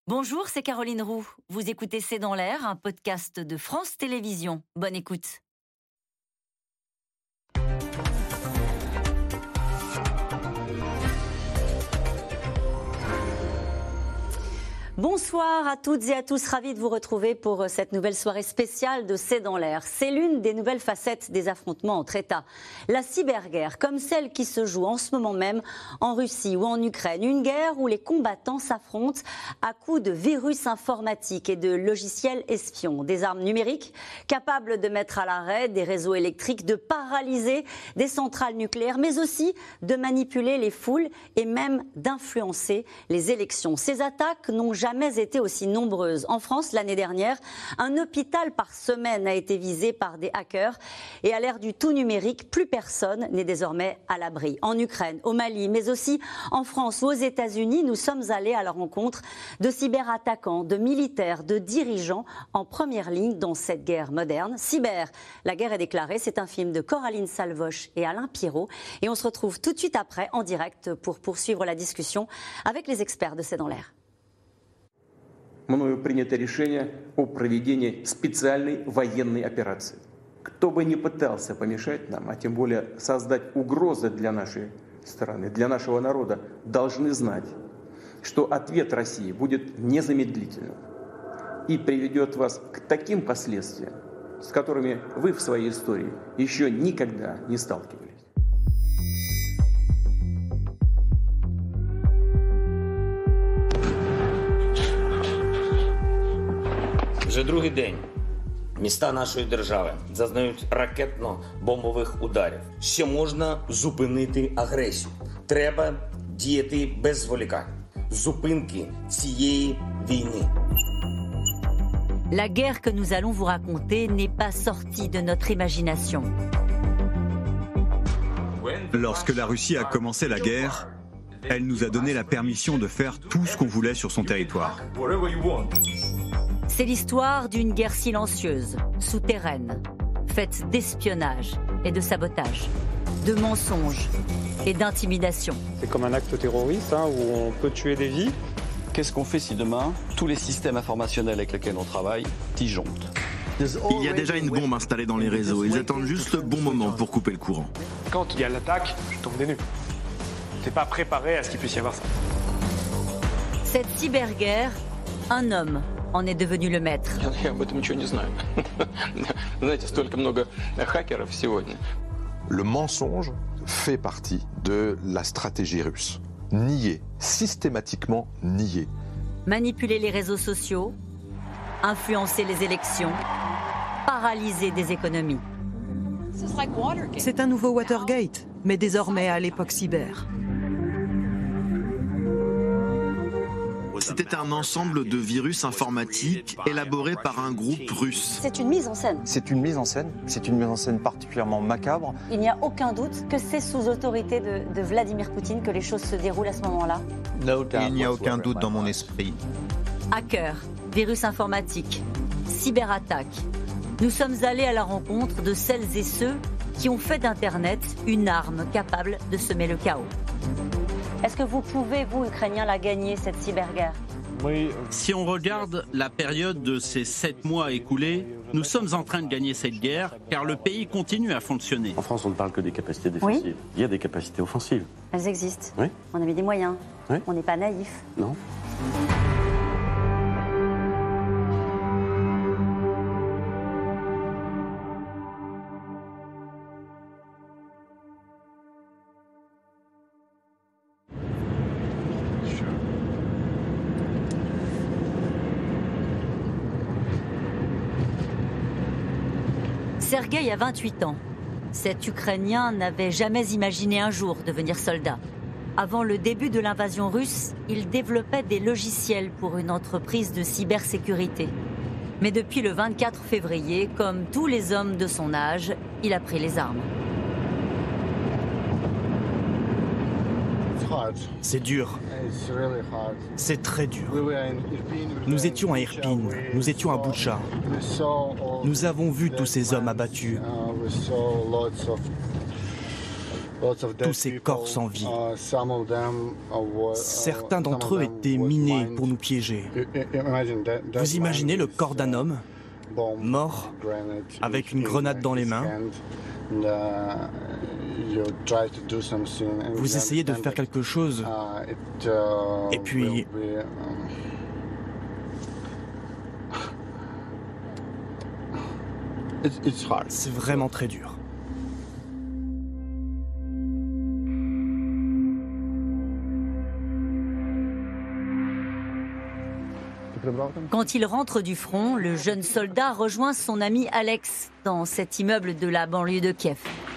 Bonjour, c'est Caroline Roux. Vous écoutez C'est dans l'air, un podcast de France Télévisions. Bonne écoute. Bonsoir à toutes et à tous, ravis de vous retrouver pour cette nouvelle soirée spéciale de C'est dans l'air. C'est l'une des nouvelles facettes des affrontements entre États. La cyberguerre, comme celle qui se joue en ce moment même en Russie ou en Ukraine. Une guerre où les combattants s'affrontent à coups de virus informatiques et de logiciels espions. Des armes numériques capables de mettre à l'arrêt des réseaux électriques, de paralyser des centrales nucléaires, mais aussi de manipuler les foules et même d'influencer les élections. Ces attaques n'ont jamais été aussi nombreuses. En France, l'année dernière, un hôpital par semaine a été visé par des hackers. Et à l'ère du tout numérique, plus personne n'est désormais à l'abri. En Ukraine, au Mali, mais aussi en France ou aux États-Unis, nous sommes allés à la rencontre de cyberattaquants, de militaires, de dirigeants en première ligne dans cette guerre moderne. Cyber, la guerre est déclarée. C'est un film de Coraline Salvoche et Alain Pirot. Et on se retrouve tout de suite après en direct pour poursuivre la discussion avec les experts de C'est dans l'air. Мною принято решение о проведении специальной военной операции. Кто бы ни пытался помешать нам, а тем более создать угрозы для нашей страны, для нашего народа, должны знать, что ответ России будет незамедлительным и приведет вас к таким последствиям, с которыми вы в своей истории еще никогда не сталкивались. Вже другий день міста нашої держави зазнають ракетно-бомбових ударів. Ще можна зупинити агресію. Треба діяти без зволікань. Зупинки цієї війни. La guerre que nous allons vous raconter n'est pas sortie de notre imagination. Lorsque la Russie a commencé la guerre, elle nous a donné la permission de faire tout ce qu'on voulait sur son territoire. C'est l'histoire d'une guerre silencieuse, souterraine, faite d'espionnage et de sabotage, de mensonges et d'intimidation. C'est comme un acte terroriste où on peut tuer des vies. Qu'est-ce qu'on fait si demain, tous les systèmes informationnels avec lesquels on travaille disjonctent ? Il y a déjà une bombe installée dans les réseaux. Ils attendent juste le bon moment pour couper le courant. Quand il y a l'attaque, je tombe des nues. T'es pas préparé à ce qu'il puisse y avoir ça. Cette cyberguerre, un homme en est devenu le maître. Я об этом ничего не знаю. Знаете, столько много хакеров сегодня. Le mensonge fait partie de la stratégie russe. Nier, systématiquement nier. Manipuler les réseaux sociaux, influencer les élections, paralyser des économies. C'est un nouveau Watergate, mais désormais à l'époque cyber. C'était un ensemble de virus informatiques élaborés par un groupe russe. C'est une mise en scène. C'est une mise en scène. C'est une mise en scène particulièrement macabre. Il n'y a aucun doute que c'est sous autorité de Vladimir Poutine que les choses se déroulent à ce moment-là. Il n'y a aucun doute dans mon esprit. Hackers, virus informatiques, cyberattaques. Nous sommes allés à la rencontre de celles et ceux qui ont fait d'Internet une arme capable de semer le chaos. Est-ce que vous pouvez, vous, Ukrainiens, la gagner, cette cyberguerre ? Oui. Si on regarde la période de ces 7 mois écoulés, nous sommes en train de gagner cette guerre car le pays continue à fonctionner. En France, on ne parle que des capacités défensives. Oui. Il y a des capacités offensives. Elles existent. Oui. On a mis des moyens. Oui. On n'est pas naïfs. Non. Sergueï a 28 ans. Cet Ukrainien n'avait jamais imaginé un jour devenir soldat. Avant le début de l'invasion russe, il développait des logiciels pour une entreprise de cybersécurité. Mais depuis le 24 février, comme tous les hommes de son âge, il a pris les armes. C'est dur. C'est très dur. Nous étions à Irpin, nous étions à Boutcha. Nous avons vu tous ces hommes abattus. tous ces corps sans vie. Certains d'entre eux étaient minés pour nous piéger. Vous imaginez le corps d'un homme mort avec une grenade dans les mains. Vous essayez de faire quelque chose et puis c'est vraiment très dur. Quand il rentre du front, le jeune soldat rejoint son ami Alex dans cet immeuble de la banlieue de Kiev.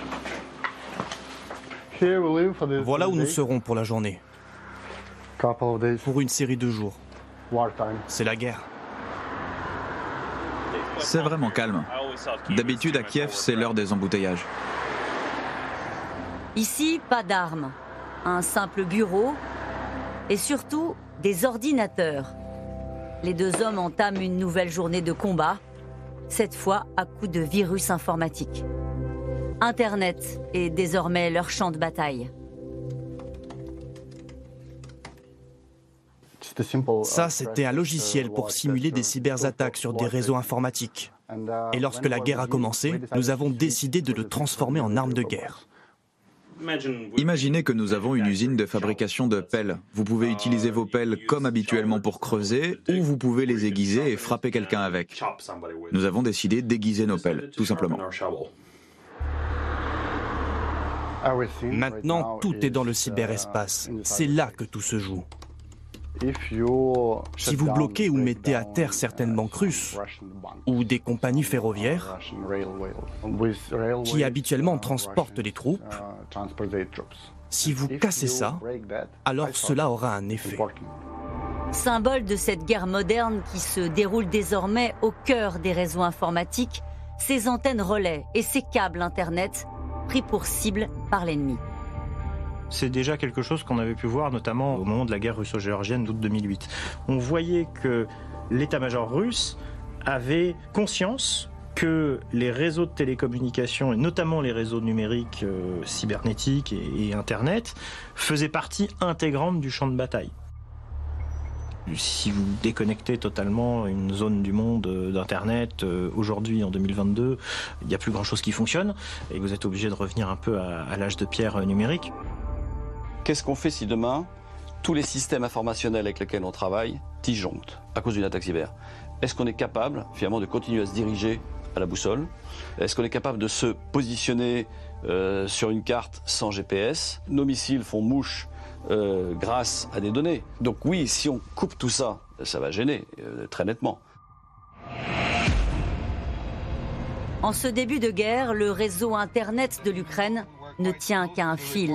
Voilà où nous serons pour la journée. Pour une série de jours. C'est la guerre. C'est vraiment calme. D'habitude, à Kiev, c'est l'heure des embouteillages. Ici, pas d'armes, un simple bureau et surtout des ordinateurs. Les deux hommes entament une nouvelle journée de combat, cette fois à coup de virus informatique. Internet est désormais leur champ de bataille. Ça, c'était un logiciel pour simuler des cyberattaques sur des réseaux informatiques. Et lorsque la guerre a commencé, nous avons décidé de le transformer en arme de guerre. Imaginez que nous avons une usine de fabrication de pelles. Vous pouvez utiliser vos pelles comme habituellement pour creuser, ou vous pouvez les aiguiser et frapper quelqu'un avec. Nous avons décidé d'aiguiser nos pelles, tout simplement. Maintenant, tout est dans le cyberespace. C'est là que tout se joue. Si vous bloquez ou mettez à terre certaines banques russes ou des compagnies ferroviaires qui habituellement transportent les troupes, si vous cassez ça, alors cela aura un effet. Symbole de cette guerre moderne qui se déroule désormais au cœur des réseaux informatiques, ces antennes relais et ces câbles Internet pris pour cible par l'ennemi. C'est déjà quelque chose qu'on avait pu voir notamment au moment de la guerre russo-géorgienne d'août 2008. On voyait que l'état-major russe avait conscience que les réseaux de télécommunications, et notamment les réseaux numériques cybernétiques et Internet, faisaient partie intégrante du champ de bataille. Si vous déconnectez totalement une zone du monde d'Internet, aujourd'hui en 2022, il n'y a plus grand-chose qui fonctionne, et vous êtes obligé de revenir un peu à l'âge de pierre numérique. Qu'est-ce qu'on fait si demain, tous les systèmes informationnels avec lesquels on travaille disjonctent à cause d'une attaque cyber? Est-ce qu'on est capable, finalement, de continuer à se diriger à la boussole? Est-ce qu'on est capable de se positionner sur une carte sans GPS? Nos missiles font mouche grâce à des données. Donc oui, si on coupe tout ça, ça va gêner, très nettement. En ce début de guerre, le réseau Internet de l'Ukraine ne tient qu'à un fil.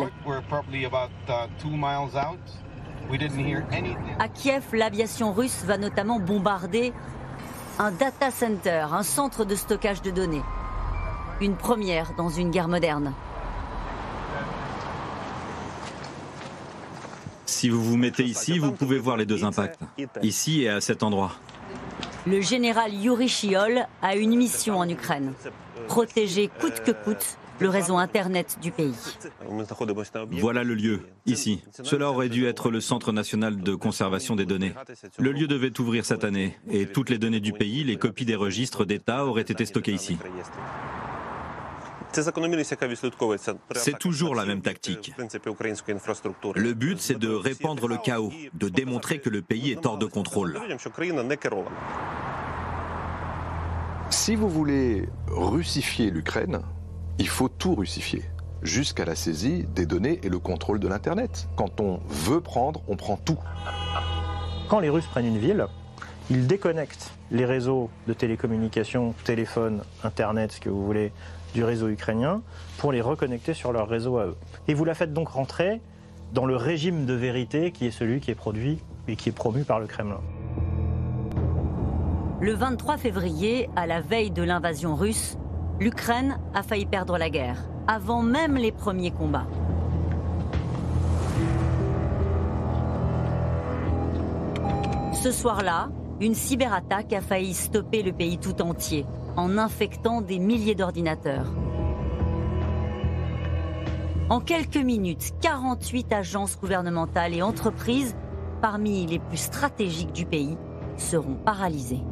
À Kiev, l'aviation russe va notamment bombarder un data center, un centre de stockage de données. Une première dans une guerre moderne. Si vous vous mettez ici, vous pouvez voir les deux impacts. Ici et à cet endroit. Le général Yuri Shiol a une mission en Ukraine. Protéger coûte que coûte le réseau Internet du pays. Voilà le lieu, ici. Cela aurait dû être le Centre national de conservation des données. Le lieu devait ouvrir cette année, et toutes les données du pays, les copies des registres d'État auraient été stockées ici. C'est toujours la même tactique. Le but, c'est de répandre le chaos, de démontrer que le pays est hors de contrôle. Si vous voulez russifier l'Ukraine, il faut tout russifier, jusqu'à la saisie des données et le contrôle de l'Internet. Quand on veut prendre, on prend tout. Quand les Russes prennent une ville, ils déconnectent les réseaux de télécommunications, téléphone, Internet, ce que vous voulez, du réseau ukrainien, pour les reconnecter sur leur réseau à eux. Et vous la faites donc rentrer dans le régime de vérité qui est celui qui est produit et qui est promu par le Kremlin. Le 23 février, à la veille de l'invasion russe, l'Ukraine a failli perdre la guerre, avant même les premiers combats. Ce soir-là, une cyberattaque a failli stopper le pays tout entier, en infectant des milliers d'ordinateurs. En quelques minutes, 48 agences gouvernementales et entreprises, parmi les plus stratégiques du pays, seront paralysées.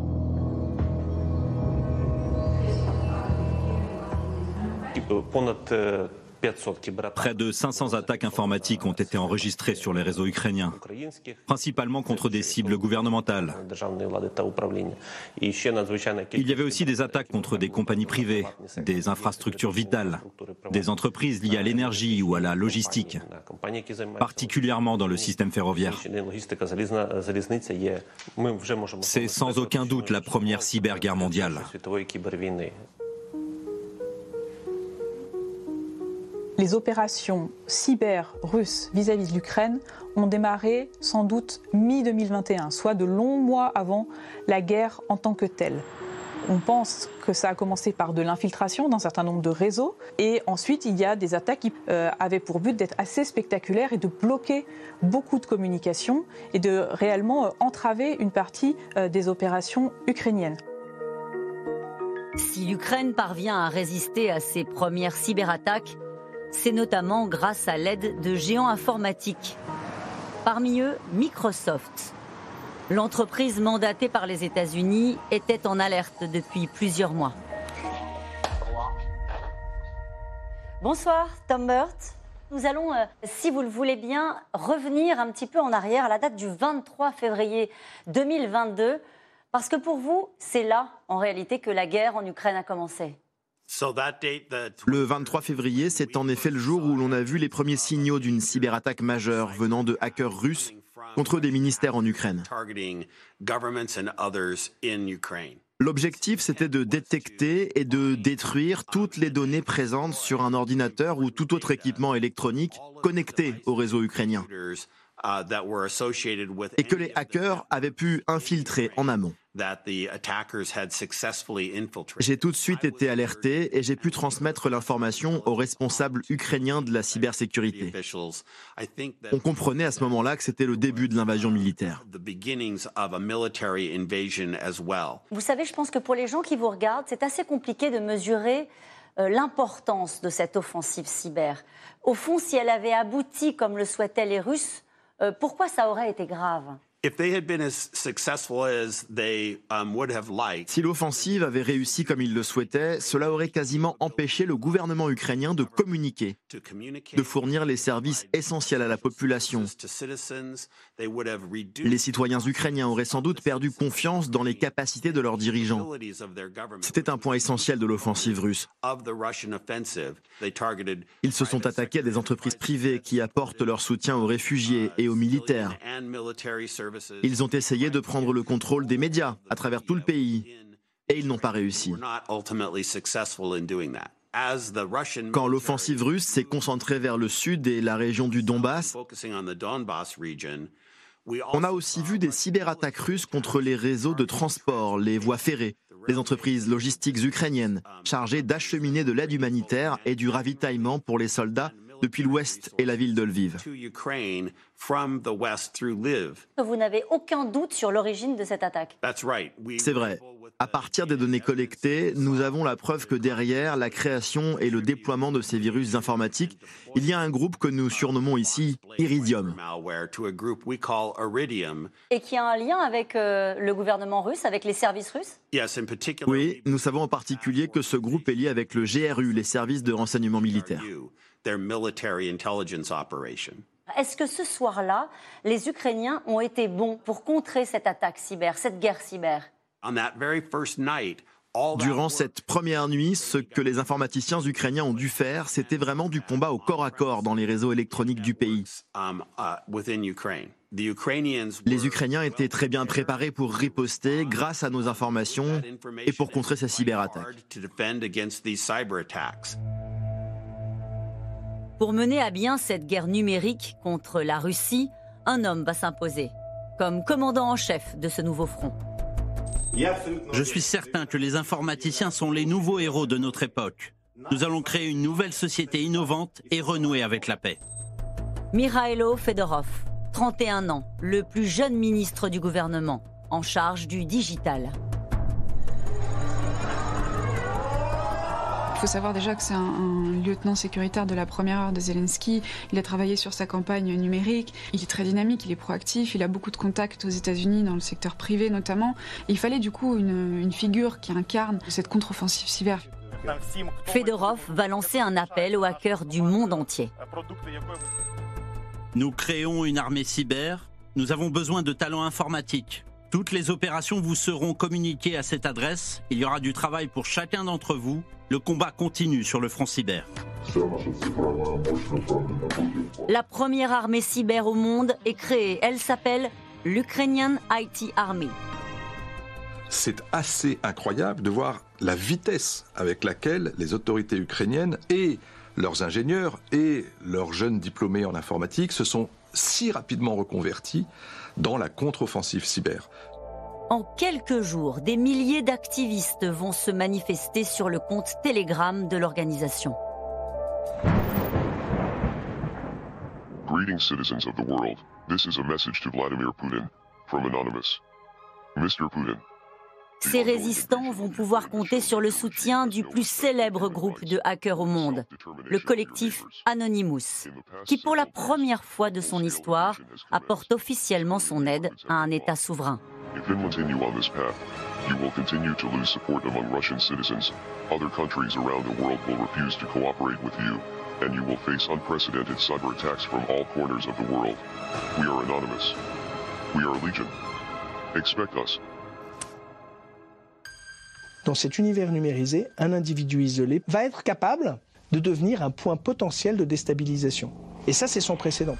Près de 500 attaques informatiques ont été enregistrées sur les réseaux ukrainiens, principalement contre des cibles gouvernementales. Il y avait aussi des attaques contre des compagnies privées, des infrastructures vitales, des entreprises liées à l'énergie ou à la logistique, particulièrement dans le système ferroviaire. C'est sans aucun doute la première cyberguerre mondiale. Les opérations cyber russes vis-à-vis de l'Ukraine ont démarré sans doute mi-2021, soit de longs mois avant la guerre en tant que telle. On pense que ça a commencé par de l'infiltration d'un certain nombre de réseaux et ensuite il y a des attaques qui avaient pour but d'être assez spectaculaires et de bloquer beaucoup de communications et de réellement entraver une partie des opérations ukrainiennes. Si l'Ukraine parvient à résister à ces premières cyberattaques, c'est notamment grâce à l'aide de géants informatiques. Parmi eux, Microsoft. L'entreprise mandatée par les États-Unis était en alerte depuis plusieurs mois. Bonsoir, Tom Burt. Nous allons, si vous le voulez bien, revenir un petit peu en arrière à la date du 23 février 2022, parce que pour vous, c'est là, en réalité, que la guerre en Ukraine a commencé. Le 23 février, c'est en effet le jour où l'on a vu les premiers signaux d'une cyberattaque majeure venant de hackers russes contre des ministères en Ukraine. L'objectif, c'était de détecter et de détruire toutes les données présentes sur un ordinateur ou tout autre équipement électronique connecté au réseau ukrainien et que les hackers avaient pu infiltrer en amont. J'ai tout de suite été alerté et j'ai pu transmettre l'information aux responsables ukrainiens de la cybersécurité. On comprenait à ce moment-là que c'était le début de l'invasion militaire. Vous savez, je pense que pour les gens qui vous regardent, c'est assez compliqué de mesurer l'importance de cette offensive cyber. Au fond, si elle avait abouti comme le souhaitaient les Russes, pourquoi ça aurait été grave ? Si l'offensive avait réussi comme il le souhaitait, cela aurait quasiment empêché le gouvernement ukrainien de communiquer, de fournir les services essentiels à la population. Les citoyens ukrainiens auraient sans doute perdu confiance dans les capacités de leurs dirigeants. C'était un point essentiel de l'offensive russe. Ils se sont attaqués à des entreprises privées qui apportent leur soutien aux réfugiés et aux militaires. Ils ont essayé de prendre le contrôle des médias à travers tout le pays et ils n'ont pas réussi. Quand l'offensive russe s'est concentrée vers le sud et la région du Donbass, on a aussi vu des cyberattaques russes contre les réseaux de transport, les voies ferrées, les entreprises logistiques ukrainiennes chargées d'acheminer de l'aide humanitaire et du ravitaillement pour les soldats depuis l'ouest et la ville de Lviv. Vous n'avez aucun doute sur l'origine de cette attaque. C'est vrai. À partir des données collectées, nous avons la preuve que derrière la création et le déploiement de ces virus informatiques, il y a un groupe que nous surnommons ici Iridium. Et qui a un lien avec le gouvernement russe, avec les services russes ? Oui, nous savons en particulier que ce groupe est lié avec le GRU, les services de renseignement militaire. Est-ce que ce soir-là, les Ukrainiens ont été bons pour contrer cette attaque cyber, cette guerre cyber ? Durant cette première nuit, ce que les informaticiens ukrainiens ont dû faire, c'était vraiment du combat au corps à corps dans les réseaux électroniques du pays. Les Ukrainiens étaient très bien préparés pour riposter grâce à nos informations et pour contrer ces cyberattaques. Pour mener à bien cette guerre numérique contre la Russie, un homme va s'imposer comme commandant en chef de ce nouveau front. Je suis certain que les informaticiens sont les nouveaux héros de notre époque. Nous allons créer une nouvelle société innovante et renouer avec la paix. Mikhailo Fedorov, 31 ans, le plus jeune ministre du gouvernement, en charge du digital. Il faut savoir déjà que c'est un lieutenant sécuritaire de la première heure de Zelensky. Il a travaillé sur sa campagne numérique. Il est très dynamique, il est proactif, il a beaucoup de contacts aux États-Unis, dans le secteur privé notamment. Et il fallait du coup une figure qui incarne cette contre-offensive cyber. Fedorov va lancer un appel aux hackers du monde entier. Nous créons une armée cyber. Nous avons besoin de talents informatiques. Toutes les opérations vous seront communiquées à cette adresse. Il y aura du travail pour chacun d'entre vous. Le combat continue sur le front cyber. La première armée cyber au monde est créée. Elle s'appelle l'Ukrainian IT Army. C'est assez incroyable de voir la vitesse avec laquelle les autorités ukrainiennes et leurs ingénieurs et leurs jeunes diplômés en informatique se sont si rapidement reconvertis dans la contre-offensive cyber. En quelques jours, des milliers d'activistes vont se manifester sur le compte Telegram de l'organisation. Greetings, citizens of the world. This is a message to Vladimir Putin from Anonymous. Mr. Putin. Ces résistants vont pouvoir compter sur le soutien du plus célèbre groupe de hackers au monde, le collectif Anonymous, qui pour la première fois de son histoire apporte officiellement son aide à un État souverain. If you continue on this path, you will continue to lose support among Russian citizens. Other countries around the world will refuse to cooperate with you, and you will face unprecedented cyber attacks from all corners of the world. We are Anonymous. We are Legion. Expect us. Dans cet univers numérisé, un individu isolé va être capable de devenir un point potentiel de déstabilisation. Et ça, c'est sans précédent.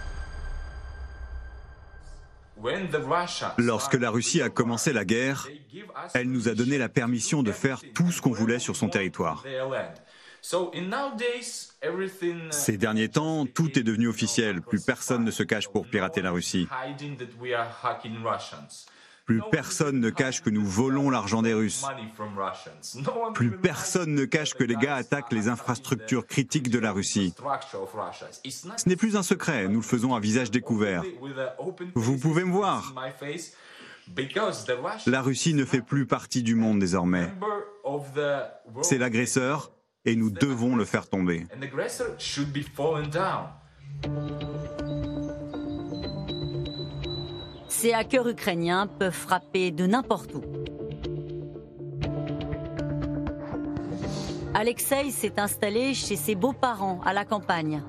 Lorsque la Russie a commencé la guerre, elle nous a donné la permission de faire tout ce qu'on voulait sur son territoire. Ces derniers temps, tout est devenu officiel. Plus personne ne se cache pour pirater la Russie. Plus personne ne cache que nous volons l'argent des Russes. Plus personne ne cache que les gars attaquent les infrastructures critiques de la Russie. Ce n'est plus un secret, nous le faisons à visage découvert. Vous pouvez me voir. La Russie ne fait plus partie du monde désormais. C'est l'agresseur et nous devons le faire tomber. Ces hackers ukrainiens peuvent frapper de n'importe où. Alexei s'est installé chez ses beaux-parents à la campagne.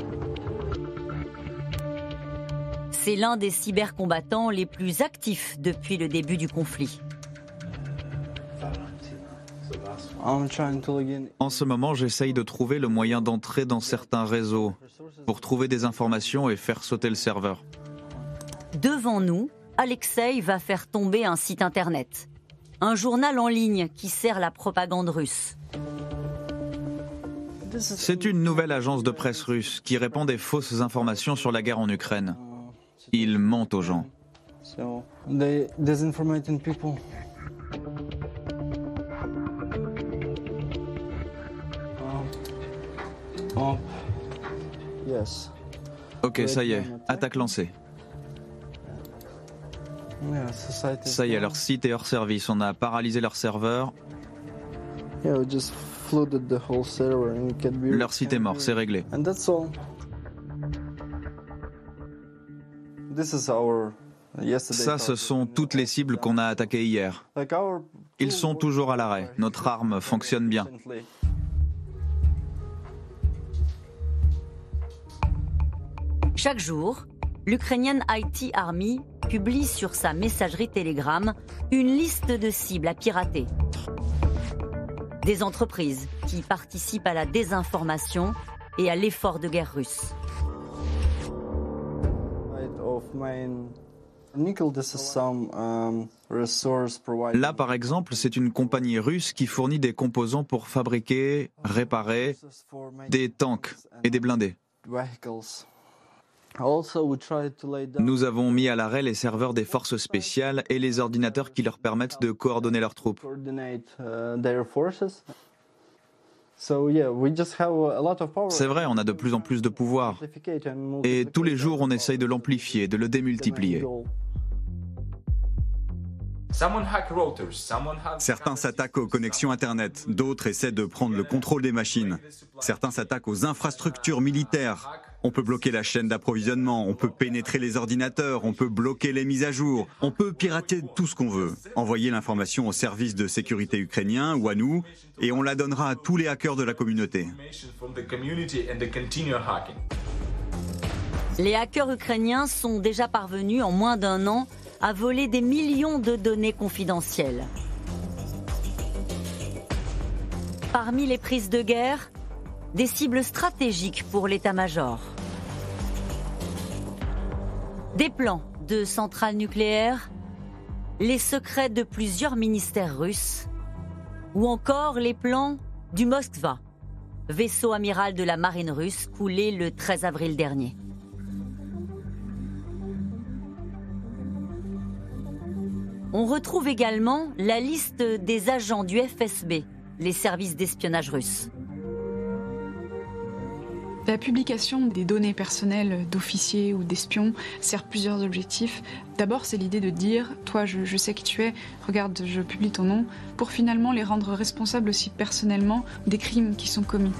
C'est l'un des cybercombattants les plus actifs depuis le début du conflit. En ce moment, j'essaye de trouver le moyen d'entrer dans certains réseaux pour trouver des informations et faire sauter le serveur. Devant nous, Alexei va faire tomber un site internet, un journal en ligne qui sert la propagande russe. C'est une nouvelle agence de presse russe qui répand des fausses informations sur la guerre en Ukraine. Ils mentent aux gens. Ok, ça y est, attaque lancée. Ça y est, leur site est hors service. On a paralysé leur serveur. Leur site est mort, c'est réglé. Ça, ce sont toutes les cibles qu'on a attaquées hier. Ils sont toujours à l'arrêt. Notre arme fonctionne bien. Chaque jour, l'Ukrainian IT Army publie sur sa messagerie Telegram une liste de cibles à pirater. Des entreprises qui participent à la désinformation et à l'effort de guerre russe. Là, par exemple, c'est une compagnie russe qui fournit des composants pour fabriquer, réparer des tanks et des blindés. Nous avons mis à l'arrêt les serveurs des forces spéciales et les ordinateurs qui leur permettent de coordonner leurs troupes. C'est vrai, on a de plus en plus de pouvoir. Et tous les jours, on essaye de l'amplifier, de le démultiplier. Certains s'attaquent aux connexions Internet, d'autres essaient de prendre le contrôle des machines. Certains s'attaquent aux infrastructures militaires. On peut bloquer la chaîne d'approvisionnement, on peut pénétrer les ordinateurs, on peut bloquer les mises à jour, on peut pirater tout ce qu'on veut, envoyer l'information aux services de sécurité ukrainiens ou à nous, et on la donnera à tous les hackers de la communauté. Les hackers ukrainiens sont déjà parvenus en moins d'un an à voler des millions de données confidentielles. Parmi les prises de guerre, des cibles stratégiques pour l'état-major. Des plans de centrales nucléaires, les secrets de plusieurs ministères russes, ou encore les plans du Moskva, vaisseau amiral de la marine russe coulé le 13 avril dernier. On retrouve également la liste des agents du FSB, les services d'espionnage russes. La publication des données personnelles d'officiers ou d'espions sert plusieurs objectifs. D'abord, c'est l'idée de dire « toi, je sais qui tu es, regarde, je publie ton nom », pour finalement les rendre responsables aussi personnellement des crimes qui sont commis.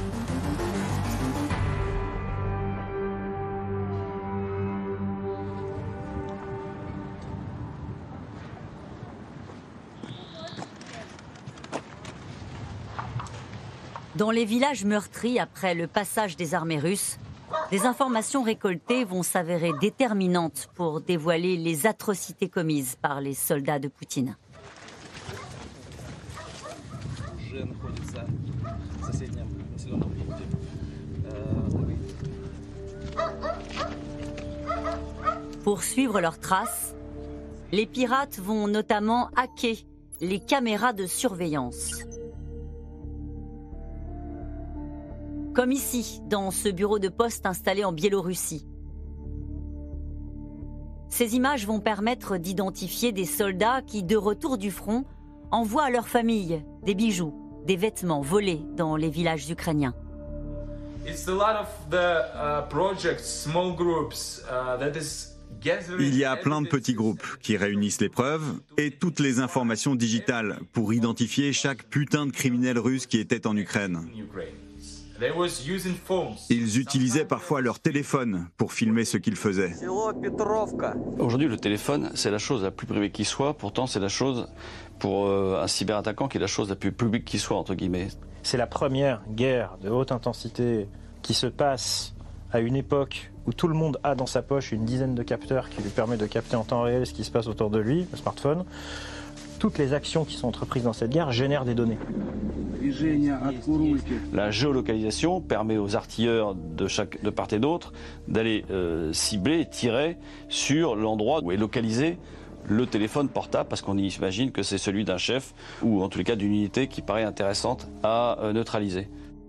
Dans les villages meurtris après le passage des armées russes, des informations récoltées vont s'avérer déterminantes pour dévoiler les atrocités commises par les soldats de Poutine. Pour suivre leurs traces, les pirates vont notamment hacker les caméras de surveillance. Comme ici, dans ce bureau de poste installé en Biélorussie. Ces images vont permettre d'identifier des soldats qui, de retour du front, envoient à leur famille des bijoux, des vêtements volés dans les villages ukrainiens. Il y a plein de petits groupes qui réunissent les preuves et toutes les informations digitales pour identifier chaque putain de criminel russe qui était en Ukraine. Ils utilisaient parfois leur téléphone pour filmer ce qu'ils faisaient. Aujourd'hui, le téléphone, c'est la chose la plus privée qui soit. Pourtant, c'est la chose, pour un cyberattaquant, qui est la chose la plus publique qui soit, entre guillemets. C'est la première guerre de haute intensité qui se passe à une époque où tout le monde a dans sa poche une dizaine de capteurs qui lui permet de capter en temps réel ce qui se passe autour de lui, le smartphone. Toutes les actions qui sont entreprises dans cette guerre génèrent des données. La géolocalisation permet aux artilleurs de part et d'autre d'aller cibler et tirer sur l'endroit où est localisé le téléphone portable, parce qu'on imagine que c'est celui d'un chef ou en tous les cas d'une unité qui paraît intéressante à neutraliser.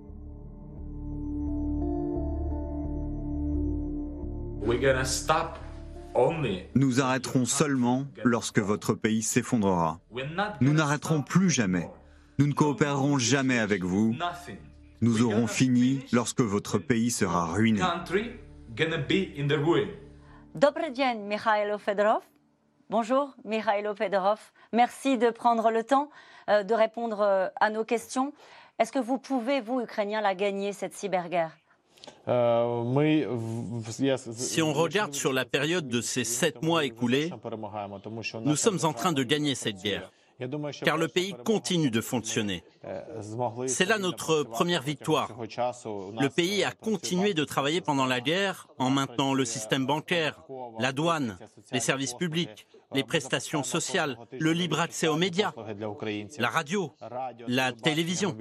Nous arrêterons seulement lorsque votre pays s'effondrera. Nous n'arrêterons plus jamais. Nous ne coopérerons jamais avec vous. Nous aurons fini lorsque votre pays sera ruiné. Добрый день, Mikhailo Fedorov. Bonjour, Mikhailo Fedorov. Merci de prendre le temps de répondre à nos questions. Est-ce que vous pouvez, vous, Ukrainiens, la gagner, cette cyberguerre ? Si on regarde sur la période de ces 7 mois écoulés, nous sommes en train de gagner cette guerre, car le pays continue de fonctionner. C'est là notre première victoire. Le pays a continué de travailler pendant la guerre en maintenant le système bancaire, la douane, les services publics, les prestations sociales, le libre accès aux médias, la radio, la télévision.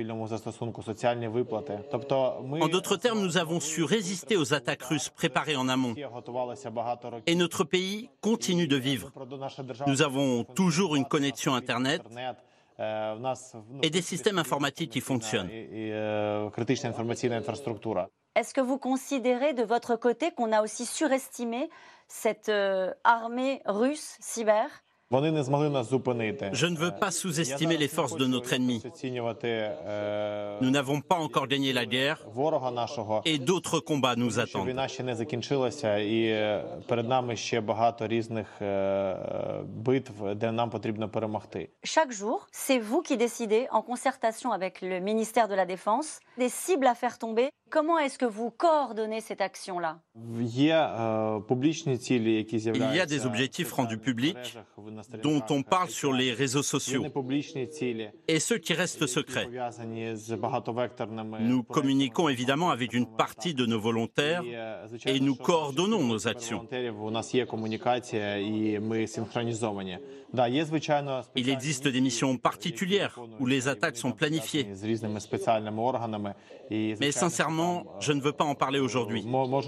En d'autres termes, nous avons su résister aux attaques russes préparées en amont. Et notre pays continue de vivre. Nous avons toujours une connexion Internet et des systèmes informatiques qui fonctionnent. Est-ce que vous considérez de votre côté qu'on a aussi surestimé cette armée russe cyber ? Je ne veux pas sous-estimer les forces de notre ennemi. Nous n'avons pas encore gagné la guerre et d'autres combats nous attendent. Chaque jour, c'est vous qui décidez, en concertation avec le ministère de la Défense, des cibles à faire tomber. Comment est-ce que vous coordonnez cette action-là ? Il y a des objectifs rendus publics dont on parle sur les réseaux sociaux et ceux qui restent secrets. Nous communiquons évidemment avec une partie de nos volontaires et nous coordonnons nos actions. Il existe des missions particulières où les attaques sont planifiées. Mais sincèrement, je ne veux pas en parler aujourd'hui.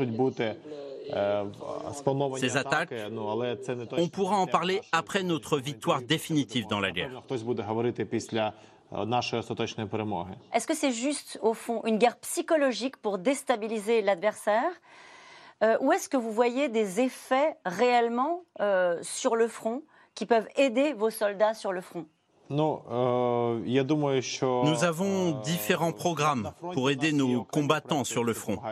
Ces attaques, on pourra en parler après notre victoire définitive dans la guerre. Est-ce que c'est juste, au fond, une guerre psychologique pour déstabiliser l'adversaire ? Ou est-ce que vous voyez des effets réellement sur le front qui peuvent aider vos soldats sur le front ? Nous avons différents programmes pour aider nos combattants sur le front.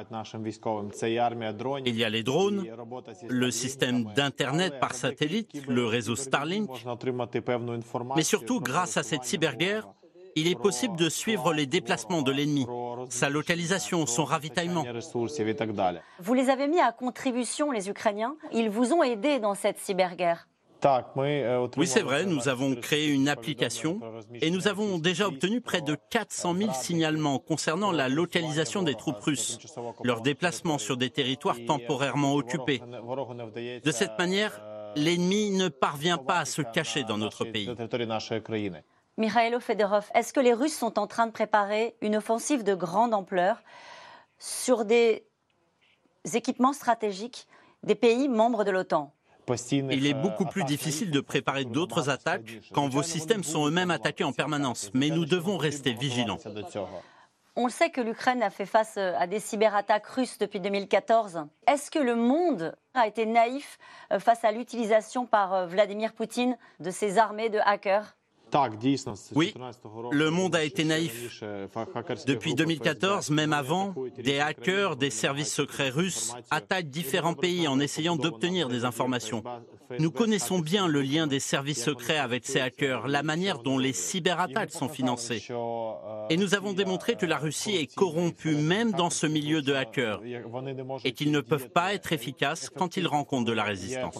Il y a les drones, le système d'Internet par satellite, le réseau Starlink. Mais surtout, grâce à cette cyberguerre, il est possible de suivre les déplacements de l'ennemi, sa localisation, son ravitaillement. Vous les avez mis à contribution, les Ukrainiens. Ils vous ont aidé dans cette cyberguerre. Oui, c'est vrai, nous avons créé une application et nous avons déjà obtenu près de 400 000 signalements concernant la localisation des troupes russes, leur déplacement sur des territoires temporairement occupés. De cette manière, l'ennemi ne parvient pas à se cacher dans notre pays. Mikhailo Fedorov, est-ce que les Russes sont en train de préparer une offensive de grande ampleur sur des équipements stratégiques des pays membres de l'OTAN ? Il est beaucoup plus difficile de préparer d'autres attaques quand vos systèmes sont eux-mêmes attaqués en permanence, mais nous devons rester vigilants. On le sait que l'Ukraine a fait face à des cyberattaques russes depuis 2014. Est-ce que le monde a été naïf face à l'utilisation par Vladimir Poutine de ses armées de hackers ? Oui, le monde a été naïf. Depuis 2014, même avant, des hackers des services secrets russes attaquent différents pays en essayant d'obtenir des informations. Nous connaissons bien le lien des services secrets avec ces hackers, la manière dont les cyberattaques sont financées. Et nous avons démontré que la Russie est corrompue même dans ce milieu de hackers et qu'ils ne peuvent pas être efficaces quand ils rencontrent de la résistance.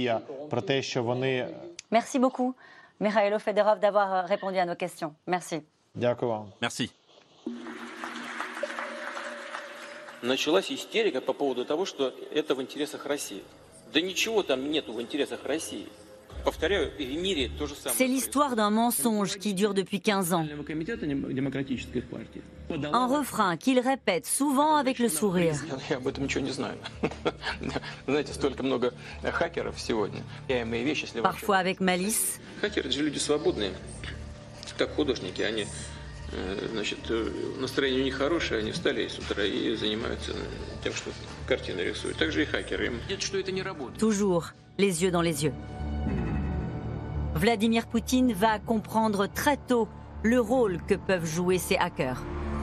Merci beaucoup. Mikhailo Fedorov, d'avoir répondu à nos questions. Merci. Merci. Началась истерика по поводу того, что это в интересах России. Да ничего там нету в интересах России. Повторяю, в мире то же самое. C'est l'histoire d'un mensonge qui dure depuis 15 ans. Un refrain qu'il répète souvent avec le sourire. Я об этом ничего не знаю. Знаете, столько много хакеров сегодня. Я имею вещи, если Parfois avec malice. Хакеры же люди свободные, как художники. Они, значит, настроение у них хорошее, они встали с утра и занимаются тем, что картины рисуют. Так же и хакеры. Им видят, что это не работает. Toujours les yeux dans les yeux. Vladimir Poutine va comprendre très tôt le rôle que peuvent jouer ces hackers.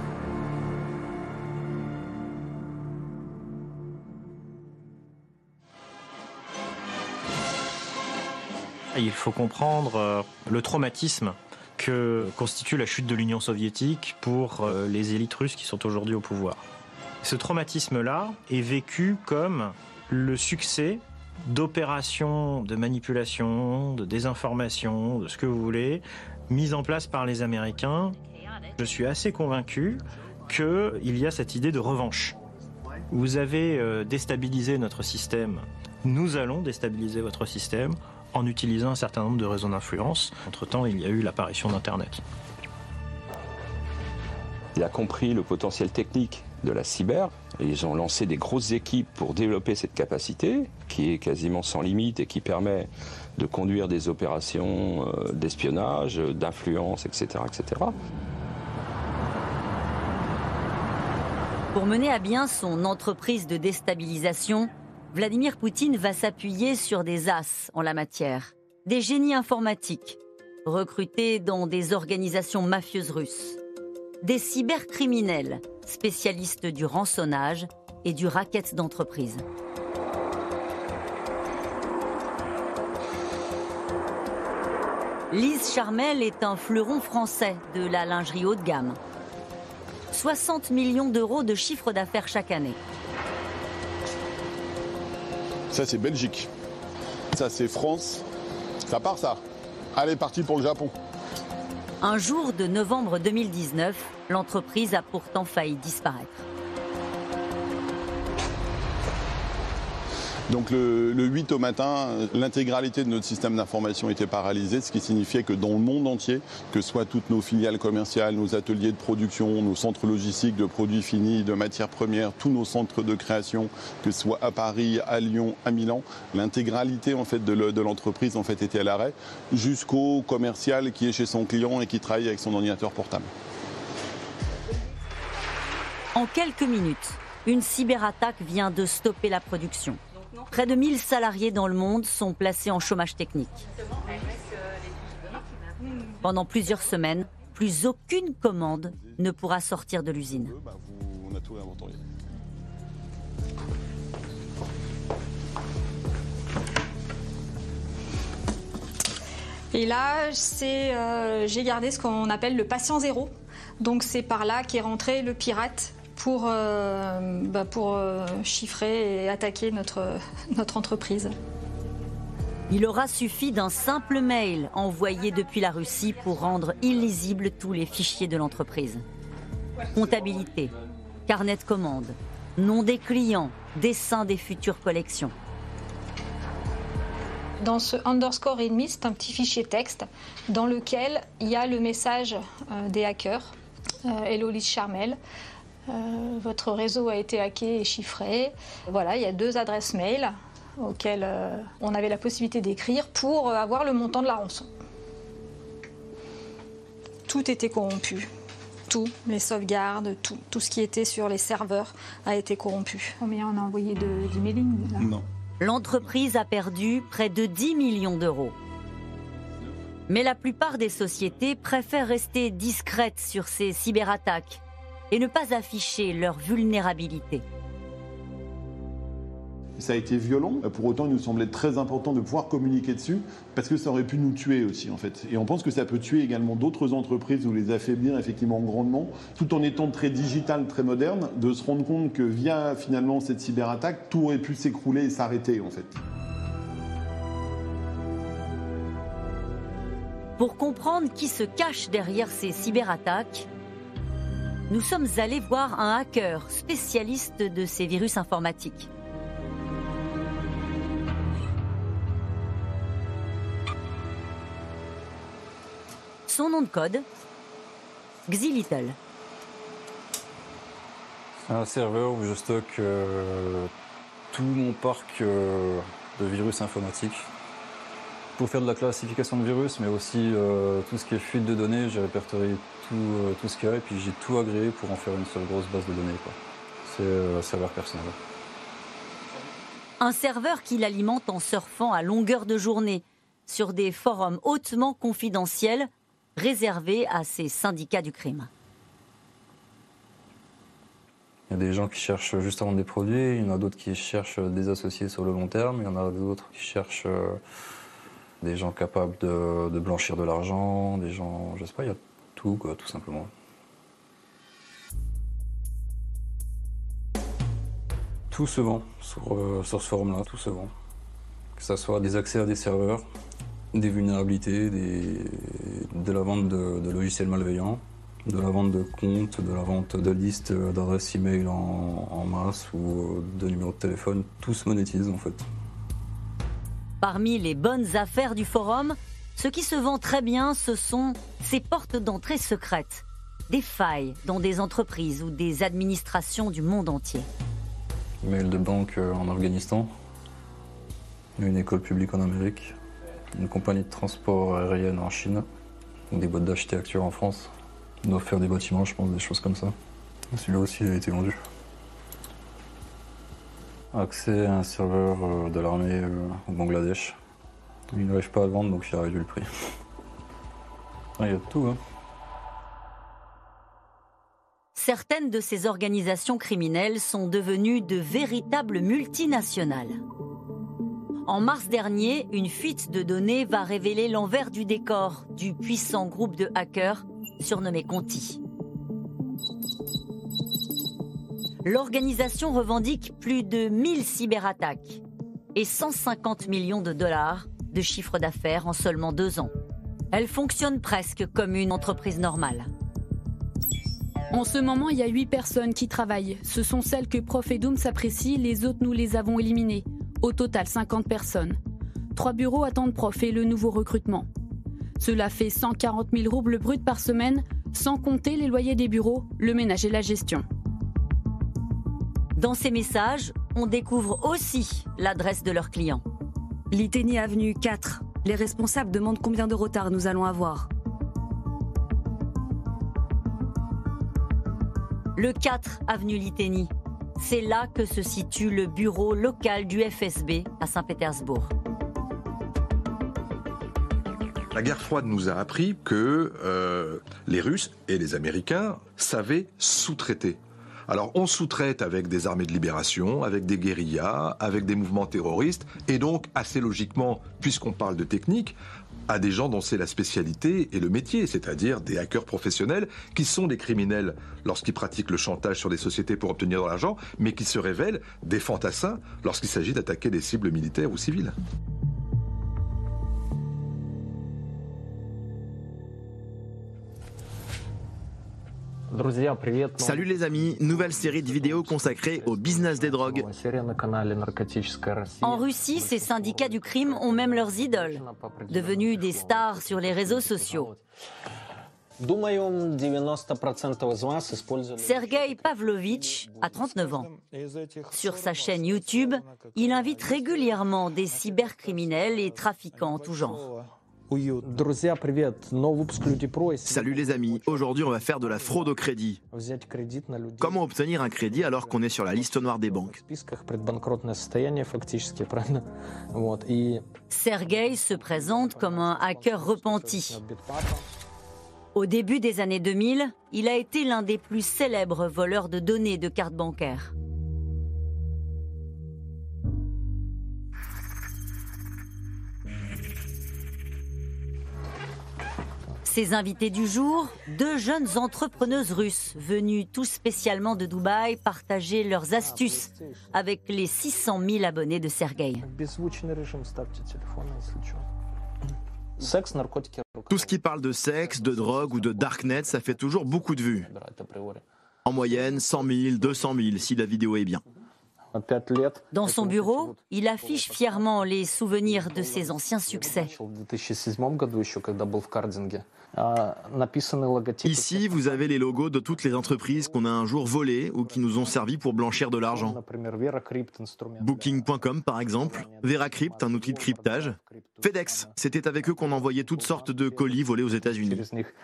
Il faut comprendre le traumatisme que constitue la chute de l'Union soviétique pour les élites russes qui sont aujourd'hui au pouvoir. Ce traumatisme-là est vécu comme le succès d'opérations de manipulation, de désinformation, de ce que vous voulez, mises en place par les Américains. Je suis assez convaincu qu'il y a cette idée de revanche. Vous avez déstabilisé notre système, nous allons déstabiliser votre système en utilisant un certain nombre de réseaux d'influence. Entre-temps, il y a eu l'apparition d'Internet. Il a compris le potentiel technique de la cyber. Et ils ont lancé des grosses équipes pour développer cette capacité, qui est quasiment sans limite et qui permet de conduire des opérations d'espionnage, d'influence, etc., etc. Pour mener à bien son entreprise de déstabilisation, Vladimir Poutine va s'appuyer sur des as en la matière. Des génies informatiques, recrutés dans des organisations mafieuses russes. Des cybercriminels, spécialistes du rançonnage et du racket d'entreprise. Lise Charmel est un fleuron français de la lingerie haut de gamme. 60 millions d'euros de chiffre d'affaires chaque année. Ça, c'est Belgique. Ça, c'est France. Ça part, ça. Allez, parti pour le Japon. Un jour de novembre 2019, l'entreprise a pourtant failli disparaître. Donc le 8 au matin, l'intégralité de notre système d'information était paralysée, ce qui signifiait que dans le monde entier, que ce soit toutes nos filiales commerciales, nos ateliers de production, nos centres logistiques de produits finis, de matières premières, tous nos centres de création, que ce soit à Paris, à Lyon, à Milan, l'intégralité en fait de l'entreprise en fait était à l'arrêt, jusqu'au commercial qui est chez son client et qui travaille avec son ordinateur portable. En quelques minutes, une cyberattaque vient de stopper la production. Près de 1000 salariés dans le monde sont placés en chômage technique. Pendant plusieurs semaines, plus aucune commande ne pourra sortir de l'usine. On a tout inventorié. Et là, j'ai gardé ce qu'on appelle le patient zéro. Donc c'est par là qu'est rentré le pirate pour chiffrer et attaquer notre entreprise. Il aura suffi d'un simple mail envoyé depuis la Russie pour rendre illisibles tous les fichiers de l'entreprise. Comptabilité, carnet de commandes, nom des clients, dessin des futures collections. Dans ce underscore readme, c'est un petit fichier texte dans lequel il y a le message des hackers. Hello Lise Charmel, votre réseau a été hacké et chiffré. Voilà, il y a 2 adresses mail auxquelles on avait la possibilité d'écrire pour avoir le montant de la rançon. Tout était corrompu. Tout, les sauvegardes, tout ce qui était sur les serveurs a été corrompu. Combien on a envoyé d'emailing là ? Non. L'entreprise a perdu près de 10 millions d'euros. Mais la plupart des sociétés préfèrent rester discrètes sur ces cyberattaques et ne pas afficher leur vulnérabilité. Ça a été violent, pour autant il nous semblait très important de pouvoir communiquer dessus, parce que ça aurait pu nous tuer aussi en fait. Et on pense que ça peut tuer également d'autres entreprises ou les affaiblir effectivement grandement, tout en étant très digital, très moderne, de se rendre compte que via finalement cette cyberattaque, tout aurait pu s'écrouler et s'arrêter en fait. Pour comprendre qui se cache derrière ces cyberattaques, nous sommes allés voir un hacker spécialiste de ces virus informatiques. Son nom de code, Xilittle. C'est un serveur où je stocke tout mon parc de virus informatiques. Pour faire de la classification de virus, mais aussi tout ce qui est fuite de données, j'ai répertorié tout ce qu'il y a et puis j'ai tout agréé pour en faire une seule grosse base de données. C'est un serveur personnel. Un serveur qu'il alimente en surfant à longueur de journée sur des forums hautement confidentiels réservés à ces syndicats du crime. Il y a des gens qui cherchent juste à vendre des produits, il y en a d'autres qui cherchent des associés sur le long terme, il y en a d'autres qui cherchent des gens capables de blanchir de l'argent, des gens, je sais pas, il y a tout quoi, tout simplement. Tout se vend sur ce forum-là, tout se vend. Que ce soit des accès à des serveurs, des vulnérabilités, de la vente de logiciels malveillants, de la vente de comptes, de la vente de listes d'adresses e-mail en masse ou de numéros de téléphone, tout se monétise en fait. Parmi les bonnes affaires du forum, ce qui se vend très bien, ce sont ces portes d'entrée secrètes, des failles dans des entreprises ou des administrations du monde entier. Mail de banque en Afghanistan, une école publique en Amérique, une compagnie de transport aérien en Chine, des boîtes d'architecture en France. Ils doivent faire des bâtiments, je pense, des choses comme ça. Celui-là aussi a été vendu. Accès à un serveur de l'armée au Bangladesh. Il n'arrive pas à le vendre, donc il a réduit le prix. Il y a de tout, hein. Certaines de ces organisations criminelles sont devenues de véritables multinationales. En mars dernier, une fuite de données va révéler l'envers du décor du puissant groupe de hackers surnommé Conti. L'organisation revendique plus de 1000 cyberattaques et 150 millions de dollars de chiffre d'affaires en seulement 2 ans. Elle fonctionne presque comme une entreprise normale. En ce moment, il y a 8 personnes qui travaillent. Ce sont celles que Prof et Doom s'apprécient, les autres nous les avons éliminées. Au total, 50 personnes. 3 bureaux attendent Prof et le nouveau recrutement. Cela fait 140 000 roubles bruts par semaine, sans compter les loyers des bureaux, le ménage et la gestion. Dans ces messages, on découvre aussi l'adresse de leurs clients. Liteni avenue 4. Les responsables demandent combien de retard nous allons avoir. Le 4 avenue Liteni. C'est là que se situe le bureau local du FSB à Saint-Pétersbourg. La guerre froide nous a appris que les Russes et les Américains savaient sous-traiter. Alors on sous-traite avec des armées de libération, avec des guérillas, avec des mouvements terroristes, et donc assez logiquement, puisqu'on parle de technique, à des gens dont c'est la spécialité et le métier, c'est-à-dire des hackers professionnels qui sont des criminels lorsqu'ils pratiquent le chantage sur des sociétés pour obtenir de l'argent, mais qui se révèlent des fantassins lorsqu'il s'agit d'attaquer des cibles militaires ou civiles. Salut les amis, nouvelle série de vidéos consacrée au business des drogues. En Russie, ces syndicats du crime ont même leurs idoles, devenus des stars sur les réseaux sociaux. Sergei Pavlovitch a 39 ans. Sur sa chaîne YouTube, il invite régulièrement des cybercriminels et trafiquants en tout genre. Salut les amis, aujourd'hui on va faire de la fraude au crédit. Comment obtenir un crédit alors qu'on est sur la liste noire des banques? Sergei se présente comme un hacker repenti. Au début des années 2000, il a été l'un des plus célèbres voleurs de données de cartes bancaires. Ses invités du jour, 2 jeunes entrepreneuses russes venues tout spécialement de Dubaï partager leurs astuces avec les 600 000 abonnés de Sergei. Tout ce qui parle de sexe, de drogue ou de darknet, ça fait toujours beaucoup de vues. En moyenne, 100 000, 200 000 si la vidéo est bien. Dans son bureau, il affiche fièrement les souvenirs de ses anciens succès. Ici, vous avez les logos de toutes les entreprises qu'on a un jour volées ou qui nous ont servi pour blanchir de l'argent. Booking.com par exemple, Veracrypt, un outil de cryptage. FedEx, c'était avec eux qu'on envoyait toutes sortes de colis volés aux États-Unis.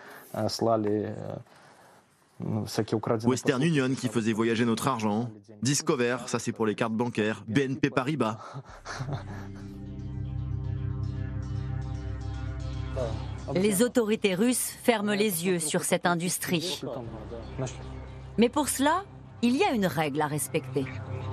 Western Union qui faisait voyager notre argent. Discover, ça c'est pour les cartes bancaires. BNP Paribas. Les autorités russes ferment les yeux sur cette industrie. Mais pour cela, il y a une règle à respecter.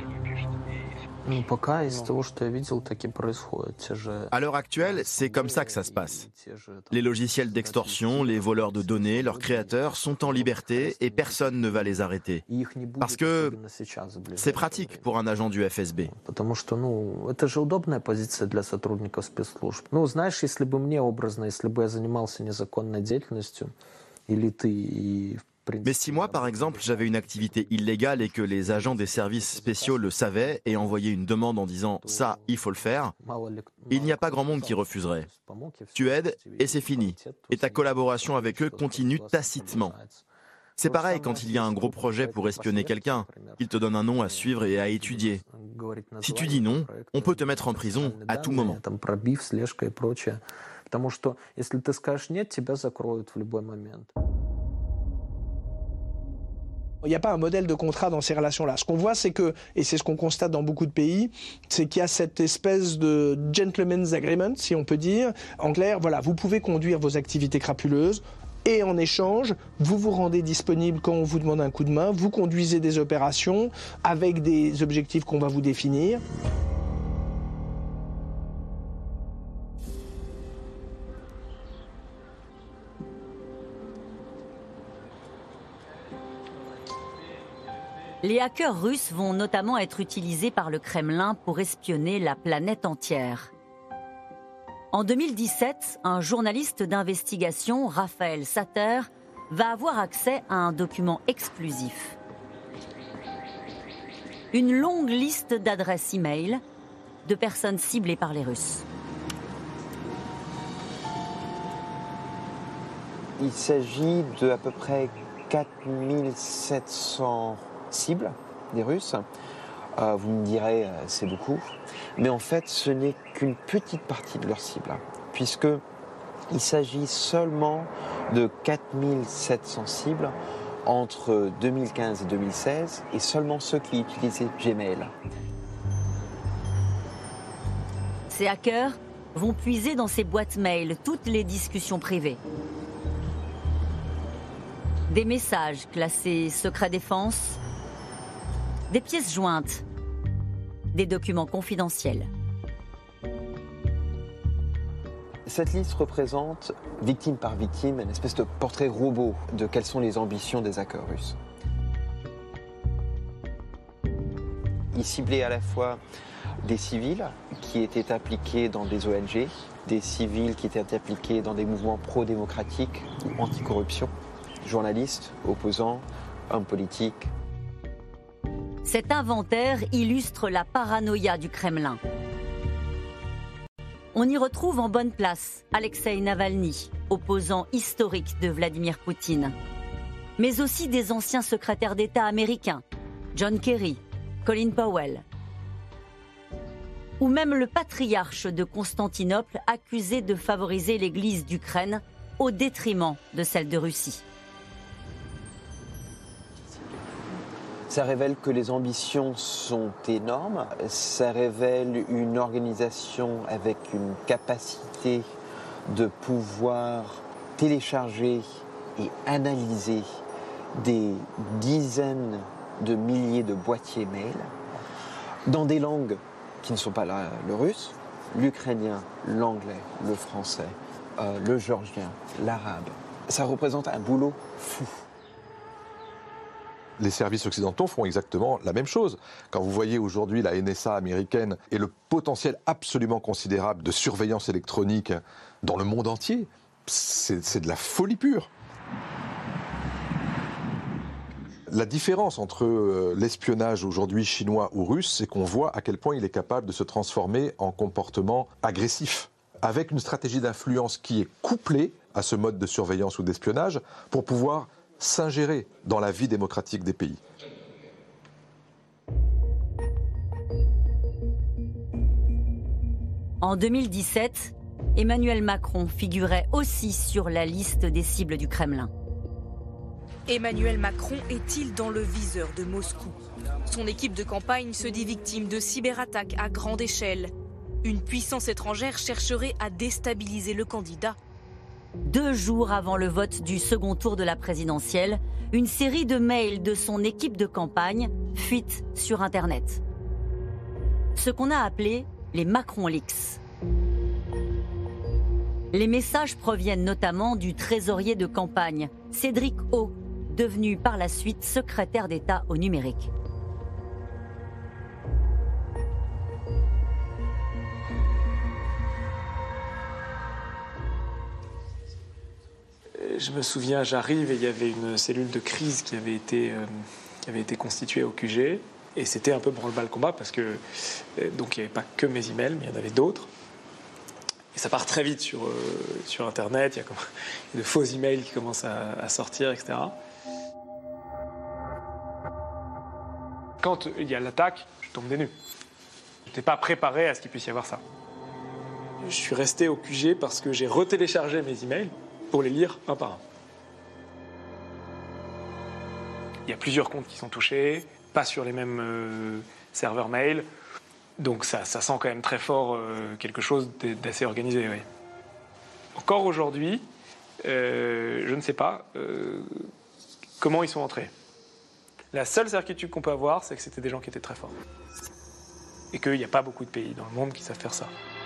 À l'heure actuelle, c'est comme ça que ça se passe. Les logiciels d'extorsion, les voleurs de données, leurs créateurs sont en liberté et personne ne va les arrêter. Parce que c'est pratique pour un agent du FSB. Mais si moi, par exemple, j'avais une activité illégale et que les agents des services spéciaux le savaient et envoyaient une demande en disant « ça, il faut le faire », il n'y a pas grand monde qui refuserait. Tu aides et c'est fini. Et ta collaboration avec eux continue tacitement. C'est pareil quand il y a un gros projet pour espionner quelqu'un. Ils te donnent un nom à suivre et à étudier. Si tu dis non, on peut te mettre en prison à tout moment. Il n'y a pas un modèle de contrat dans ces relations-là. Ce qu'on voit, c'est que, et c'est ce qu'on constate dans beaucoup de pays, c'est qu'il y a cette espèce de gentleman's agreement, si on peut dire. En clair, voilà, vous pouvez conduire vos activités crapuleuses, et en échange, vous vous rendez disponible quand on vous demande un coup de main, vous conduisez des opérations avec des objectifs qu'on va vous définir. Les hackers russes vont notamment être utilisés par le Kremlin pour espionner la planète entière. En 2017, un journaliste d'investigation, Raphaël Sater, va avoir accès à un document exclusif. Une longue liste d'adresses e-mail de personnes ciblées par les Russes. Il s'agit de à peu près 4700 cibles des Russes. Vous me direz, c'est beaucoup. Mais en fait, ce n'est qu'une petite partie de leur cible, puisqu'il s'agit seulement de 4700 cibles entre 2015 et 2016, et seulement ceux qui utilisaient Gmail. Ces hackers vont puiser dans ces boîtes mail toutes les discussions privées. Des messages classés secret défense, des pièces jointes, des documents confidentiels. Cette liste représente, victime par victime, une espèce de portrait robot de quelles sont les ambitions des hackers russes. Ils ciblaient à la fois des civils qui étaient impliqués dans des ONG, des civils qui étaient impliqués dans des mouvements pro-démocratiques ou anticorruption, journalistes, opposants, hommes politiques. Cet inventaire illustre la paranoïa du Kremlin. On y retrouve en bonne place Alexeï Navalny, opposant historique de Vladimir Poutine, mais aussi des anciens secrétaires d'État américains, John Kerry, Colin Powell, ou même le patriarche de Constantinople accusé de favoriser l'Église d'Ukraine au détriment de celle de Russie. Ça révèle que les ambitions sont énormes, ça révèle une organisation avec une capacité de pouvoir télécharger et analyser des dizaines de milliers de boîtiers mail dans des langues qui ne sont pas le russe, l'ukrainien, l'anglais, le français, le géorgien, l'arabe. Ça représente un boulot fou. Les services occidentaux font exactement la même chose. Quand vous voyez aujourd'hui la NSA américaine et le potentiel absolument considérable de surveillance électronique dans le monde entier, c'est de la folie pure. La différence entre l'espionnage aujourd'hui chinois ou russe, c'est qu'on voit à quel point il est capable de se transformer en comportement agressif, avec une stratégie d'influence qui est couplée à ce mode de surveillance ou d'espionnage pour pouvoir s'ingérer dans la vie démocratique des pays. En 2017, Emmanuel Macron figurait aussi sur la liste des cibles du Kremlin. Emmanuel Macron est-il dans le viseur de Moscou? Son équipe de campagne se dit victime de cyberattaques à grande échelle. Une puissance étrangère chercherait à déstabiliser le candidat. 2 jours avant le vote du second tour de la présidentielle, une série de mails de son équipe de campagne fuite sur Internet. Ce qu'on a appelé les Macron Leaks. Les messages proviennent notamment du trésorier de campagne, Cédric O, devenu par la suite secrétaire d'État au numérique. Je me souviens, j'arrive et il y avait une cellule de crise qui avait été constituée au QG. Et c'était un peu branle-bas-le-combat parce que donc il n'y avait pas que mes emails, mais il y en avait d'autres. Et ça part très vite sur Internet. Il y a de faux emails qui commencent à sortir, etc. Quand il y a l'attaque, je tombe des nues. Je n'étais pas préparé à ce qu'il puisse y avoir ça. Je suis resté au QG parce que j'ai retéléchargé mes emails pour les lire un par un. Il y a plusieurs comptes qui sont touchés, pas sur les mêmes serveurs mail. Donc ça sent quand même très fort quelque chose d'assez organisé. Oui. Encore aujourd'hui, je ne sais pas comment ils sont entrés. La seule certitude qu'on peut avoir, c'est que c'était des gens qui étaient très forts. Et qu'il n'y a pas beaucoup de pays dans le monde qui savent faire ça.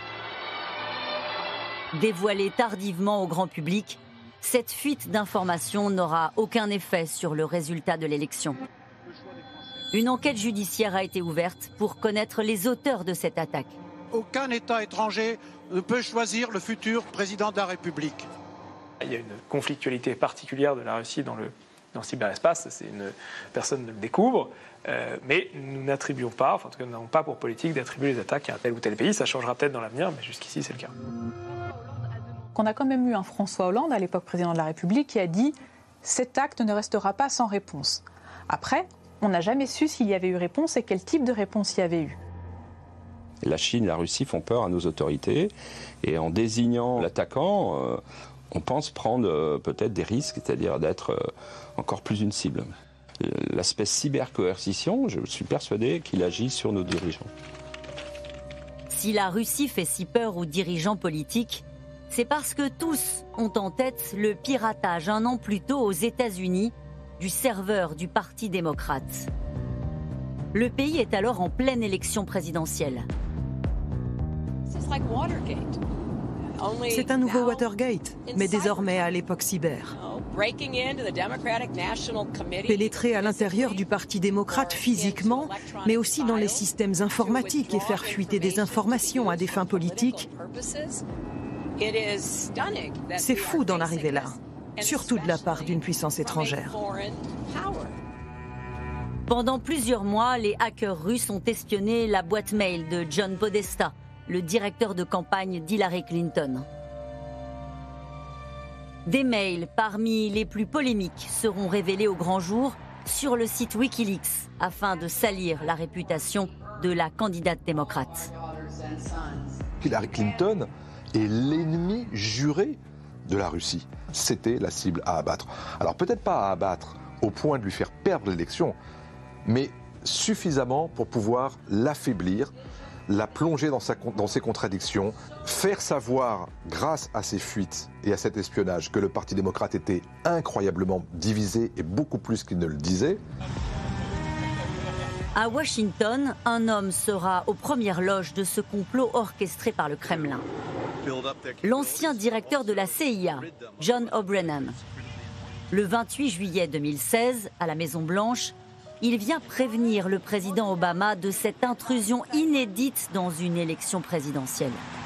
Dévoilée tardivement au grand public, cette fuite d'informations n'aura aucun effet sur le résultat de l'élection. Une enquête judiciaire a été ouverte pour connaître les auteurs de cette attaque. Aucun État étranger ne peut choisir le futur président de la République. Il y a une conflictualité particulière de la Russie dans le cyberespace, personne ne le découvre, mais nous n'attribuons pas, enfin en tout cas nous n'avons pas pour politique d'attribuer les attaques à un tel ou tel pays, ça changera peut-être dans l'avenir, mais jusqu'ici c'est le cas. On a quand même eu un François Hollande, à l'époque président de la République, qui a dit « cet acte ne restera pas sans réponse ». Après, on n'a jamais su s'il y avait eu réponse et quel type de réponse il y avait eu. La Chine, la Russie font peur à nos autorités et en désignant l'attaquant, on pense prendre peut-être des risques, c'est-à-dire d'être encore plus une cible. L'aspect cybercoercition, je suis persuadé qu'il agit sur nos dirigeants. Si la Russie fait si peur aux dirigeants politiques, c'est parce que tous ont en tête le piratage 1 an plus tôt aux États-Unis du serveur du Parti démocrate. Le pays est alors en pleine élection présidentielle. C'est un nouveau Watergate, mais désormais à l'époque cyber. Pénétrer à l'intérieur du Parti démocrate physiquement, mais aussi dans les systèmes informatiques et faire fuiter des informations à des fins politiques. C'est fou d'en arriver là, surtout de la part d'une puissance étrangère. Pendant plusieurs mois, les hackers russes ont espionné la boîte mail de John Podesta, le directeur de campagne d'Hillary Clinton. Des mails parmi les plus polémiques seront révélés au grand jour sur le site Wikileaks afin de salir la réputation de la candidate démocrate. Hillary Clinton est l'ennemi juré de la Russie. C'était la cible à abattre. Alors peut-être pas à abattre au point de lui faire perdre l'élection, mais suffisamment pour pouvoir l'affaiblir, la plonger dans ses contradictions, faire savoir, grâce à ces fuites et à cet espionnage, que le Parti démocrate était incroyablement divisé et beaucoup plus qu'il ne le disait. À Washington, un homme sera aux premières loges de ce complot orchestré par le Kremlin. L'ancien directeur de la CIA, John O'Brien. Le 28 juillet 2016, à la Maison-Blanche, il vient prévenir le président Obama de cette intrusion inédite dans une élection présidentielle.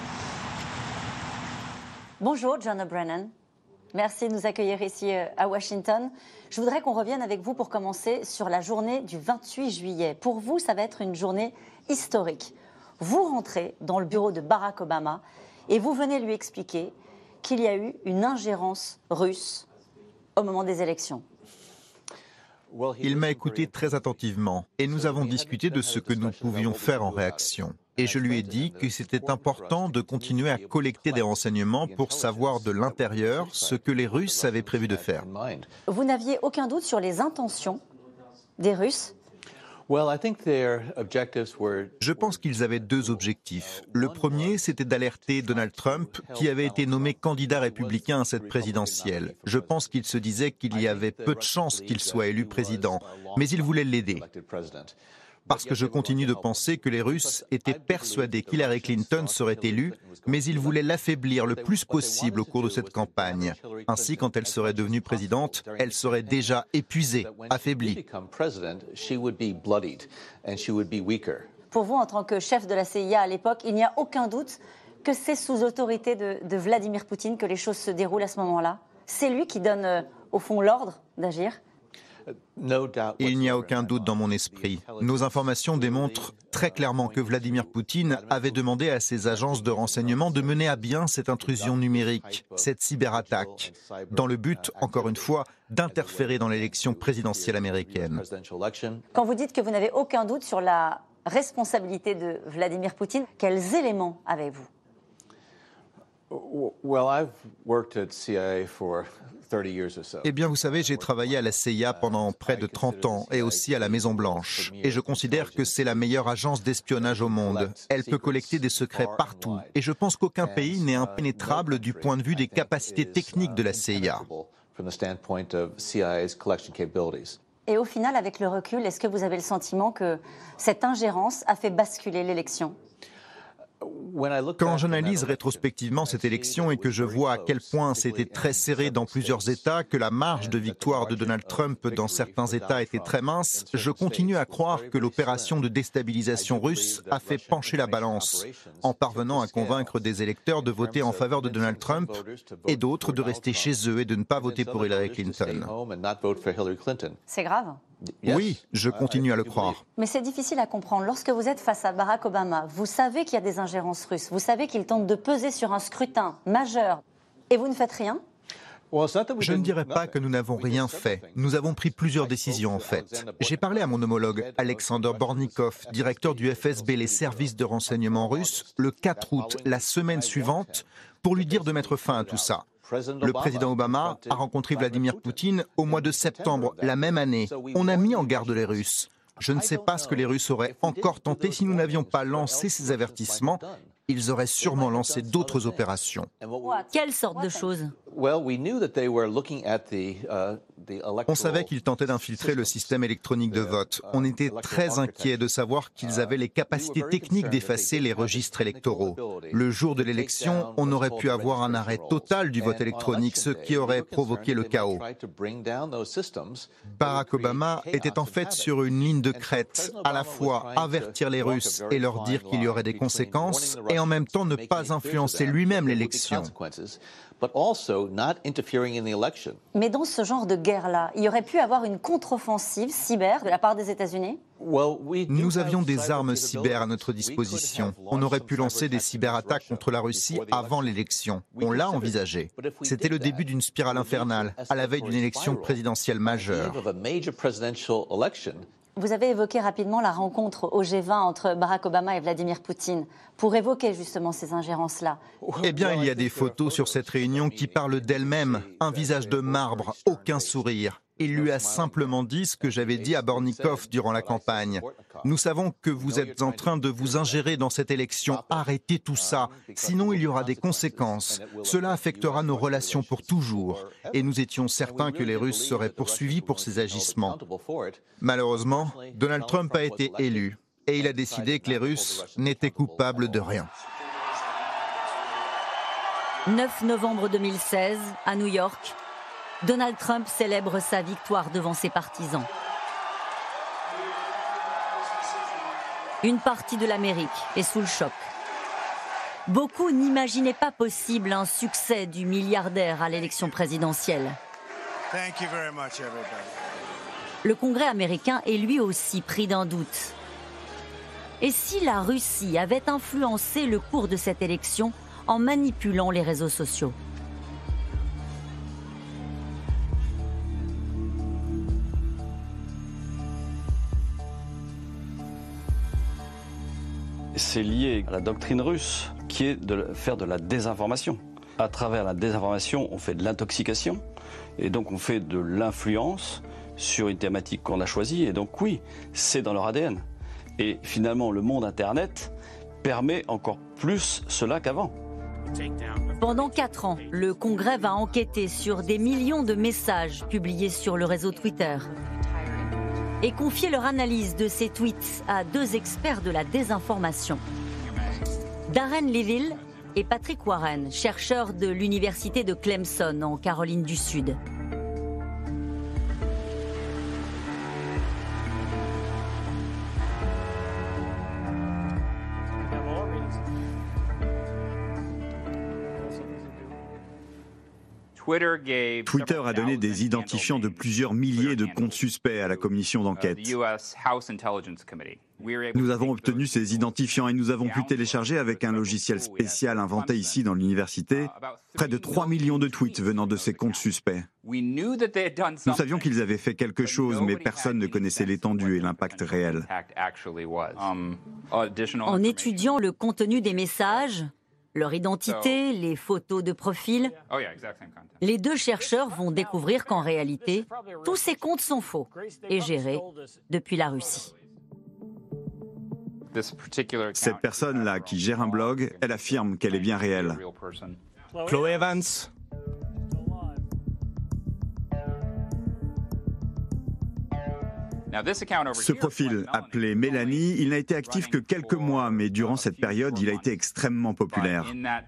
Bonjour, John O'Brien. Merci de nous accueillir ici à Washington. Je voudrais qu'on revienne avec vous pour commencer sur la journée du 28 juillet. Pour vous, ça va être une journée historique. Vous rentrez dans le bureau de Barack Obama et vous venez lui expliquer qu'il y a eu une ingérence russe au moment des élections. Il m'a écouté très attentivement et nous avons discuté de ce que nous pouvions faire en réaction. Et je lui ai dit que c'était important de continuer à collecter des renseignements pour savoir de l'intérieur ce que les Russes avaient prévu de faire. Vous n'aviez aucun doute sur les intentions des Russes ? Je pense qu'ils avaient deux objectifs. Le premier, c'était d'alerter Donald Trump, qui avait été nommé candidat républicain à cette présidentielle. Je pense qu'ils se disaient qu'il y avait peu de chances qu'il soit élu président, mais ils voulaient l'aider. Parce que je continue de penser que les Russes étaient persuadés qu'Hillary Clinton serait élue, mais ils voulaient l'affaiblir le plus possible au cours de cette campagne. Ainsi, quand elle serait devenue présidente, elle serait déjà épuisée, affaiblie. Pour vous, en tant que chef de la CIA à l'époque, il n'y a aucun doute que c'est sous autorité de Vladimir Poutine que les choses se déroulent à ce moment-là. C'est lui qui donne, au fond, l'ordre d'agir. Il n'y a aucun doute dans mon esprit. Nos informations démontrent très clairement que Vladimir Poutine avait demandé à ses agences de renseignement de mener à bien cette intrusion numérique, cette cyberattaque, dans le but, encore une fois, d'interférer dans l'élection présidentielle américaine. Quand vous dites que vous n'avez aucun doute sur la responsabilité de Vladimir Poutine, quels éléments avez-vous ? Eh bien, vous savez, j'ai travaillé à la CIA pendant près de 30 ans et aussi à la Maison-Blanche. Et je considère que c'est la meilleure agence d'espionnage au monde. Elle peut collecter des secrets partout. Et je pense qu'aucun pays n'est impénétrable du point de vue des capacités techniques de la CIA. Et au final, avec le recul, est-ce que vous avez le sentiment que cette ingérence a fait basculer l'élection ? Quand j'analyse rétrospectivement cette élection et que je vois à quel point c'était très serré dans plusieurs États, que la marge de victoire de Donald Trump dans certains États était très mince, je continue à croire que l'opération de déstabilisation russe a fait pencher la balance, en parvenant à convaincre des électeurs de voter en faveur de Donald Trump et d'autres de rester chez eux et de ne pas voter pour Hillary Clinton. C'est grave ? Oui, je continue à le croire. Mais c'est difficile à comprendre. Lorsque vous êtes face à Barack Obama, vous savez qu'il y a des ingérences russes, vous savez qu'il tente de peser sur un scrutin majeur, et vous ne faites rien ? Je ne dirais pas que nous n'avons rien fait. Nous avons pris plusieurs décisions en fait. J'ai parlé à mon homologue Alexander Bornikov, directeur du FSB, les services de renseignement russes, le 4 août, la semaine suivante, pour lui dire de mettre fin à tout ça. Le président Obama a rencontré Vladimir Poutine au mois de septembre la même année. On a mis en garde les Russes. Je ne sais pas ce que les Russes auraient encore tenté si nous n'avions pas lancé ces avertissements. Ils auraient sûrement lancé d'autres opérations. Quelle sorte de choses ? On savait qu'ils tentaient d'infiltrer le système électronique de vote. On était très inquiets de savoir qu'ils avaient les capacités techniques d'effacer les registres électoraux. Le jour de l'élection, on aurait pu avoir un arrêt total du vote électronique, ce qui aurait provoqué le chaos. Barack Obama était en fait sur une ligne de crête, à la fois avertir les Russes et leur dire qu'il y aurait des conséquences, et en même temps ne pas influencer lui-même l'élection. Mais dans ce genre de guerre-là, il y aurait pu avoir une contre-offensive cyber de la part des États-Unis ? Nous avions des armes cyber à notre disposition. On aurait pu lancer des cyberattaques contre la Russie avant l'élection. On l'a envisagé. C'était le début d'une spirale infernale, à la veille d'une élection présidentielle majeure. Vous avez évoqué rapidement la rencontre au G20 entre Barack Obama et Vladimir Poutine pour évoquer justement ces ingérences-là. Eh bien, il y a des photos sur cette réunion qui parlent d'elle-même. Un visage de marbre, aucun sourire. Il lui a simplement dit ce que j'avais dit à Bornikov durant la campagne. Nous savons que vous êtes en train de vous ingérer dans cette élection. Arrêtez tout ça, sinon il y aura des conséquences. Cela affectera nos relations pour toujours. Et nous étions certains que les Russes seraient poursuivis pour ces agissements. Malheureusement, Donald Trump a été élu et il a décidé que les Russes n'étaient coupables de rien. 9 novembre 2016, à New York, Donald Trump célèbre sa victoire devant ses partisans. Une partie de l'Amérique est sous le choc. Beaucoup n'imaginaient pas possible un succès du milliardaire à l'élection présidentielle. Le Congrès américain est lui aussi pris d'un doute. Et si la Russie avait influencé le cours de cette élection en manipulant les réseaux sociaux ? C'est lié à la doctrine russe qui est de faire de la désinformation. À travers la désinformation, on fait de l'intoxication et donc on fait de l'influence sur une thématique qu'on a choisie. Et donc oui, c'est dans leur ADN. Et finalement, le monde Internet permet encore plus cela qu'avant. Pendant 4 ans, le Congrès va enquêter sur des millions de messages publiés sur le réseau Twitter et confier leur analyse de ces tweets à 2 experts de la désinformation. Darren Leville et Patrick Warren, chercheurs de l'université de Clemson en Caroline du Sud. Twitter a donné des identifiants de plusieurs milliers de comptes suspects à la commission d'enquête. Nous avons obtenu ces identifiants et nous avons pu télécharger avec un logiciel spécial inventé ici dans l'université près de 3 millions de tweets venant de ces comptes suspects. Nous savions qu'ils avaient fait quelque chose, mais personne ne connaissait l'étendue et l'impact réel. En étudiant le contenu des messages, Leur identité, les photos de profil. Les deux chercheurs vont découvrir qu'en réalité, tous ces comptes sont faux et gérés depuis la Russie. Cette personne-là qui gère un blog, elle affirme qu'elle est bien réelle. Chloé Evans. Ce profil, appelé Mélanie, il n'a été actif que quelques mois, mais durant cette période, il a été extrêmement populaire.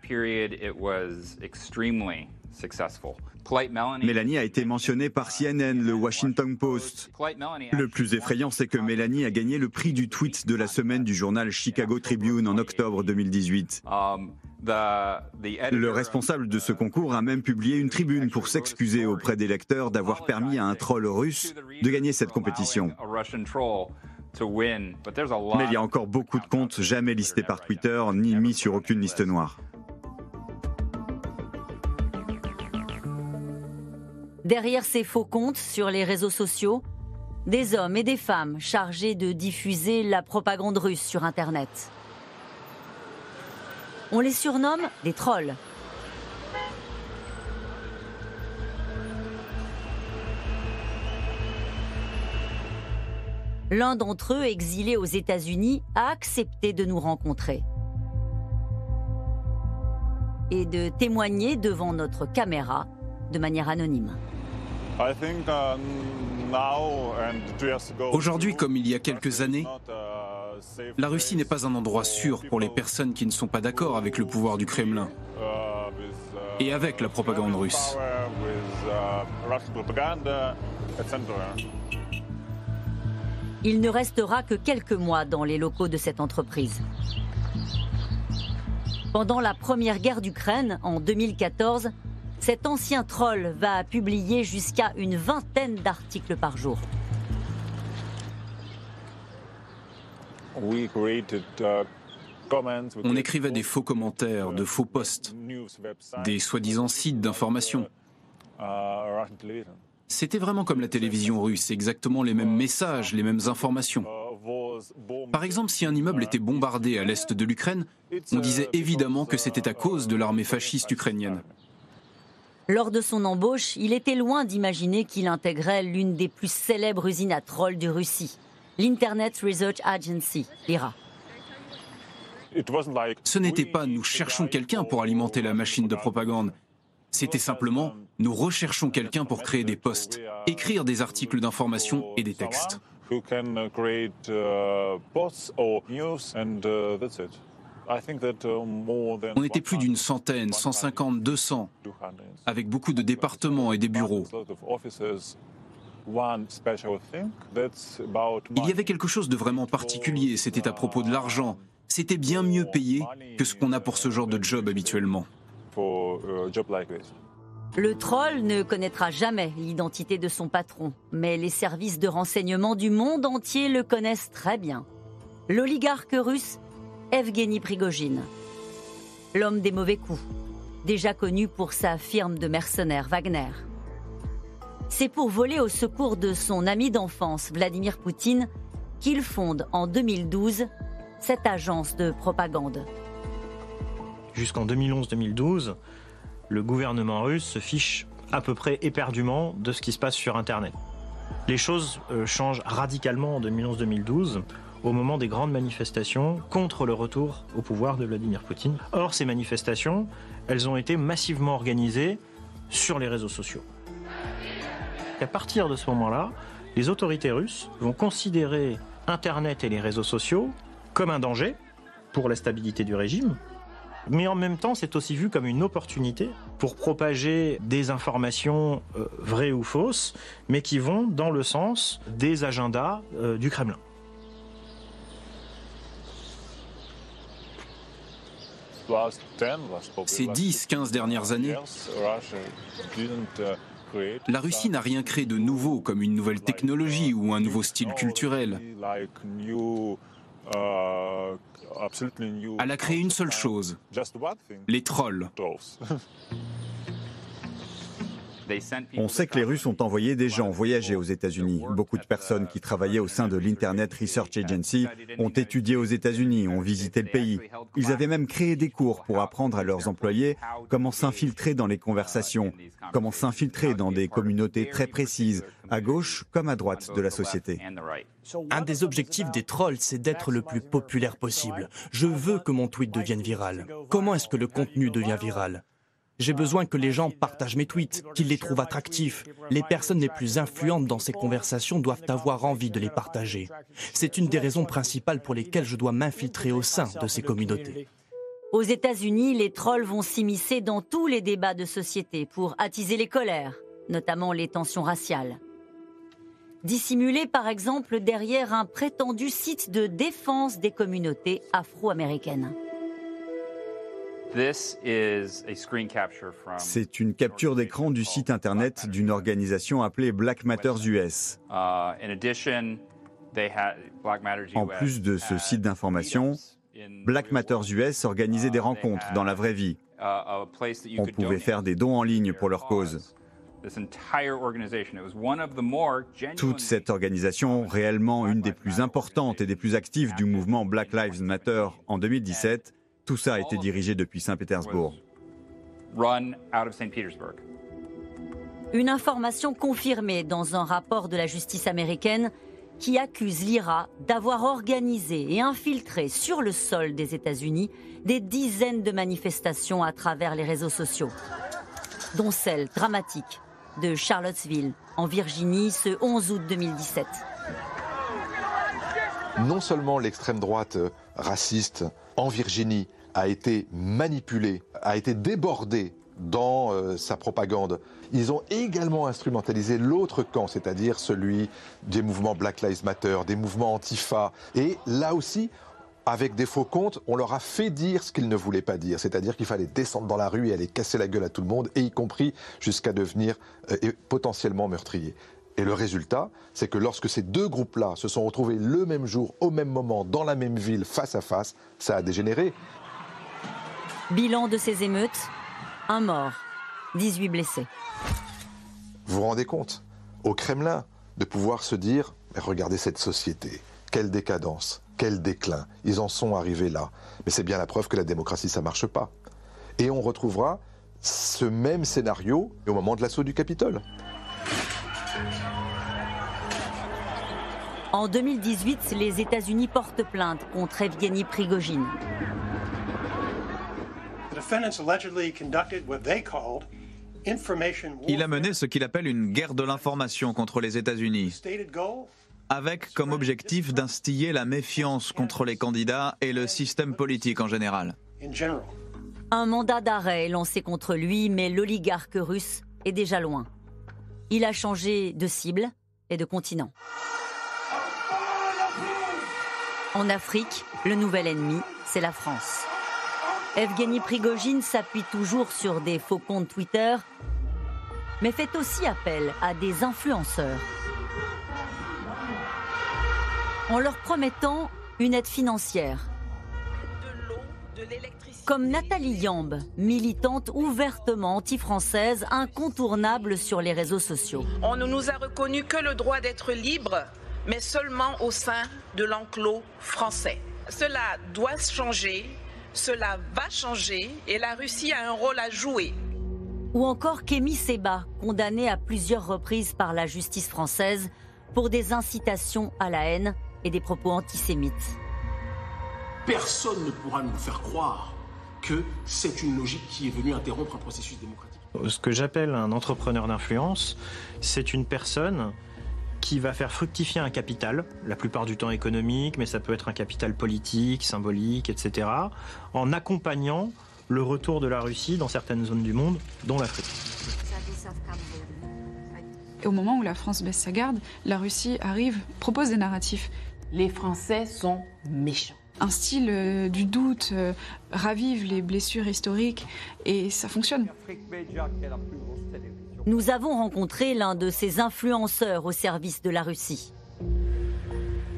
Mélanie a été mentionnée par CNN, le Washington Post. Le plus effrayant, c'est que Mélanie a gagné le prix du tweet de la semaine du journal Chicago Tribune en octobre 2018. Le responsable de ce concours a même publié une tribune pour s'excuser auprès des lecteurs d'avoir permis à un troll russe de gagner cette compétition. Mais il y a encore beaucoup de comptes jamais listés par Twitter, ni mis sur aucune liste noire. Derrière ces faux comptes sur les réseaux sociaux, des hommes et des femmes chargés de diffuser la propagande russe sur Internet. On les surnomme des trolls. L'un d'entre eux, exilé aux États-Unis, a accepté de nous rencontrer et de témoigner devant notre caméra de manière anonyme. Aujourd'hui, comme il y a quelques années, la Russie n'est pas un endroit sûr pour les personnes qui ne sont pas d'accord avec le pouvoir du Kremlin et avec la propagande russe. Il ne restera que quelques mois dans les locaux de cette entreprise. Pendant la première guerre d'Ukraine, en 2014, cet ancien troll va publier jusqu'à une vingtaine d'articles par jour. On écrivait des faux commentaires, de faux posts, des soi-disant sites d'information. C'était vraiment comme la télévision russe, exactement les mêmes messages, les mêmes informations. Par exemple, si un immeuble était bombardé à l'est de l'Ukraine, on disait évidemment que c'était à cause de l'armée fasciste ukrainienne. Lors de son embauche, il était loin d'imaginer qu'il intégrait l'une des plus célèbres usines à trolls de Russie, l'Internet Research Agency, l'IRA. Ce n'était pas « nous cherchons quelqu'un pour alimenter la machine de propagande ». C'était simplement « nous recherchons quelqu'un pour créer des posts, écrire des articles d'information et des textes ». On était plus d'une centaine, 150, 200, avec beaucoup de départements et des bureaux. Il y avait quelque chose de vraiment particulier, c'était à propos de l'argent. C'était bien mieux payé que ce qu'on a pour ce genre de job habituellement. Le troll ne connaîtra jamais l'identité de son patron, mais les services de renseignement du monde entier le connaissent très bien. L'oligarque russe Evgeny Prigojine, l'homme des mauvais coups, déjà connu pour sa firme de mercenaires Wagner. C'est pour voler au secours de son ami d'enfance Vladimir Poutine qu'il fonde en 2012 cette agence de propagande. Jusqu'en 2011-2012, le gouvernement russe se fiche à peu près éperdument de ce qui se passe sur Internet. Les choses changent radicalement en 2011-2012. Au moment des grandes manifestations contre le retour au pouvoir de Vladimir Poutine. Or, ces manifestations, elles ont été massivement organisées sur les réseaux sociaux. Et à partir de ce moment-là, les autorités russes vont considérer Internet et les réseaux sociaux comme un danger pour la stabilité du régime, mais en même temps, c'est aussi vu comme une opportunité pour propager des informations vraies ou fausses, mais qui vont dans le sens des agendas du Kremlin. Ces 10-15 dernières années, la Russie n'a rien créé de nouveau, comme une nouvelle technologie ou un nouveau style culturel. Elle a créé une seule chose, les trolls. On sait que les Russes ont envoyé des gens voyager aux États-Unis. Beaucoup de personnes qui travaillaient au sein de l'Internet Research Agency ont étudié aux États-Unis, ont visité le pays. Ils avaient même créé des cours pour apprendre à leurs employés comment s'infiltrer dans les conversations, comment s'infiltrer dans des communautés très précises, à gauche comme à droite de la société. Un des objectifs des trolls, c'est d'être le plus populaire possible. Je veux que mon tweet devienne viral. Comment est-ce que le contenu devient viral ? J'ai besoin que les gens partagent mes tweets, qu'ils les trouvent attractifs. Les personnes les plus influentes dans ces conversations doivent avoir envie de les partager. C'est une des raisons principales pour lesquelles je dois m'infiltrer au sein de ces communautés. Aux États-Unis, les trolls vont s'immiscer dans tous les débats de société pour attiser les colères, notamment les tensions raciales. Dissimulés par exemple derrière un prétendu site de défense des communautés afro-américaines. C'est une capture d'écran du site internet d'une organisation appelée Black Matters US. En plus de ce site d'information, Black Matters US organisait des rencontres dans la vraie vie. On pouvait faire des dons en ligne pour leur cause. Toute cette organisation, réellement une des plus importantes et des plus actives du mouvement Black Lives Matter en 2017, tout ça a été dirigé depuis Saint-Pétersbourg. Une information confirmée dans un rapport de la justice américaine qui accuse l'IRA d'avoir organisé et infiltré sur le sol des États-Unis des dizaines de manifestations à travers les réseaux sociaux, dont celle dramatique de Charlottesville, en Virginie, ce 11 août 2017. Non seulement l'extrême droite raciste en Virginie a été manipulée, a été débordée dans sa propagande, ils ont également instrumentalisé l'autre camp, c'est-à-dire celui des mouvements Black Lives Matter, des mouvements Antifa. Et là aussi, avec des faux comptes, on leur a fait dire ce qu'ils ne voulaient pas dire, c'est-à-dire qu'il fallait descendre dans la rue et aller casser la gueule à tout le monde, et y compris jusqu'à devenir potentiellement meurtriers. Et le résultat, c'est que lorsque ces deux groupes-là se sont retrouvés le même jour, au même moment, dans la même ville, face à face, ça a dégénéré. Bilan de ces émeutes, 1 mort, 18 blessés. Vous vous rendez compte, au Kremlin, de pouvoir se dire « Regardez cette société, quelle décadence, quel déclin, ils en sont arrivés là. » Mais c'est bien la preuve que la démocratie, ça ne marche pas. Et on retrouvera ce même scénario au moment de l'assaut du Capitole. En 2018, les États-Unis portent plainte contre Evgeny Prigojine. Il a mené ce qu'il appelle une guerre de l'information contre les États-Unis, avec comme objectif d'instiller la méfiance contre les candidats et le système politique en général. Un mandat d'arrêt est lancé contre lui, mais l'oligarque russe est déjà loin. Il a changé de cible et de continent. En Afrique, le nouvel ennemi, c'est la France. Evgeny Prigojine s'appuie toujours sur des faux comptes Twitter, mais fait aussi appel à des influenceurs. En leur promettant une aide financière. Comme Nathalie Yamb, militante ouvertement anti-française, incontournable sur les réseaux sociaux. On ne nous a reconnu que le droit d'être libre, mais seulement au sein de l'enclos français. Cela doit changer, cela va changer et la Russie a un rôle à jouer. Ou encore Kémy Séba, condamné à plusieurs reprises par la justice française pour des incitations à la haine et des propos antisémites. Personne ne pourra nous faire croire que c'est une logique qui est venue interrompre un processus démocratique. Ce que j'appelle un entrepreneur d'influence, c'est une personne qui va faire fructifier un capital, la plupart du temps économique, mais ça peut être un capital politique, symbolique, etc., en accompagnant le retour de la Russie dans certaines zones du monde, dont l'Afrique. Et au moment où la France baisse sa garde, la Russie arrive, propose des narratifs. Les Français sont méchants. Un style du doute ravive les blessures historiques et ça fonctionne. Nous avons rencontré l'un de ces influenceurs au service de la Russie.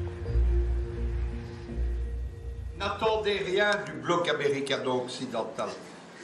N'attendez rien du bloc américano-occidental.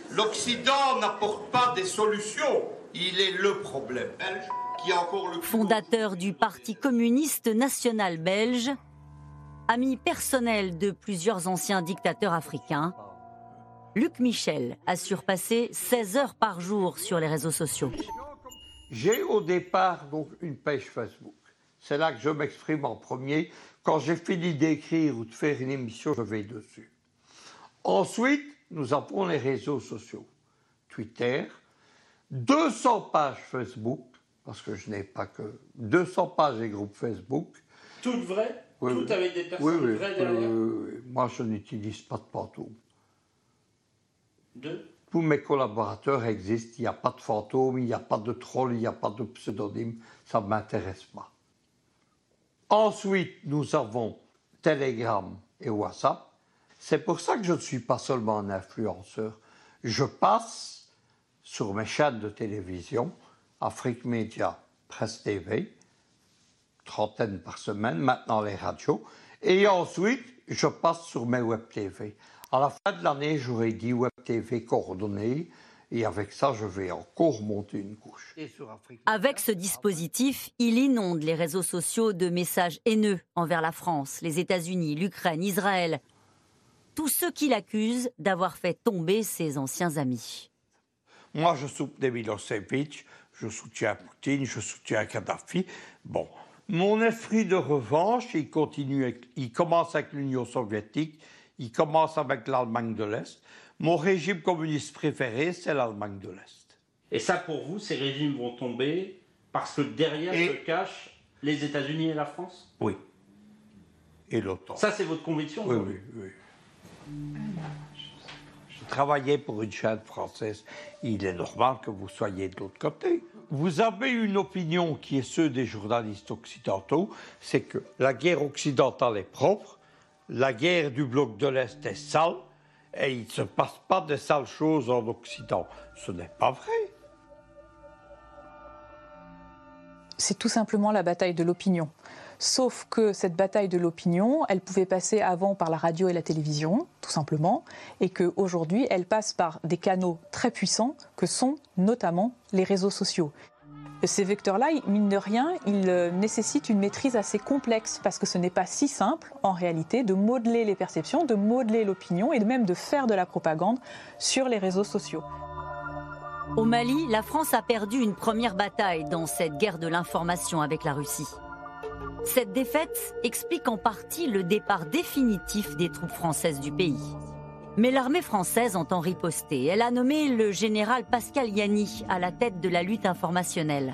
L'Occident n'apporte pas des solutions. Il est le problème belge qui a encore le... Fondateur du Parti communiste national belge, ami personnel de plusieurs anciens dictateurs africains, Luc Michel a surpassé 16 heures par jour sur les réseaux sociaux. J'ai au départ donc une page Facebook. C'est là que je m'exprime en premier. Quand j'ai fini d'écrire ou de faire une émission, je vais dessus. Ensuite, nous avons les réseaux sociaux. Twitter, 200 pages Facebook, parce que je n'ai pas que 200 pages et groupes Facebook. Toutes vraies? Oui, toutes oui. avec des personnes vraies derrière? Moi, je n'utilise pas de fantômes. Deux? Tous mes collaborateurs existent, il n'y a pas de fantômes, il n'y a pas de trolls, il n'y a pas de pseudonymes, ça ne m'intéresse pas. Ensuite, nous avons Telegram et WhatsApp. C'est pour ça que je ne suis pas seulement un influenceur. Je passe sur mes chaînes de télévision, Afrique Média, Presse TV, 30 par semaine, maintenant les radios. Et ensuite, je passe sur mes web TV. À la fin de l'année, j'aurai 10 web TV coordonnées. Et avec ça, je vais encore monter une couche. Avec ce dispositif, il inonde les réseaux sociaux de messages haineux envers la France, les États-Unis, l'Ukraine, Israël. Tous ceux qui l'accusent d'avoir fait tomber ses anciens amis. Moi, je soutiens Milosevic, je soutiens Poutine, je soutiens Kadhafi. Bon, mon esprit de revanche, il commence avec l'Union soviétique, il commence avec l'Allemagne de l'Est. Mon régime communiste préféré, c'est l'Allemagne de l'Est. Et ça, pour vous, ces régimes vont tomber parce que derrière se cachent les États-Unis et la France? Oui. Et l'OTAN. Ça, c'est votre conviction? Oui, oui, oui. Je travaillais pour une chaîne française. Il est normal que vous soyez de l'autre côté. Vous avez une opinion qui est ceux des journalistes occidentaux, c'est que la guerre occidentale est propre, la guerre du bloc de l'Est est sale, et il ne se passe pas de sales choses en Occident. Ce n'est pas vrai. C'est tout simplement la bataille de l'opinion. Sauf que cette bataille de l'opinion, elle pouvait passer avant par la radio et la télévision, tout simplement, et qu'aujourd'hui, elle passe par des canaux très puissants que sont notamment les réseaux sociaux. Ces vecteurs-là, mine de rien, ils nécessitent une maîtrise assez complexe parce que ce n'est pas si simple, en réalité, de modeler les perceptions, de modeler l'opinion et même de faire de la propagande sur les réseaux sociaux. Au Mali, la France a perdu une première bataille dans cette guerre de l'information avec la Russie. Cette défaite explique en partie le départ définitif des troupes françaises du pays. Mais l'armée française entend riposter. Elle a nommé le général Pascal Yanny à la tête de la lutte informationnelle.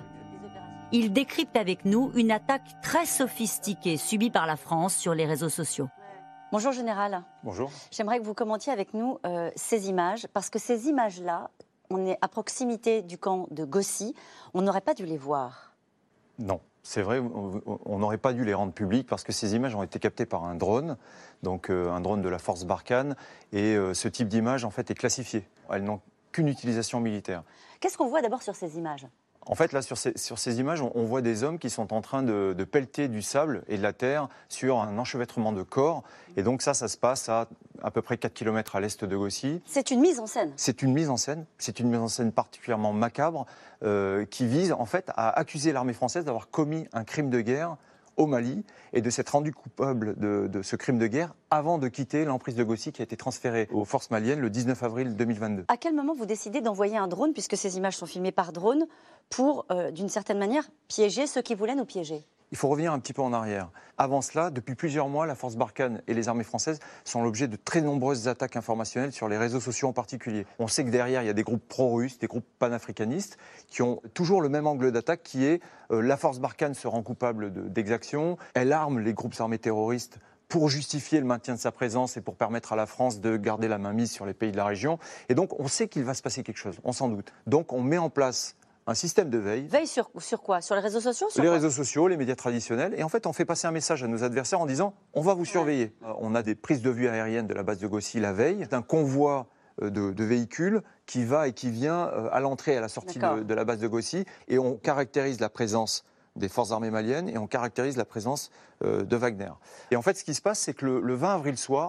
Il décrypte avec nous une attaque très sophistiquée subie par la France sur les réseaux sociaux. Bonjour général. Bonjour. J'aimerais que vous commentiez avec nous ces images, parce que ces images-là, on est à proximité du camp de Gossi, on n'aurait pas dû les voir. Non. C'est vrai, on n'aurait pas dû les rendre publiques parce que ces images ont été captées par un drone, donc un drone de la force Barkhane, et ce type d'image en fait est classifié. Elles n'ont qu'une utilisation militaire. Qu'est-ce qu'on voit d'abord sur ces images ? En fait, là, sur ces images, on voit des hommes qui sont en train de pelleter du sable et de la terre sur un enchevêtrement de corps. Et donc ça se passe à peu près 4 km à l'est de Gossi. C'est une mise en scène. C'est une mise en scène. C'est une mise en scène particulièrement macabre qui vise en fait à accuser l'armée française d'avoir commis un crime de guerre au Mali et de s'être rendu coupable de ce crime de guerre avant de quitter l'emprise de Gossi qui a été transférée aux forces maliennes le 19 avril 2022. À quel moment vous décidez d'envoyer un drone, puisque ces images sont filmées par drone, pour, d'une certaine manière, piéger ceux qui voulaient nous piéger ? Il faut revenir un petit peu en arrière. Avant cela, depuis plusieurs mois, la force Barkhane et les armées françaises sont l'objet de très nombreuses attaques informationnelles sur les réseaux sociaux en particulier. On sait que derrière, il y a des groupes pro-russes, des groupes panafricanistes, qui ont toujours le même angle d'attaque qui est la force Barkhane se rend coupable d'exactions, elle arme les groupes armés terroristes pour justifier le maintien de sa présence et pour permettre à la France de garder la mainmise sur les pays de la région. Et donc, on sait qu'il va se passer quelque chose, on s'en doute. Donc, on met en place un système de veille. Veille sur quoi ? Sur les réseaux sociaux ? Les réseaux sociaux, les médias traditionnels. Et en fait, on fait passer un message à nos adversaires en disant « on va vous surveiller ». On a des prises de vue aériennes de la base de Gossi la veille. C'est un convoi de véhicules qui va et qui vient à l'entrée et à la sortie de la base de Gossi. Et on caractérise la présence des forces armées maliennes et on caractérise la présence de Wagner. Et en fait, ce qui se passe, c'est que le 20 avril soir,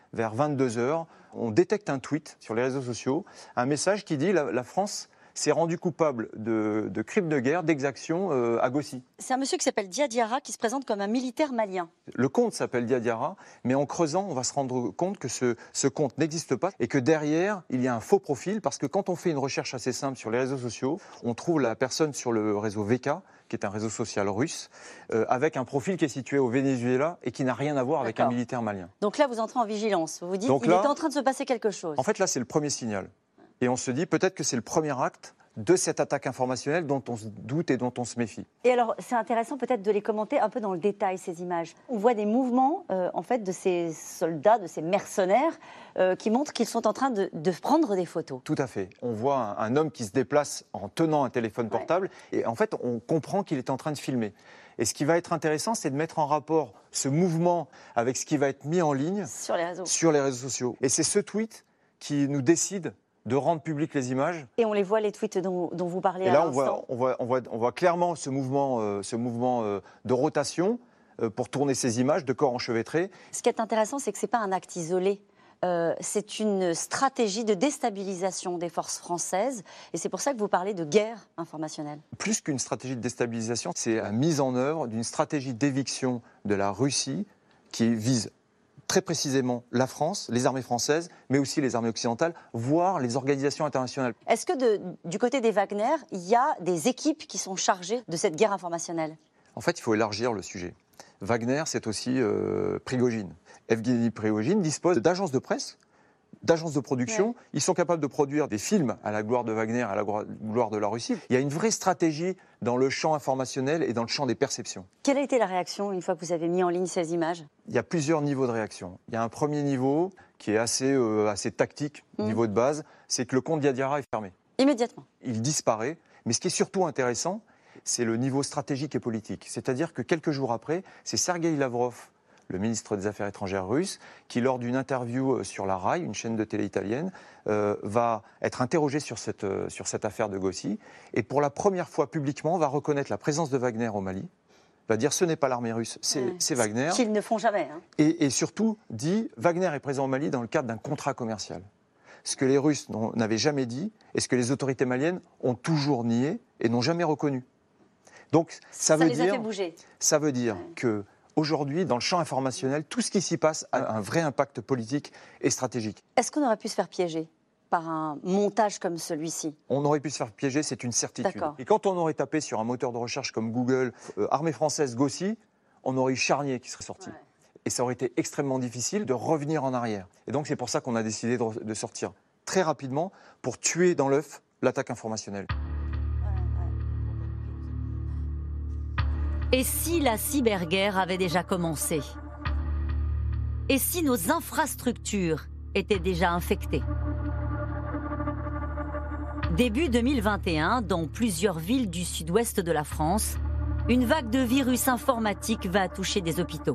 vers 22h, on détecte un tweet sur les réseaux sociaux, un message qui dit la France s'est rendue coupable de crimes de guerre, d'exactions à Gossi. C'est un monsieur qui s'appelle Dia Diarra qui se présente comme un militaire malien. Le compte s'appelle Dia Diarra, mais en creusant, on va se rendre compte que ce compte n'existe pas et que derrière, il y a un faux profil, parce que quand on fait une recherche assez simple sur les réseaux sociaux, on trouve la personne sur le réseau VK, qui est un réseau social russe, avec un profil qui est situé au Venezuela et qui n'a rien à voir avec un militaire malien. Donc là, vous entrez en vigilance. Vous vous dites qu'il est en train de se passer quelque chose. En fait, là, c'est le premier signal. Et on se dit peut-être que c'est le premier acte de cette attaque informationnelle dont on se doute et dont on se méfie. Et alors, c'est intéressant peut-être de les commenter un peu dans le détail, ces images. On voit des mouvements, en fait, de ces soldats, de ces mercenaires, qui montrent qu'ils sont en train de prendre des photos. Tout à fait. On voit un homme qui se déplace en tenant un téléphone portable, et en fait, on comprend qu'il est en train de filmer. Et ce qui va être intéressant, c'est de mettre en rapport ce mouvement avec ce qui va être mis en ligne sur les réseaux sociaux. Et c'est ce tweet qui nous décide de rendre publiques les images. Et on les voit, les tweets dont vous parlez à l'instant. Et là, on voit clairement ce mouvement de rotation pour tourner ces images de corps enchevêtrés. Ce qui est intéressant, c'est que ce n'est pas un acte isolé. C'est une stratégie de déstabilisation des forces françaises. Et c'est pour ça que vous parlez de guerre informationnelle. Plus qu'une stratégie de déstabilisation, c'est la mise en œuvre d'une stratégie d'éviction de la Russie qui vise très précisément la France, les armées françaises, mais aussi les armées occidentales, voire les organisations internationales. Est-ce que du côté des Wagner, il y a des équipes qui sont chargées de cette guerre informationnelle ? En fait, il faut élargir le sujet. Wagner, c'est aussi Prigojine. Evgeny Prigojine dispose d'agences de presse, d'agences de production. Ouais. Ils sont capables de produire des films à la gloire de Wagner, à la gloire de la Russie. Il y a une vraie stratégie dans le champ informationnel et dans le champ des perceptions. Quelle a été la réaction une fois que vous avez mis en ligne ces images ? Il y a plusieurs niveaux de réaction. Il y a un premier niveau qui est assez tactique, niveau de base, c'est que le compte Dia Diarra est fermé. Immédiatement. Il disparaît. Mais ce qui est surtout intéressant, c'est le niveau stratégique et politique. C'est-à-dire que quelques jours après, c'est Sergueï Lavrov, le ministre des Affaires étrangères russe, qui, lors d'une interview sur la RAI, une chaîne de télé italienne, va être interrogé sur cette affaire de Gossi, et pour la première fois publiquement, va reconnaître la présence de Wagner au Mali, va dire ce n'est pas l'armée russe, c'est Wagner. Qu'ils ne font jamais. Hein. Et surtout dit, Wagner est présent au Mali dans le cadre d'un contrat commercial. Ce que les Russes n'avaient jamais dit, et ce que les autorités maliennes ont toujours nié et n'ont jamais reconnu. Donc ça veut les a fait bouger. Ça veut dire que aujourd'hui, dans le champ informationnel, tout ce qui s'y passe a un vrai impact politique et stratégique. Est-ce qu'on aurait pu se faire piéger par un montage comme celui-ci ? On aurait pu se faire piéger, c'est une certitude. Et quand on aurait tapé sur un moteur de recherche comme Google, armée française Gossi, on aurait eu Charnier qui serait sorti. Ouais. Et ça aurait été extrêmement difficile de revenir en arrière. Et donc c'est pour ça qu'on a décidé de sortir très rapidement pour tuer dans l'œuf l'attaque informationnelle. Et si la cyberguerre avait déjà commencé ? Et si nos infrastructures étaient déjà infectées ? Début 2021, dans plusieurs villes du sud-ouest de la France, une vague de virus informatique va toucher des hôpitaux.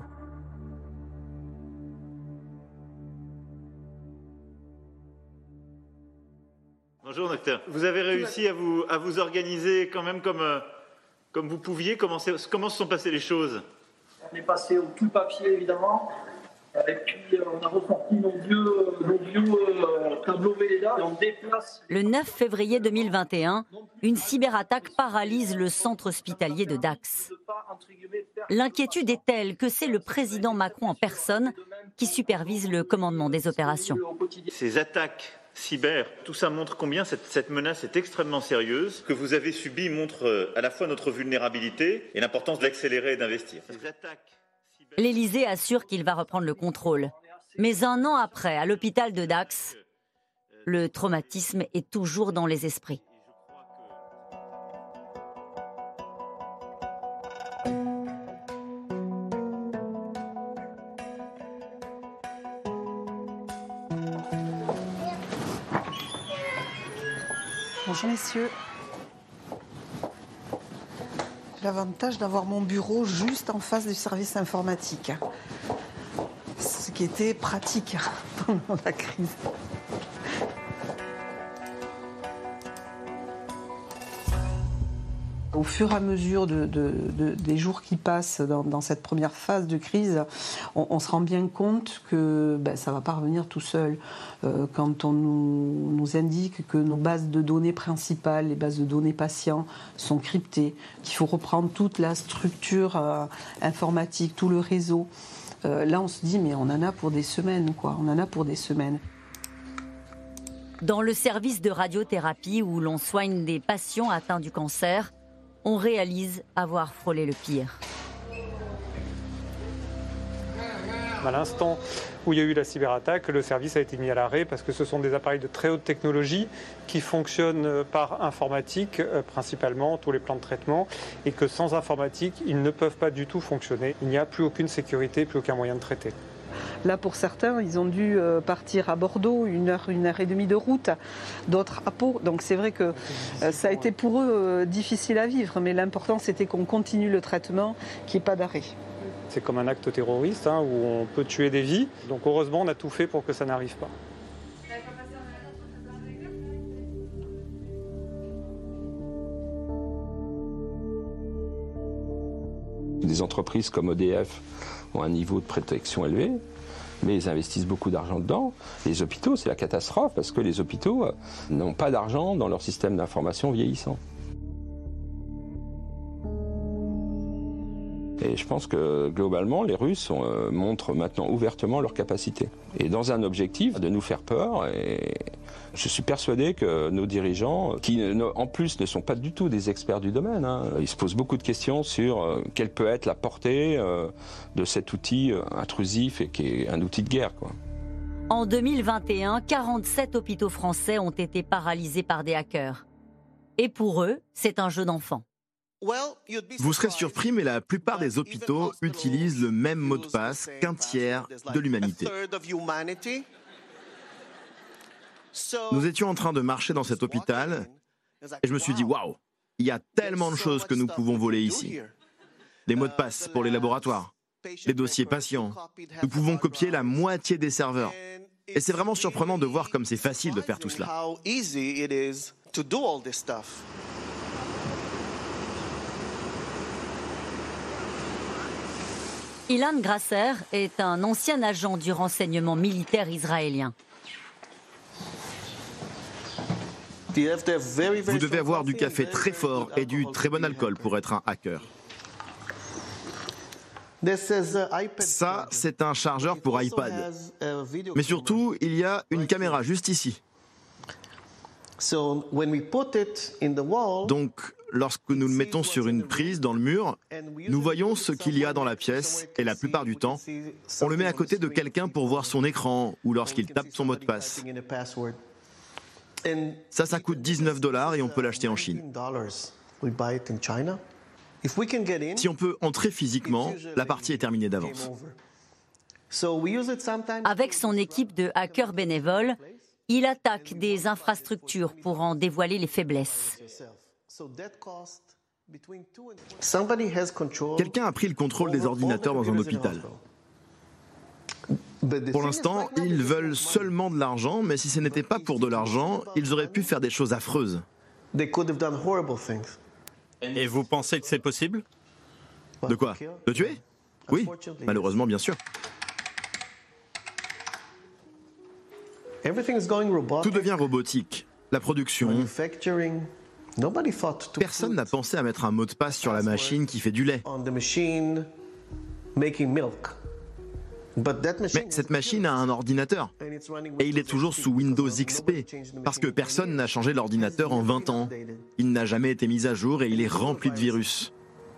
Bonjour docteur. Vous avez réussi à vous organiser quand même comme vous pouviez. Comment se sont passées les choses ? On est passé au tout papier évidemment. Et puis on a ressorti nos vieux tableaux Velleda et on déplace. Le 9 février 2021, une cyberattaque paralyse le centre hospitalier de Dax. L'inquiétude est telle que c'est le président Macron en personne qui supervise le commandement des opérations. Ces attaques cyber, tout ça montre combien cette menace est extrêmement sérieuse. Ce que vous avez subi montre à la fois notre vulnérabilité et l'importance d'accélérer et d'investir. L'Élysée assure qu'il va reprendre le contrôle. Mais un an après, à l'hôpital de Dax, le traumatisme est toujours dans les esprits. Bonjour messieurs. J'ai l'avantage d'avoir mon bureau juste en face du service informatique. Ce qui était pratique pendant la crise. Au fur et à mesure des jours qui passent dans cette première phase de crise, on se rend bien compte que ça ne va pas revenir tout seul. Quand on nous indique que nos bases de données principales, les bases de données patients, sont cryptées, qu'il faut reprendre toute la structure informatique, tout le réseau, là on se dit mais on en a pour des semaines, quoi. On en a pour des semaines. Dans le service de radiothérapie où l'on soigne des patients atteints du cancer, on réalise avoir frôlé le pire. À l'instant où il y a eu la cyberattaque, le service a été mis à l'arrêt parce que ce sont des appareils de très haute technologie qui fonctionnent par informatique principalement, tous les plans de traitement, et que sans informatique, ils ne peuvent pas du tout fonctionner. Il n'y a plus aucune sécurité, plus aucun moyen de traiter. Là, pour certains, ils ont dû partir à Bordeaux, 1 heure et demie de route, d'autres à Pau. Donc c'est vrai que ça a été pour eux difficile à vivre, mais l'important c'était qu'on continue le traitement, qu'il n'y ait pas d'arrêt. C'est comme un acte terroriste où on peut tuer des vies. Donc heureusement, on a tout fait pour que ça n'arrive pas. Des entreprises comme EDF ont un niveau de protection élevé, mais ils investissent beaucoup d'argent dedans. Les hôpitaux, c'est la catastrophe parce que les hôpitaux n'ont pas d'argent dans leur système d'information vieillissant. Et je pense que globalement, les Russes montrent maintenant ouvertement leurs capacités. Et dans un objectif de nous faire peur, et je suis persuadé que nos dirigeants, qui en plus ne sont pas du tout des experts du domaine, ils se posent beaucoup de questions sur quelle peut être la portée de cet outil intrusif et qui est un outil de guerre, quoi. En 2021, 47 hôpitaux français ont été paralysés par des hackers. Et pour eux, c'est un jeu d'enfant. Vous serez surpris, mais la plupart des hôpitaux utilisent le même mot de passe qu'un tiers de l'humanité. Nous étions en train de marcher dans cet hôpital et je me suis dit, waouh, il y a tellement de choses que nous pouvons voler ici. Les mots de passe pour les laboratoires, les dossiers patients. Nous pouvons copier la moitié des serveurs. Et c'est vraiment surprenant de voir comme c'est facile de faire tout cela. Ilan Grasser est un ancien agent du renseignement militaire israélien. Vous devez avoir du café très fort et du très bon alcool pour être un hacker. Ça, c'est un chargeur pour iPad. Mais surtout, il y a une caméra juste ici. Donc, lorsque nous le mettons sur une prise dans le mur, nous voyons ce qu'il y a dans la pièce et la plupart du temps, on le met à côté de quelqu'un pour voir son écran ou lorsqu'il tape son mot de passe. Ça coûte $19 et on peut l'acheter en Chine. Si on peut entrer physiquement, la partie est terminée d'avance. Avec son équipe de hackers bénévoles, il attaque des infrastructures pour en dévoiler les faiblesses. Quelqu'un a pris le contrôle des ordinateurs dans un hôpital. Pour l'instant, ils veulent seulement de l'argent, mais si ce n'était pas pour de l'argent, ils auraient pu faire des choses affreuses. Et vous pensez que c'est possible? De quoi? De tuer? Oui, malheureusement, bien sûr. Tout devient robotique. La production. Personne n'a pensé à mettre un mot de passe sur la machine qui fait du lait. Mais cette machine a un ordinateur. Et il est toujours sous Windows XP. Parce que personne n'a changé l'ordinateur en 20 ans. Il n'a jamais été mis à jour et il est rempli de virus.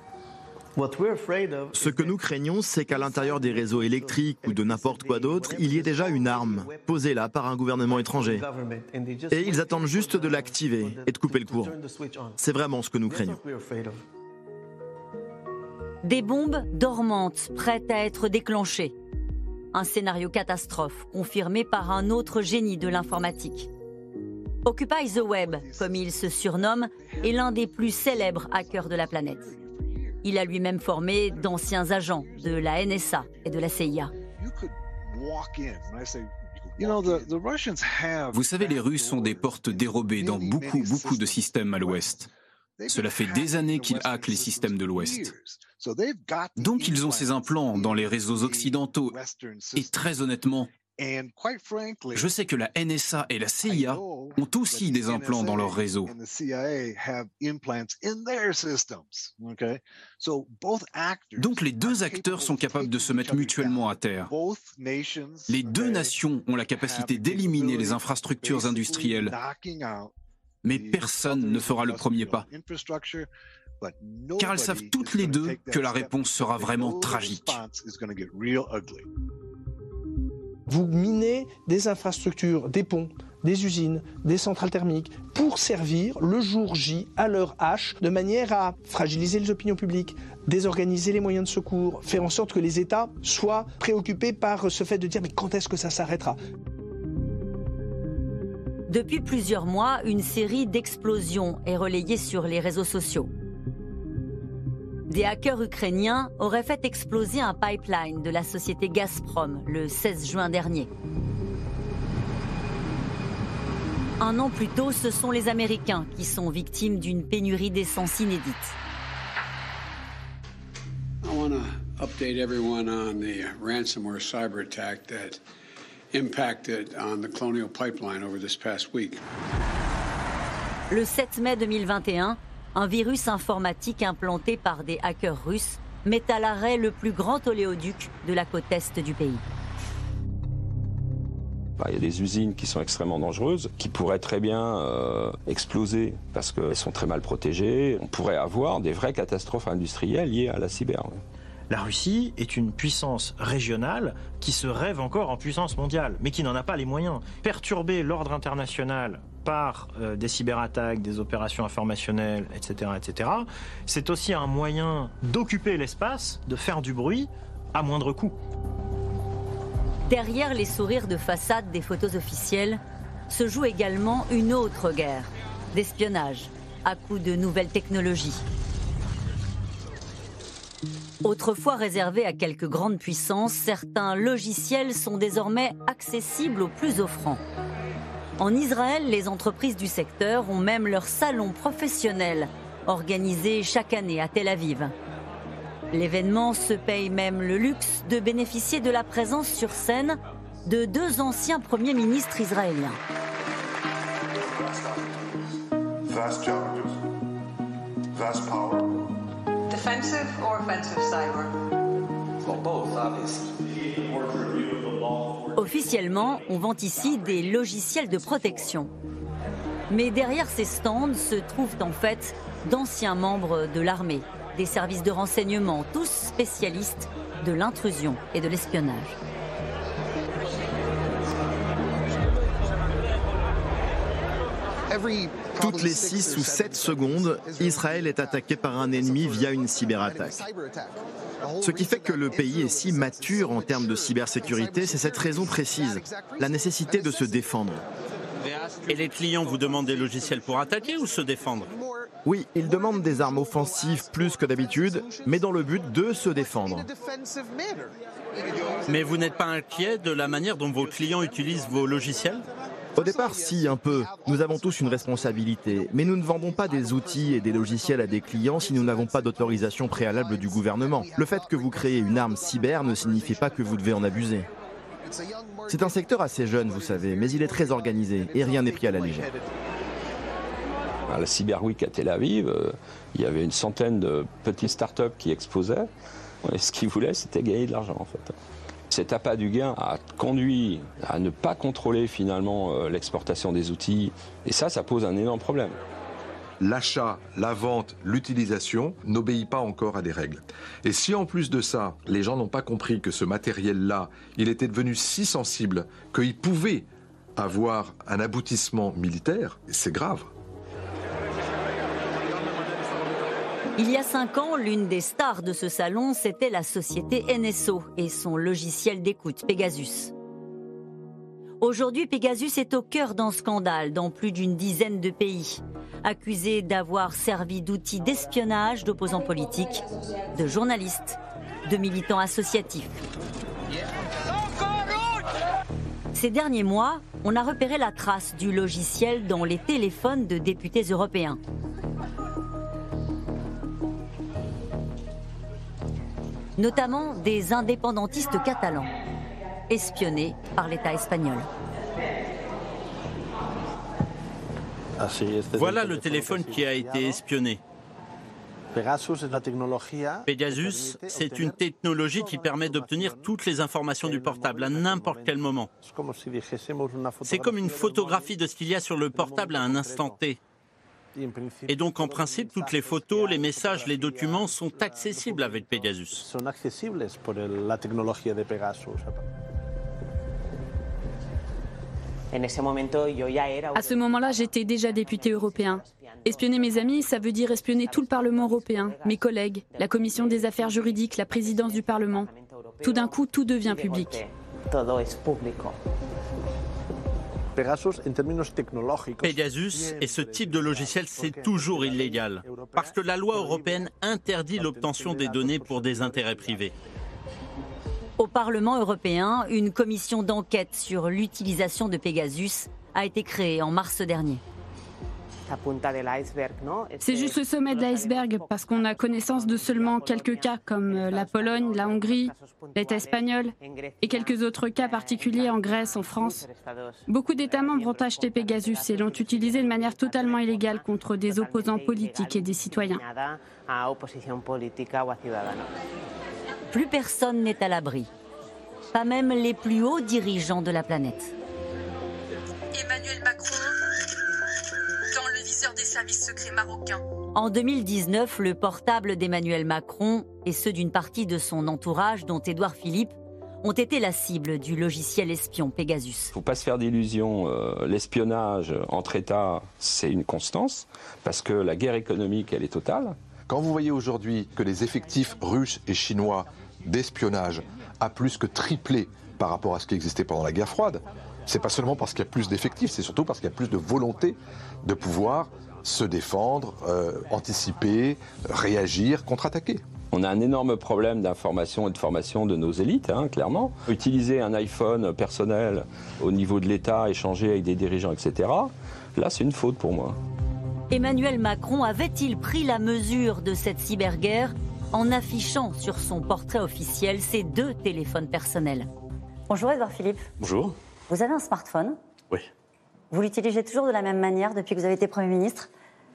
Ce que nous craignons, c'est qu'à l'intérieur des réseaux électriques ou de n'importe quoi d'autre, il y ait déjà une arme posée là par un gouvernement étranger. Et ils attendent juste de l'activer et de couper le courant. C'est vraiment ce que nous craignons. Des bombes dormantes prêtes à être déclenchées. Un scénario catastrophe confirmé par un autre génie de l'informatique. Occupy the Web, comme il se surnomme, est l'un des plus célèbres hackers de la planète. Il a lui-même formé d'anciens agents de la NSA et de la CIA. Vous savez, les Russes ont des portes dérobées dans beaucoup de systèmes à l'ouest. Cela fait des années qu'ils hackent les systèmes de l'Ouest. Donc ils ont ces implants dans les réseaux occidentaux. Et très honnêtement, je sais que la NSA et la CIA ont aussi des implants dans leur réseau. Donc les deux acteurs sont capables de se mettre mutuellement à terre. Les deux nations ont la capacité d'éliminer les infrastructures industrielles, mais personne ne fera le premier pas. Car elles savent toutes les deux que la réponse sera vraiment tragique. Vous minez des infrastructures, des ponts, des usines, des centrales thermiques pour servir le jour J à l'heure H de manière à fragiliser les opinions publiques, désorganiser les moyens de secours, faire en sorte que les États soient préoccupés par ce fait de dire mais quand est-ce que ça s'arrêtera ? Depuis plusieurs mois, une série d'explosions est relayée sur les réseaux sociaux. Des hackers ukrainiens auraient fait exploser un pipeline de la société Gazprom le 16 juin dernier. Un an plus tôt, ce sont les Américains qui sont victimes d'une pénurie d'essence inédite. I want to update everyone on the ransomware cyber attack that impacted on the Colonial Pipeline over this past week. Le 7 mai 2021, un virus informatique implanté par des hackers russes met à l'arrêt le plus grand oléoduc de la côte est du pays. Il y a des usines qui sont extrêmement dangereuses, qui pourraient très bien exploser parce qu'elles sont très mal protégées. On pourrait avoir des vraies catastrophes industrielles liées à la cyber. La Russie est une puissance régionale qui se rêve encore en puissance mondiale, mais qui n'en a pas les moyens. Perturber l'ordre international par des cyberattaques, des opérations informationnelles, etc., c'est aussi un moyen d'occuper l'espace, de faire du bruit à moindre coût. Derrière les sourires de façade des photos officielles se joue également une autre guerre d'espionnage à coups de nouvelles technologies. Autrefois réservés à quelques grandes puissances, certains logiciels sont désormais accessibles aux plus offrants. En Israël, les entreprises du secteur ont même leur salon professionnel organisé chaque année à Tel Aviv. L'événement se paye même le luxe de bénéficier de la présence sur scène de deux anciens premiers ministres israéliens. Vast challenges, vast power. Defensive or offensive cyber? Well, both, obviously. Officiellement, on vend ici des logiciels de protection. Mais derrière ces stands se trouvent en fait d'anciens membres de l'armée, des services de renseignement, tous spécialistes de l'intrusion et de l'espionnage. Toutes les 6 ou 7 secondes, Israël est attaqué par un ennemi via une cyberattaque. Ce qui fait que le pays est si mature en termes de cybersécurité, c'est cette raison précise, la nécessité de se défendre. Et les clients vous demandent des logiciels pour attaquer ou se défendre? Oui, ils demandent des armes offensives plus que d'habitude, mais dans le but de se défendre. Mais vous n'êtes pas inquiet de la manière dont vos clients utilisent vos logiciels? Au départ, si, un peu. Nous avons tous une responsabilité. Mais nous ne vendons pas des outils et des logiciels à des clients si nous n'avons pas d'autorisation préalable du gouvernement. Le fait que vous créez une arme cyber ne signifie pas que vous devez en abuser. C'est un secteur assez jeune, vous savez, mais il est très organisé et rien n'est pris à la légère. À la Cyber Week à Tel Aviv, il y avait une centaine de petites startups qui exposaient. Et ce qu'ils voulaient, c'était gagner de l'argent, en fait. Cet appât du gain a conduit à ne pas contrôler finalement l'exportation des outils. Et ça pose un énorme problème. L'achat, la vente, l'utilisation n'obéit pas encore à des règles. Et si en plus de ça, les gens n'ont pas compris que ce matériel-là, il était devenu si sensible qu'il pouvait avoir un aboutissement militaire, c'est grave. Il y a 5 ans, l'une des stars de ce salon, c'était la société NSO et son logiciel d'écoute Pegasus. Aujourd'hui, Pegasus est au cœur d'un scandale dans plus d'une dizaine de pays, accusé d'avoir servi d'outil d'espionnage d'opposants politiques, de journalistes, de militants associatifs. Ces derniers mois, on a repéré la trace du logiciel dans les téléphones de députés européens. notamment des indépendantistes catalans, espionnés par l'État espagnol. Voilà le téléphone qui a été espionné. Pegasus, c'est une technologie qui permet d'obtenir toutes les informations du portable à n'importe quel moment. C'est comme une photographie de ce qu'il y a sur le portable à un instant T. Et donc, en principe, toutes les photos, les messages, les documents sont accessibles avec Pegasus. À ce moment-là, j'étais déjà député européen. Espionner mes amis, ça veut dire espionner tout le Parlement européen, mes collègues, la Commission des affaires juridiques, la présidence du Parlement. Tout d'un coup, tout devient public. Pegasus et ce type de logiciel, c'est toujours illégal, parce que la loi européenne interdit l'obtention des données pour des intérêts privés. Au Parlement européen, une commission d'enquête sur l'utilisation de Pegasus a été créée en mars dernier. C'est juste le sommet de l'iceberg, parce qu'on a connaissance de seulement quelques cas comme la Pologne, la Hongrie, l'État espagnol et quelques autres cas particuliers en Grèce, en France. Beaucoup d'États membres ont acheté Pegasus et l'ont utilisé de manière totalement illégale contre des opposants politiques et des citoyens. Plus personne n'est à l'abri, pas même les plus hauts dirigeants de la planète. Emmanuel Macron dans le viseur des services secrets marocains. En 2019, le portable d'Emmanuel Macron et ceux d'une partie de son entourage, dont Édouard Philippe, ont été la cible du logiciel espion Pegasus. Il ne faut pas se faire d'illusions, l'espionnage entre États, c'est une constance, parce que la guerre économique, elle est totale. Quand vous voyez aujourd'hui que les effectifs russes et chinois d'espionnage a plus que triplé par rapport à ce qui existait pendant la guerre froide, c'est pas seulement parce qu'il y a plus d'effectifs, c'est surtout parce qu'il y a plus de volonté de pouvoir se défendre, anticiper, réagir, contre-attaquer. On a un énorme problème d'information et de formation de nos élites, clairement. Utiliser un iPhone personnel au niveau de l'État, échanger avec des dirigeants, etc., là c'est une faute pour moi. Emmanuel Macron avait-il pris la mesure de cette cyberguerre en affichant sur son portrait officiel ses 2 téléphones personnels? Bonjour Édouard Philippe. Bonjour. Vous avez un smartphone? Oui. Vous l'utilisez toujours de la même manière depuis que vous avez été Premier ministre?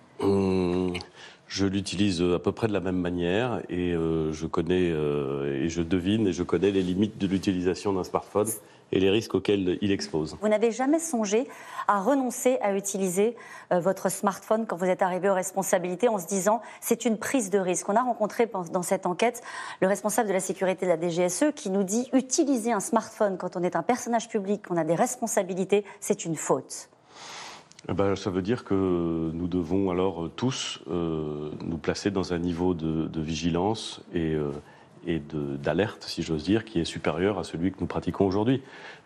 Je l'utilise à peu près de la même manière et je connais et je devine et je connais les limites de l'utilisation d'un smartphone et les risques auxquels il expose. Vous n'avez jamais songé à renoncer à utiliser votre smartphone quand vous êtes arrivé aux responsabilités en se disant c'est une prise de risque? On a rencontré dans cette enquête le responsable de la sécurité de la DGSE qui nous dit utiliser un smartphone quand on est un personnage public, qu'on a des responsabilités, c'est une faute. Ça veut dire que nous devons alors tous nous placer dans un niveau de vigilance et d'alerte, si j'ose dire, qui est supérieur à celui que nous pratiquons aujourd'hui.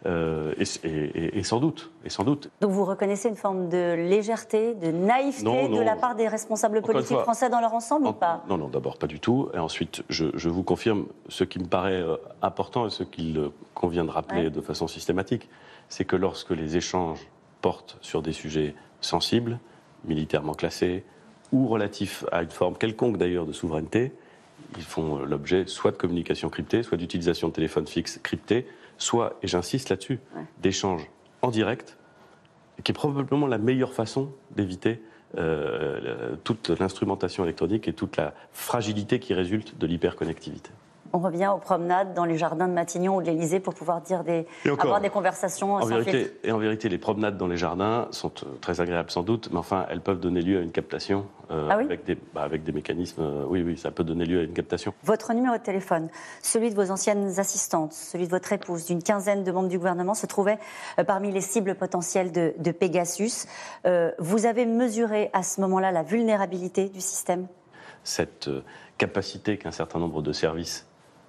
Et sans doute. Donc vous reconnaissez une forme de légèreté, de naïveté de la part des responsables politiques français dans leur ensemble ou pas? Non, d'abord pas du tout. Et ensuite, je vous confirme ce qui me paraît important et ce qu'il convient de rappeler de façon systématique, c'est que lorsque les échanges portent sur des sujets sensibles, militairement classés, ou relatifs à une forme quelconque d'ailleurs de souveraineté, ils font l'objet soit de communication cryptée, soit d'utilisation de téléphones fixes cryptés, soit, et j'insiste là-dessus, d'échanges en direct, qui est probablement la meilleure façon d'éviter toute l'instrumentation électronique et toute la fragilité qui résulte de l'hyperconnectivité. On revient aux promenades dans les jardins de Matignon ou de l'Élysée pour pouvoir avoir des conversations sans filtre. Et en vérité, les promenades dans les jardins sont très agréables sans doute, mais enfin, elles peuvent donner lieu à une captation avec des mécanismes. Oui, ça peut donner lieu à une captation. Votre numéro de téléphone, celui de vos anciennes assistantes, celui de votre épouse, d'une quinzaine de membres du gouvernement se trouvait parmi les cibles potentielles de Pegasus. Vous avez mesuré à ce moment-là la vulnérabilité du système? Cette capacité qu'un certain nombre de services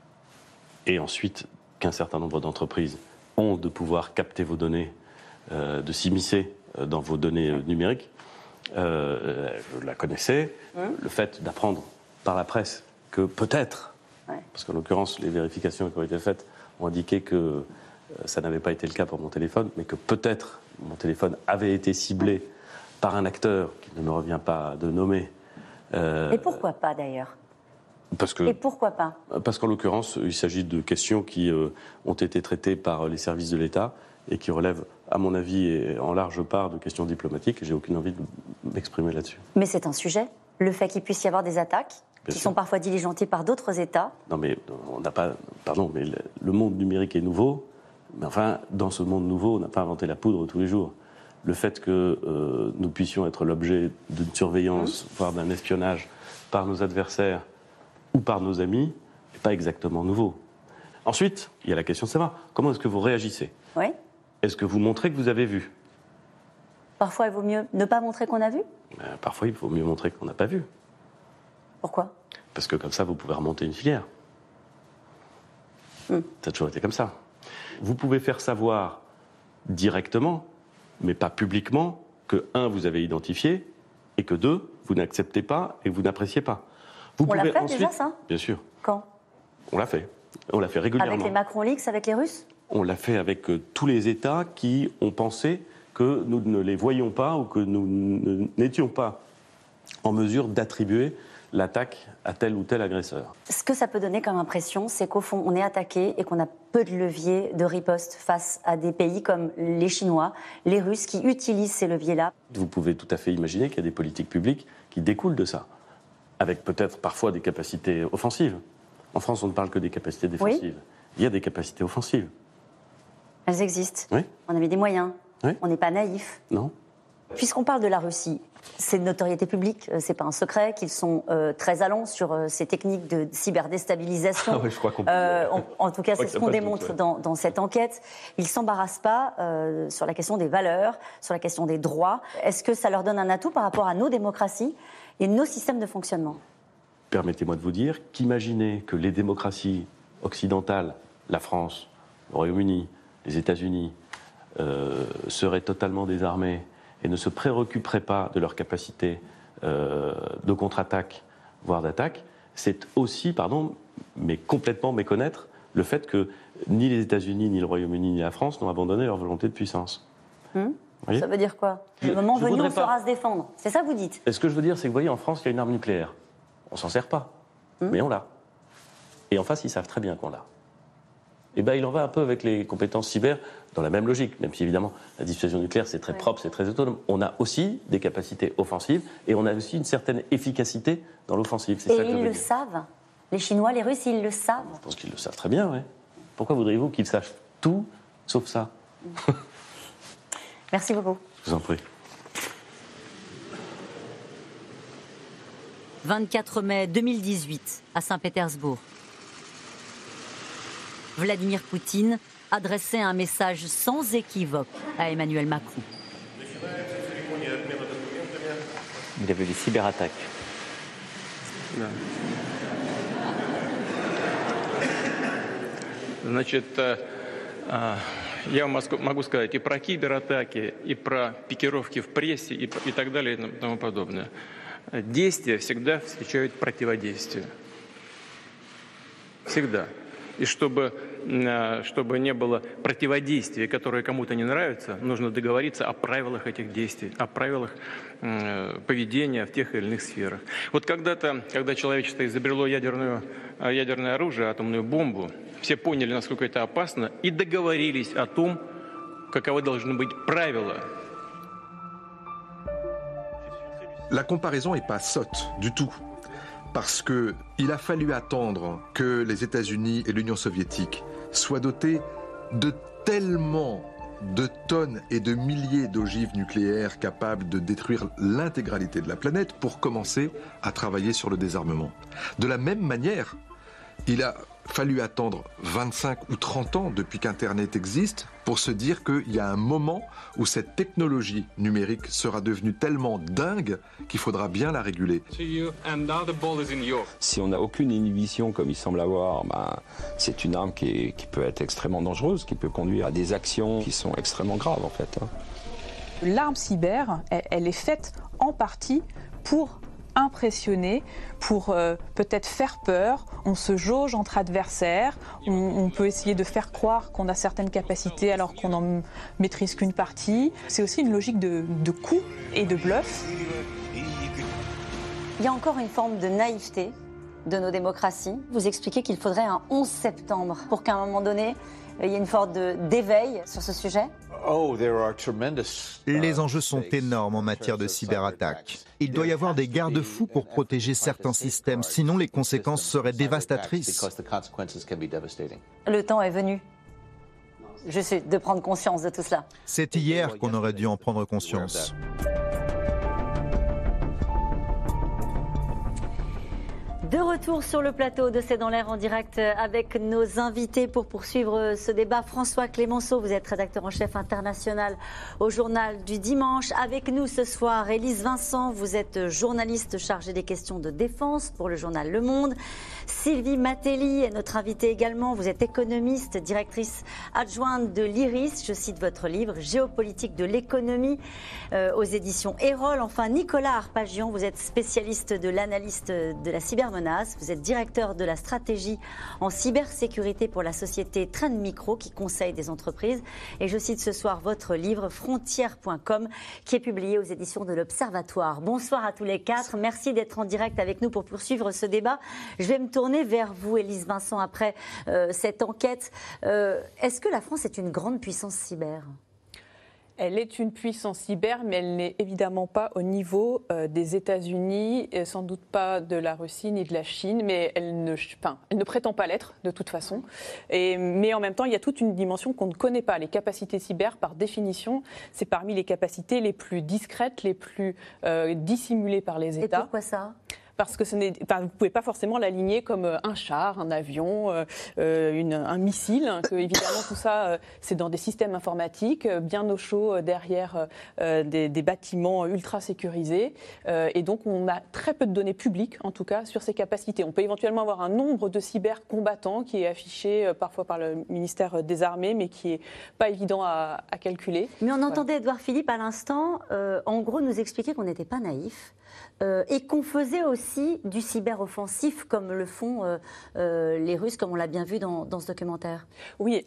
et ensuite qu'un certain nombre d'entreprises ont de pouvoir capter vos données, de s'immiscer dans vos données numériques, je la connaissais. Le fait d'apprendre par la presse que peut-être, parce qu'en l'occurrence les vérifications qui ont été faites ont indiqué que ça n'avait pas été le cas pour mon téléphone, mais que peut-être mon téléphone avait été ciblé par un acteur qui ne me revient pas de nommer. Et pourquoi pas d'ailleurs? Et pourquoi pas? Parce qu'en l'occurrence, il s'agit de questions qui ont été traitées par les services de l'État et qui relèvent, à mon avis, et en large part de questions diplomatiques, et j'ai aucune envie de m'exprimer là-dessus. Mais c'est un sujet, le fait qu'il puisse y avoir des attaques qui sont parfois diligentées par d'autres États. Non mais on n'a pas... Pardon, mais le monde numérique est nouveau, mais enfin, dans ce monde nouveau, on n'a pas inventé la poudre tous les jours. Le fait que nous puissions être l'objet d'une surveillance, voire d'un espionnage par nos adversaires ou par nos amis, n'est pas exactement nouveau. Ensuite, il y a la question de savoir, comment est-ce que vous réagissez? Oui. Est-ce que vous montrez que vous avez vu? Parfois, il vaut mieux ne pas montrer qu'on a vu? Parfois, il vaut mieux montrer qu'on n'a pas vu. Pourquoi? Parce que comme ça, vous pouvez remonter une filière. Ça a toujours été comme ça. Vous pouvez faire savoir directement, mais pas publiquement, que 1, vous avez identifié, et que 2, vous n'acceptez pas et vous n'appréciez pas. Vous On l'a pouvez fait ensuite... déjà, ça? Bien sûr. Quand? On l'a fait. On l'a fait régulièrement. Avec les Macron Leaks, avec les Russes? On l'a fait avec tous les États qui ont pensé que nous ne les voyions pas ou que nous n'étions pas en mesure d'attribuer l'attaque à tel ou tel agresseur. Ce que ça peut donner comme impression, c'est qu'au fond, on est attaqué et qu'on a peu de leviers de riposte face à des pays comme les Chinois, les Russes, qui utilisent ces leviers-là. Vous pouvez tout à fait imaginer qu'il y a des politiques publiques qui découlent de ça, avec peut-être parfois des capacités offensives. En France, on ne parle que des capacités défensives. Oui. Il y a des capacités offensives. Elles existent. Oui. On a mis des moyens. Oui. On n'est pas naïf. Non. Puisqu'on parle de la Russie, c'est de notoriété publique, c'est pas un secret qu'ils sont très allants sur ces techniques de cyberdéstabilisation. Ah ouais, je crois qu'on en tout cas, c'est ce qu'on démontre dans cette enquête. Ils ne s'embarrassent pas sur la question des valeurs, sur la question des droits. Est-ce que ça leur donne un atout par rapport à nos démocraties et nos systèmes de fonctionnement? Permettez-moi de vous dire qu'imaginer que les démocraties occidentales, la France, le Royaume-Uni, les États-Unis, seraient totalement désarmées et ne se préoccuperaient pas de leur capacité de contre-attaque, voire d'attaque, c'est aussi, mais complètement méconnaître le fait que ni les États-Unis, ni le Royaume-Uni, ni la France n'ont abandonné leur volonté de puissance. Ça veut dire quoi? Le moment venu, on saura se défendre. C'est ça que vous dites? Ce que je veux dire, c'est que vous voyez, en France, il y a une arme nucléaire. On s'en sert pas, mais on l'a. Et en face, ils savent très bien qu'on l'a. Et il en va un peu avec les compétences cyber, dans la même logique, même si évidemment la dissuasion nucléaire c'est très propre, c'est très autonome. On a aussi des capacités offensives et on a aussi une certaine efficacité dans l'offensive. Et ils le savent. Les Chinois, les Russes, ils le savent. Je pense qu'ils le savent très bien, oui. Pourquoi voudriez-vous qu'ils sachent tout sauf ça? Merci beaucoup. Je vous en prie. 24 mai 2018, à Saint-Pétersbourg. Vladimir Poutine adressait un message sans équivoque à Emmanuel Macron. Il y avait des cyberattaques. Значит, я могу сказать и про кибератаки, и про пикировки в прессе, и так далее, и тому подобное. Действия всегда встречают противодействие. Всегда. И чтобы не было противодействия, которое кому-то не нравится, нужно договориться о правилах этих действий, о правилах поведения в тех или иных сферах. Вот когда-то, когда человечество изобрело ядерное оружие, атомную бомбу, все поняли, насколько это опасно, и договорились о том, каковы должны быть правила. La comparaison n'est pas sotte du tout. Parce qu'il a fallu attendre que les États-Unis et l'Union soviétique soient dotés de tellement de tonnes et de milliers d'ogives nucléaires capables de détruire l'intégralité de la planète pour commencer à travailler sur le désarmement. De la même manière, il a fallu attendre 25 ou 30 ans depuis qu'Internet existe pour se dire qu'il y a un moment où cette technologie numérique sera devenue tellement dingue qu'il faudra bien la réguler. Si on n'a aucune inhibition comme il semble avoir, c'est une arme qui peut être extrêmement dangereuse, qui peut conduire à des actions qui sont extrêmement graves en fait. L'arme cyber, elle est faite en partie pour impressionner, pour peut-être faire peur. On se jauge entre adversaires, on peut essayer de faire croire qu'on a certaines capacités alors qu'on n'en maîtrise qu'une partie. C'est aussi une logique de coup et de bluff. Il y a encore une forme de naïveté de nos démocraties. Vous expliquez qu'il faudrait un 11 septembre pour qu'à un moment donné, il y ait une forme d'éveil sur ce sujet. Les enjeux sont énormes en matière de cyberattaques. Il doit y avoir des garde-fous pour protéger certains systèmes, sinon les conséquences seraient dévastatrices. Le temps est venu de prendre conscience de tout cela. C'est hier qu'on aurait dû en prendre conscience. De retour sur le plateau de C'est dans l'air en direct avec nos invités pour poursuivre ce débat. François Clémenceau, vous êtes rédacteur en chef international au Journal du Dimanche. Avec nous ce soir, Élise Vincent, vous êtes journaliste chargée des questions de défense pour le journal Le Monde. Sylvie Matelli est notre invitée également. Vous êtes économiste, directrice adjointe de l'IRIS. Je cite votre livre « Géopolitique de l'économie » aux éditions Erol. Enfin, Nicolas Arpagian, vous êtes spécialiste de l'analyse de la cybermenace. Vous êtes directeur de la stratégie en cybersécurité pour la société Trend Micro qui conseille des entreprises. Et je cite ce soir votre livre Frontières.com qui est publié aux éditions de l'Observatoire. Bonsoir à tous les quatre. Merci d'être en direct avec nous pour poursuivre ce débat. Je vais me tourner vers vous, Élise Vincent, après cette enquête. Est-ce que la France est une grande puissance cyber ? Elle est une puissance cyber, mais elle n'est évidemment pas au niveau des États-Unis, sans doute pas de la Russie ni de la Chine, mais elle ne prétend pas l'être de toute façon. Mais en même temps, il y a toute une dimension qu'on ne connaît pas. Les capacités cyber, par définition, c'est parmi les capacités les plus discrètes, les plus dissimulées par les États. Et pourquoi ça ? Parce que vous ne pouvez pas forcément l'aligner comme un char, un avion, un missile. Que, évidemment, tout ça, c'est dans des systèmes informatiques, bien au chaud derrière des bâtiments ultra sécurisés. Et donc, on a très peu de données publiques, en tout cas, sur ces capacités. On peut éventuellement avoir un nombre de cybercombattants qui est affiché parfois par le ministère des Armées, mais qui n'est pas évident à calculer. Mais on entendait Édouard Philippe à l'instant, en gros, nous expliquer qu'on n'était pas naïf. Et qu'on faisait aussi du cyber-offensif comme le font les Russes, comme on l'a bien vu dans ce documentaire. Oui,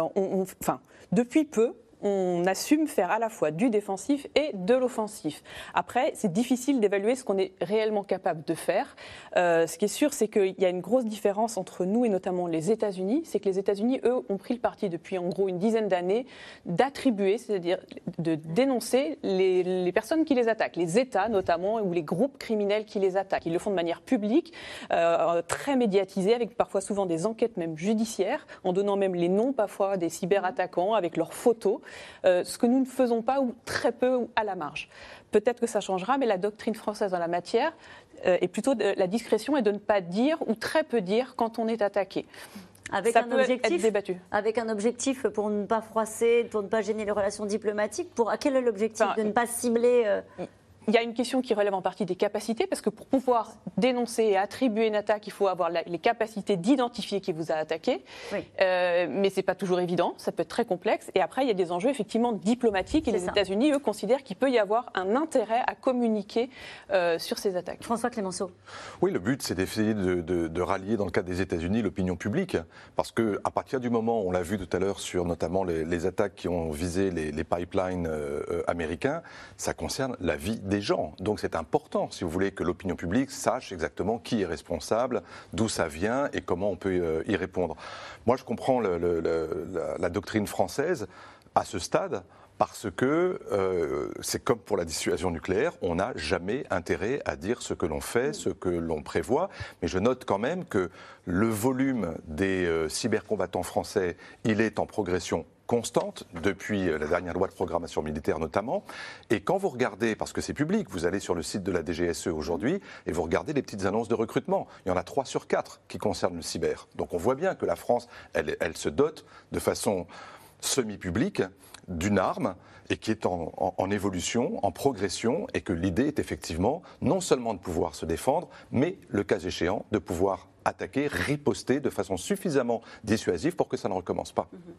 depuis peu, on assume faire à la fois du défensif et de l'offensif. Après, c'est difficile d'évaluer ce qu'on est réellement capable de faire. Ce qui est sûr, c'est qu'il y a une grosse différence entre nous et notamment les États-Unis. C'est que les États-Unis, eux, ont pris le parti depuis en gros une dizaine d'années d'attribuer, c'est-à-dire de dénoncer les personnes qui les attaquent, les États notamment, ou les groupes criminels qui les attaquent. Ils le font de manière publique, très médiatisée, avec parfois souvent des enquêtes même judiciaires, en donnant même les noms parfois des cyberattaquants avec leurs photos. Ce que nous ne faisons pas, ou très peu, ou à la marge. Peut-être que ça changera, mais la doctrine française en la matière est plutôt de la discrétion et de ne pas dire, ou très peu dire, quand on est attaqué. Avec un objectif pour ne pas froisser, pour ne pas gêner les relations diplomatiques. Quel est l'objectif de ne pas cibler Il y a une question qui relève en partie des capacités, parce que pour pouvoir dénoncer et attribuer une attaque, il faut avoir les capacités d'identifier qui vous a attaqué. Oui. Mais ce n'est pas toujours évident, ça peut être très complexe. Et après, il y a des enjeux effectivement diplomatiques. Et les États-Unis, eux, considèrent qu'il peut y avoir un intérêt à communiquer sur ces attaques. François Clémenceau. Oui, le but, c'est d'essayer de rallier, dans le cadre des États-Unis, l'opinion publique. Parce qu'à partir du moment, on l'a vu tout à l'heure sur notamment les attaques qui ont visé les pipelines américains, ça concerne la vie des gens. Donc c'est important, si vous voulez, que l'opinion publique sache exactement qui est responsable, d'où ça vient et comment on peut y répondre. Moi, je comprends la doctrine française à ce stade, parce que c'est comme pour la dissuasion nucléaire, on n'a jamais intérêt à dire ce que l'on fait, ce que l'on prévoit. Mais je note quand même que le volume des cybercombattants français, il est en progression constante depuis la dernière loi de programmation militaire notamment. Et quand vous regardez, parce que c'est public, vous allez sur le site de la DGSE aujourd'hui et vous regardez les petites annonces de recrutement. Il y en a 3 sur 4 qui concernent le cyber. Donc on voit bien que la France, elle se dote de façon semi-publique d'une arme et qui est en évolution, en progression, et que l'idée est effectivement non seulement de pouvoir se défendre, mais le cas échéant de pouvoir attaquer, riposter de façon suffisamment dissuasive pour que ça ne recommence pas.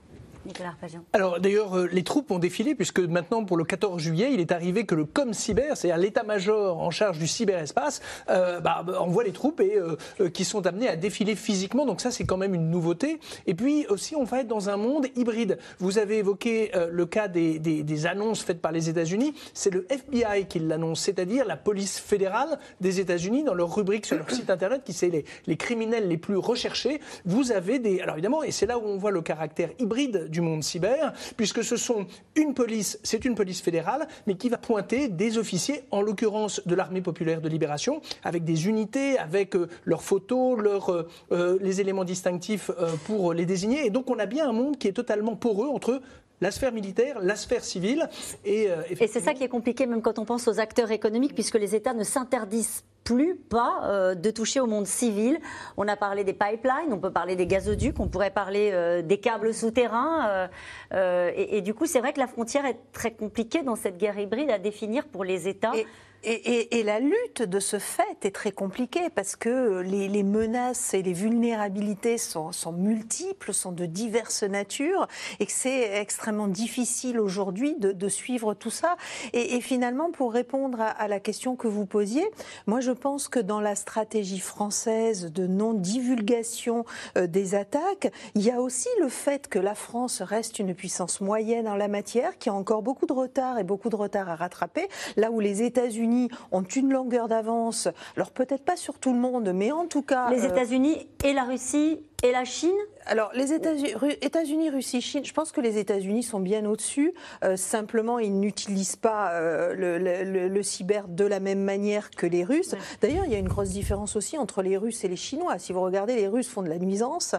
Nicolas Arpajon. Alors d'ailleurs, les troupes ont défilé puisque maintenant, pour le 14 juillet, il est arrivé que le ComCyber, c'est-à-dire l'état-major en charge du cyberespace, envoie les troupes et qui sont amenées à défiler physiquement. Donc ça, c'est quand même une nouveauté. Et puis aussi, on va être dans un monde hybride. Vous avez évoqué le cas des annonces faites par les États-Unis. C'est le FBI qui l'annonce, c'est-à-dire la police fédérale des États-Unis, dans leur rubrique sur leur site internet, qui c'est les criminels les plus recherchés. Vous avez alors évidemment, et c'est là où on voit le caractère hybride du monde cyber, puisque c'est une police fédérale, mais qui va pointer des officiers, en l'occurrence de l'Armée populaire de libération, avec des unités, avec leurs photos, les éléments distinctifs pour les désigner. Et donc on a bien un monde qui est totalement poreux entre la sphère militaire, la sphère civile. Et c'est ça qui est compliqué, même quand on pense aux acteurs économiques, puisque les États ne s'interdisent plus de toucher au monde civil. On a parlé des pipelines, on peut parler des gazoducs, on pourrait parler des câbles souterrains. Et du coup, c'est vrai que la frontière est très compliquée dans cette guerre hybride à définir pour les États. Et la lutte de ce fait est très compliquée parce que les menaces et les vulnérabilités sont multiples, sont de diverses natures et que c'est extrêmement difficile aujourd'hui de suivre tout ça. Et finalement, pour répondre à la question que vous posiez, moi je pense que dans la stratégie française de non-divulgation des attaques, il y a aussi le fait que la France reste une puissance moyenne en la matière, qui a encore beaucoup de retard et beaucoup de retard à rattraper, là où les États-Unis ont une longueur d'avance, alors peut-être pas sur tout le monde, mais en tout cas... Les États-Unis et la Russie et la Chine ? Alors, les États-Unis, Russie, Chine, je pense que les États-Unis sont bien au-dessus. Simplement, ils n'utilisent pas le cyber de la même manière que les Russes. Ouais. D'ailleurs, il y a une grosse différence aussi entre les Russes et les Chinois. Si vous regardez, les Russes font de la nuisance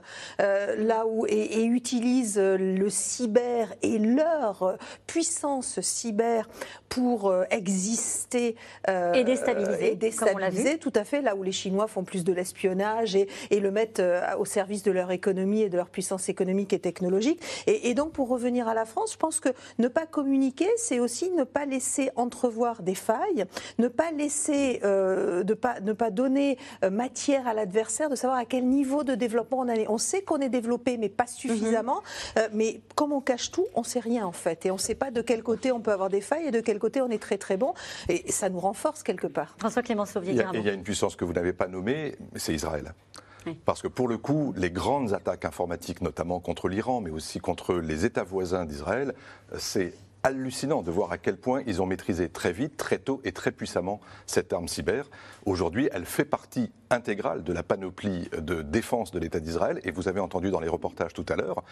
et utilisent le cyber et leur puissance cyber pour exister et déstabiliser, comme on l'a vu. Tout à fait, là où les Chinois font plus de l'espionnage et le mettent au service de leur économie et de leur puissance économique et technologique. Et donc, pour revenir à la France, je pense que ne pas communiquer, c'est aussi ne pas laisser entrevoir des failles, ne pas laisser, ne pas donner matière à l'adversaire, de savoir à quel niveau de développement on est. On sait qu'on est développé, mais pas suffisamment. Mais comme on cache tout, on ne sait rien en fait. Et on ne sait pas de quel côté on peut avoir des failles et de quel côté on est très très bon. Et ça nous renforce quelque part. François Clément-Sauvier. Il y a une puissance que vous n'avez pas nommée, c'est Israël. Parce que pour le coup, les grandes attaques informatiques, notamment contre l'Iran, mais aussi contre les États voisins d'Israël, c'est hallucinant de voir à quel point ils ont maîtrisé très vite, très tôt et très puissamment cette arme cyber. Aujourd'hui, elle fait partie intégrale de la panoplie de défense de l'État d'Israël. Et vous avez entendu dans les reportages tout à l'heure,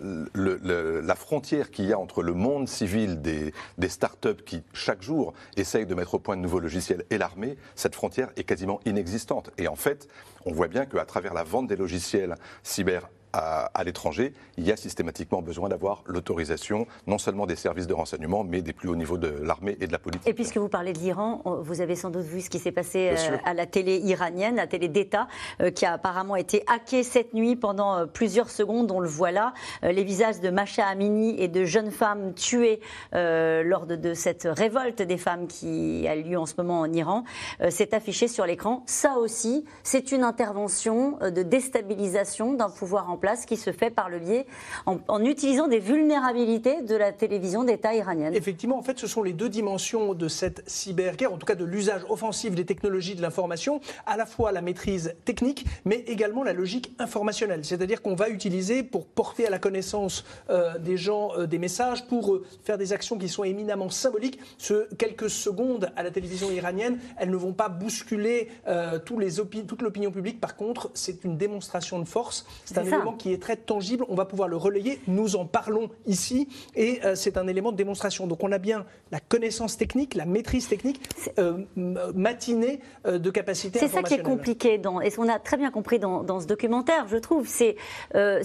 la frontière qu'il y a entre le monde civil des startups qui, chaque jour, essayent de mettre au point de nouveaux logiciels et l'armée, cette frontière est quasiment inexistante. Et en fait, on voit bien qu'à travers la vente des logiciels cyber à l'étranger, il y a systématiquement besoin d'avoir l'autorisation non seulement des services de renseignement, mais des plus hauts niveaux de l'armée et de la politique. Et puisque vous parlez de l'Iran, vous avez sans doute vu ce qui s'est passé à la télé iranienne, la télé d'État, qui a apparemment été hackée cette nuit pendant plusieurs secondes. On le voit là, les visages de Mahsa Amini et de jeunes femmes tuées lors de cette révolte des femmes qui a lieu en ce moment en Iran. C'est affiché sur l'écran. Ça aussi, c'est une intervention de déstabilisation d'un pouvoir en place qui se fait par le biais, en utilisant des vulnérabilités de la télévision d'État iranienne. Effectivement, en fait, ce sont les deux dimensions de cette cyberguerre, en tout cas de l'usage offensif des technologies de l'information, à la fois la maîtrise technique, mais également la logique informationnelle. C'est-à-dire qu'on va utiliser pour porter à la connaissance des gens des messages, pour faire des actions qui sont éminemment symboliques. Quelques secondes à la télévision iranienne, elles ne vont pas bousculer toute l'opinion publique. Par contre, c'est une démonstration de force. C'est un élément qui est très tangible, on va pouvoir le relayer, nous en parlons ici, et c'est un élément de démonstration. Donc on a bien la connaissance technique, la maîtrise technique matinée de capacité informationnelle. C'est ça qui est compliqué, et ce qu'on a très bien compris dans ce documentaire, je trouve, c'est un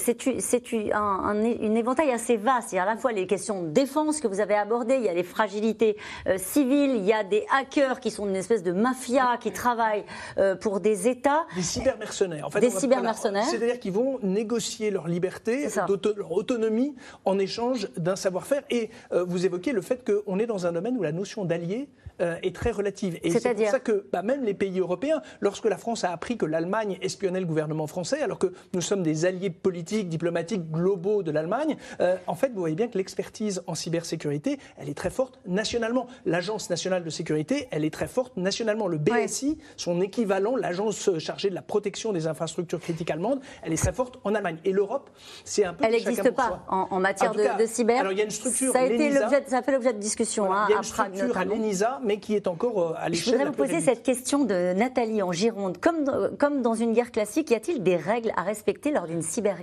éventail assez vaste. Il y a à la fois les questions de défense que vous avez abordées, il y a les fragilités civiles, il y a des hackers qui sont une espèce de mafia qui travaillent pour des États. Des cybermercenaires. En fait, des cybermercenaires. C'est-à-dire qu'ils vont négocier négocier leur liberté, leur autonomie en échange d'un savoir-faire. Et vous évoquez le fait qu'on est dans un domaine où la notion d'allié est très relative. Et c'est pour ça que même les pays européens, lorsque la France a appris que l'Allemagne espionnait le gouvernement français, alors que nous sommes des alliés politiques, diplomatiques globaux de l'Allemagne, en fait, vous voyez bien que l'expertise en cybersécurité, elle est très forte nationalement. L'Agence nationale de sécurité, elle est très forte nationalement. Le BSI, son équivalent, l'agence chargée de la protection des infrastructures critiques allemandes, elle est très forte en Allemagne. Et l'Europe, c'est un peu elle n'existe pas en matière de cyber. Alors il y a une structure, ça a fait l'objet de discussion il y a une structure à l'ENISA, mais qui est encore à l'échelle. Je voudrais vous poser cette question de Nathalie en Gironde. Comme dans une guerre classique, y a-t-il des règles à respecter lors d'une cyberguerre ?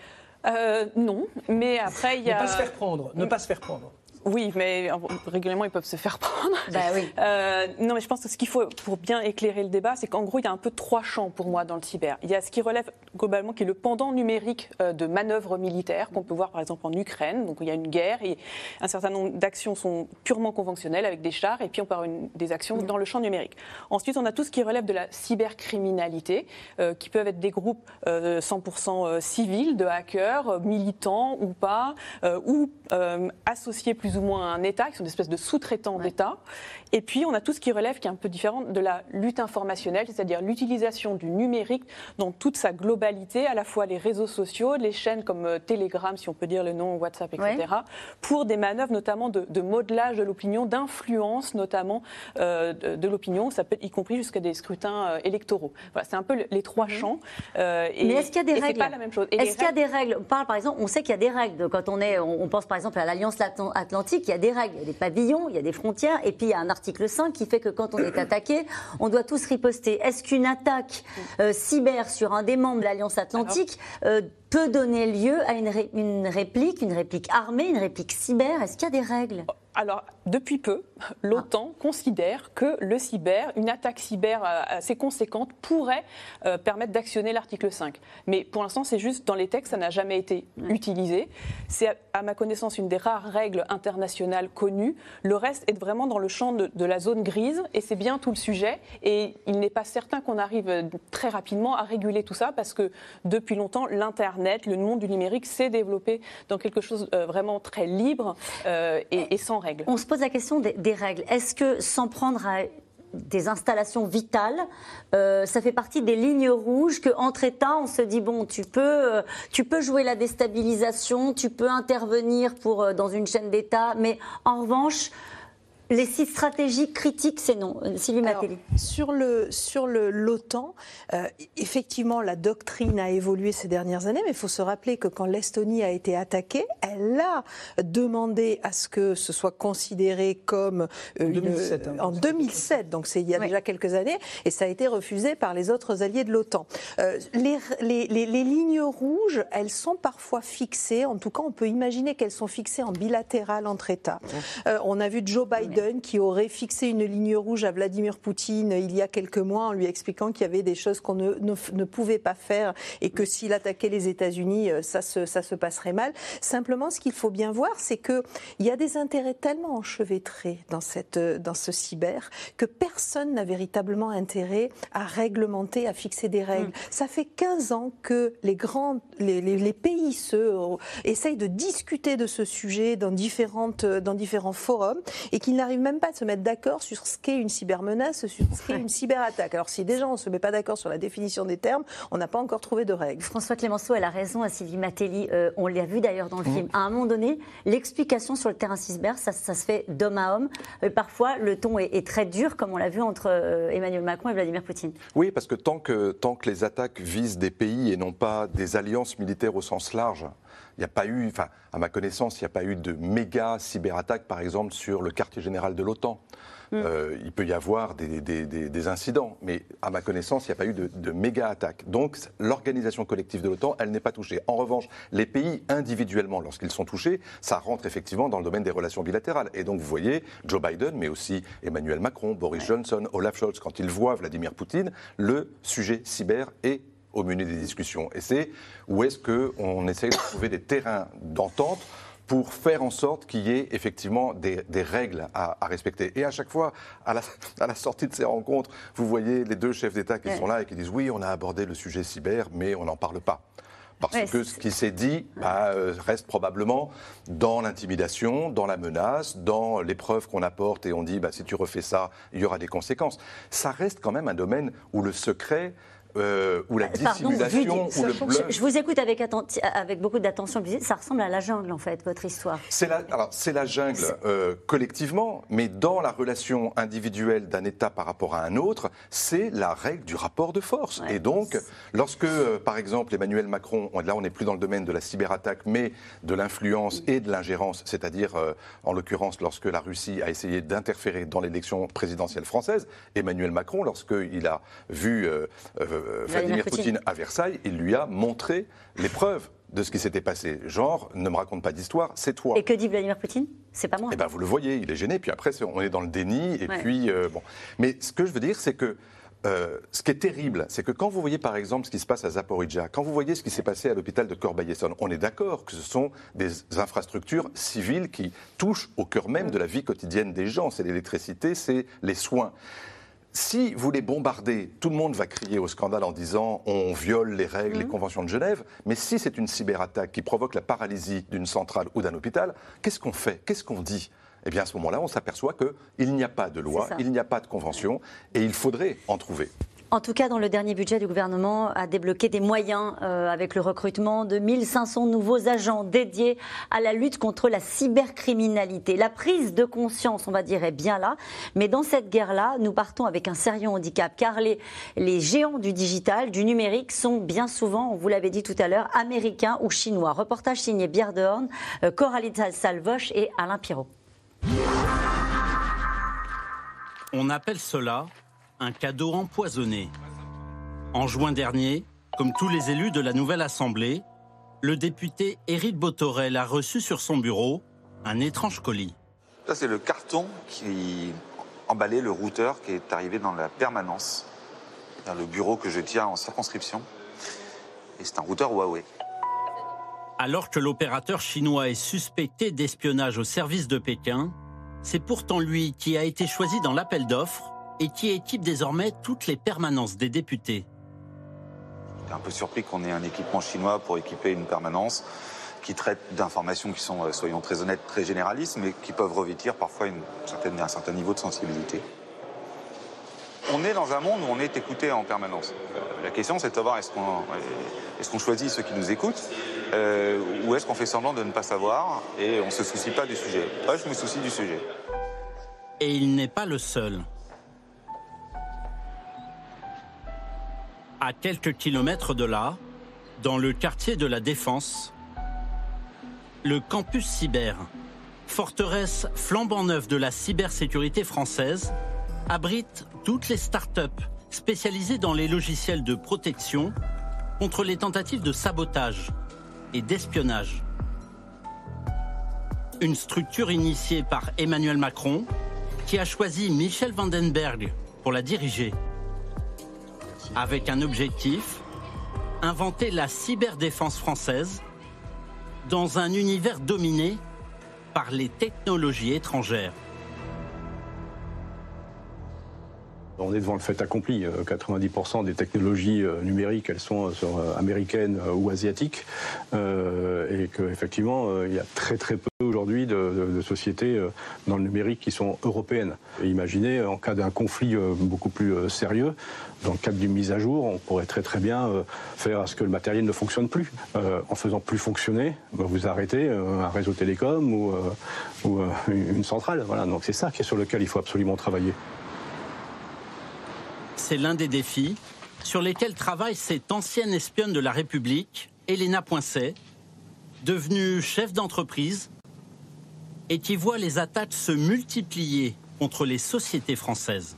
Non, mais après il y a... Ne pas se faire prendre. Oui, mais régulièrement, ils peuvent se faire prendre. Non, mais je pense que ce qu'il faut, pour bien éclairer le débat, c'est qu'en gros, il y a un peu 3 champs pour moi dans le cyber. Il y a ce qui relève globalement, qui est le pendant numérique de manœuvres militaires, qu'on peut voir par exemple en Ukraine. Donc il y a une guerre et un certain nombre d'actions sont purement conventionnelles avec des chars, et puis on peut avoir des actions dans le champ numérique. Ensuite, on a tout ce qui relève de la cybercriminalité, qui peuvent être des groupes 100% civils, de hackers, militants ou pas, ou associés plus ou moins à un État, qui sont des espèces de sous-traitants d'État. Et puis, on a tout ce qui relève, qui est un peu différent de la lutte informationnelle, c'est-à-dire l'utilisation du numérique dans toute sa globalité, à la fois les réseaux sociaux, les chaînes comme Telegram, si on peut dire le nom, WhatsApp, etc., pour des manœuvres notamment de modelage de l'opinion, d'influence notamment de l'opinion, ça peut, y compris jusqu'à des scrutins électoraux. Voilà, c'est un peu les 3 champs. Mais est-ce qu'il y a des règles ? C'est pas la même chose. Est-ce qu'il y a des règles ? On parle, par exemple, on sait qu'il y a des règles. Quand on pense par exemple à l'Alliance Atlantique, il y a des règles, il y a des pavillons, il y a des frontières, et puis il y a un article 5 qui fait que quand on est attaqué, on doit tous riposter. Est-ce qu'une attaque cyber sur un des membres de l'Alliance Atlantique peut donner lieu à une réplique armée, une réplique cyber ? Est-ce qu'il y a des règles ? Alors, depuis peu, l'OTAN considère que le cyber, une attaque cyber assez conséquente, pourrait permettre d'actionner l'article 5. Mais pour l'instant, c'est juste dans les textes, ça n'a jamais été utilisé. C'est, à ma connaissance, une des rares règles internationales connues. Le reste est vraiment dans le champ de la zone grise, et c'est bien tout le sujet. Et il n'est pas certain qu'on arrive très rapidement à réguler tout ça, parce que depuis longtemps, l'Internet, le monde du numérique s'est développé dans quelque chose vraiment très libre et sans règles. On se pose la question des règles. Est-ce que s'en prendre à des installations vitales, ça fait partie des lignes rouges qu'entre États, on se dit, bon, tu peux jouer la déstabilisation, tu peux intervenir dans une chaîne d'État, mais en revanche, les sites stratégiques critiques, c'est non. Sylvie Matelli. Sur l'OTAN, effectivement, la doctrine a évolué ces dernières années, mais il faut se rappeler que quand l'Estonie a été attaquée, elle a demandé à ce que ce soit considéré comme en 2007, donc c'est il y a déjà quelques années, et ça a été refusé par les autres alliés de l'OTAN. Les lignes rouges, elles sont parfois fixées, en tout cas on peut imaginer qu'elles sont fixées en bilatéral entre États. On a vu Joe Biden qui aurait fixé une ligne rouge à Vladimir Poutine il y a quelques mois en lui expliquant qu'il y avait des choses qu'on ne pouvait pas faire et que s'il attaquait les États-Unis, ça se passerait mal. Simplement, ce qu'il faut bien voir, c'est qu'il y a des intérêts tellement enchevêtrés dans ce cyber que personne n'a véritablement intérêt à réglementer, à fixer des règles. Ça fait 15 ans que les pays essayent de discuter de ce sujet dans différents forums et qu'ils n'arrivent même pas à se mettre d'accord sur ce qu'est une cybermenace, sur ce qu'est une cyberattaque. Alors si déjà on ne se met pas d'accord sur la définition des termes, on n'a pas encore trouvé de règles. François Clémenceau, elle a raison, à Sylvie Matelli, on l'a vu d'ailleurs dans le film. À un moment donné, l'explication sur le terrain cyber, ça se fait d'homme à homme. Parfois, le ton est très dur, comme on l'a vu entre Emmanuel Macron et Vladimir Poutine. Oui, parce que tant que les attaques visent des pays et non pas des alliances militaires au sens large, il n'y a pas eu, à ma connaissance, il n'y a pas eu de méga cyberattaque, par exemple, sur le quartier général de l'OTAN. Il peut y avoir des incidents, mais à ma connaissance, il n'y a pas eu de méga attaque. Donc, l'organisation collective de l'OTAN, elle n'est pas touchée. En revanche, les pays individuellement, lorsqu'ils sont touchés, ça rentre effectivement dans le domaine des relations bilatérales. Et donc, vous voyez, Joe Biden, mais aussi Emmanuel Macron, Boris Johnson, Olaf Scholz, quand ils voient Vladimir Poutine, le sujet cyber est au menu des discussions. Et c'est où est-ce qu'on essaye de trouver des terrains d'entente pour faire en sorte qu'il y ait effectivement des règles à respecter. Et à chaque fois, à la sortie de ces rencontres, vous voyez les deux chefs d'État qui sont là et qui disent « Oui, on a abordé le sujet cyber, mais on n'en parle pas ». Parce que ce qui s'est dit reste probablement dans l'intimidation, dans la menace, dans les preuves qu'on apporte et on dit si tu refais ça, il y aura des conséquences. Ça reste quand même un domaine où le secret... ou la dissimulation, ou le bluff. Je vous écoute avec beaucoup d'attention. Ça ressemble à la jungle, en fait, votre histoire. C'est la jungle collectivement, mais dans la relation individuelle d'un État par rapport à un autre, c'est la règle du rapport de force. Et donc, lorsque, par exemple, Emmanuel Macron, là on n'est plus dans le domaine de la cyberattaque, mais de l'influence et de l'ingérence, c'est-à-dire, en l'occurrence, lorsque la Russie a essayé d'interférer dans l'élection présidentielle française, Emmanuel Macron, lorsqu'il a vu... Vladimir Poutine à Versailles, il lui a montré les preuves de ce qui s'était passé. Genre, ne me raconte pas d'histoire, c'est toi. Et que dit Vladimir Poutine? C'est pas moi. Eh bien, vous le voyez, il est gêné, puis après, on est dans le déni, et puis, bon. Mais ce que je veux dire, c'est que ce qui est terrible, c'est que quand vous voyez, par exemple, ce qui se passe à Zaporijjia, quand vous voyez ce qui s'est passé à l'hôpital de Corbeil-Essonnes, on est d'accord que ce sont des infrastructures civiles qui touchent au cœur même de la vie quotidienne des gens. C'est l'électricité, c'est les soins. Si vous les bombardez, tout le monde va crier au scandale en disant on viole les règles, les conventions de Genève. Mais si c'est une cyberattaque qui provoque la paralysie d'une centrale ou d'un hôpital, qu'est-ce qu'on fait? Qu'est-ce qu'on dit? Eh bien, à ce moment-là, on s'aperçoit qu'il n'y a pas de loi, il n'y a pas de convention, et il faudrait en trouver. En tout cas, dans le dernier budget du gouvernement, a débloqué des moyens avec le recrutement de 1500 nouveaux agents dédiés à la lutte contre la cybercriminalité. La prise de conscience, on va dire, est bien là. Mais dans cette guerre-là, nous partons avec un sérieux handicap. Car les géants du digital, du numérique, sont bien souvent, on vous l'avait dit tout à l'heure, américains ou chinois. Reportage signé Pierre Dehorn, Coralie Salvoche et Alain Pirot. On appelle cela un cadeau empoisonné. En juin dernier, comme tous les élus de la nouvelle Assemblée, le député Éric Bothorel a reçu sur son bureau un étrange colis. Ça, c'est le carton qui emballait le routeur qui est arrivé dans la permanence, dans le bureau que je tiens en circonscription. Et c'est un routeur Huawei. Alors que l'opérateur chinois est suspecté d'espionnage au service de Pékin, c'est pourtant lui qui a été choisi dans l'appel d'offres et qui équipe désormais toutes les permanences des députés. J'étais un peu surpris qu'on ait un équipement chinois pour équiper une permanence qui traite d'informations qui sont, soyons très honnêtes, très généralistes, mais qui peuvent revêtir parfois un certain niveau de sensibilité. On est dans un monde où on est écouté en permanence. La question, c'est de savoir est-ce qu'on choisit ceux qui nous écoutent ou est-ce qu'on fait semblant de ne pas savoir et on ne se soucie pas du sujet. Moi, je me soucie du sujet. Et il n'est pas le seul. À quelques kilomètres de là, dans le quartier de la Défense, le campus cyber, forteresse flambant neuve de la cybersécurité française, abrite toutes les start-up spécialisées dans les logiciels de protection contre les tentatives de sabotage et d'espionnage. Une structure initiée par Emmanuel Macron qui a choisi Michel Vandenberg pour la diriger. Avec un objectif, inventer la cyberdéfense française dans un univers dominé par les technologies étrangères. On est devant le fait accompli. 90% des technologies numériques, elles sont américaines ou asiatiques. Et qu'effectivement, il y a très très peu aujourd'hui de sociétés dans le numérique qui sont européennes. Et imaginez, en cas d'un conflit beaucoup plus sérieux, dans le cadre d'une mise à jour, on pourrait très très bien faire à ce que le matériel ne fonctionne plus. En faisant plus fonctionner, vous arrêtez un réseau télécom ou une centrale. Voilà. Donc c'est ça sur lequel il faut absolument travailler. C'est l'un des défis sur lesquels travaille cette ancienne espionne de la République, Elena Poincet, devenue chef d'entreprise et qui voit les attaques se multiplier contre les sociétés françaises.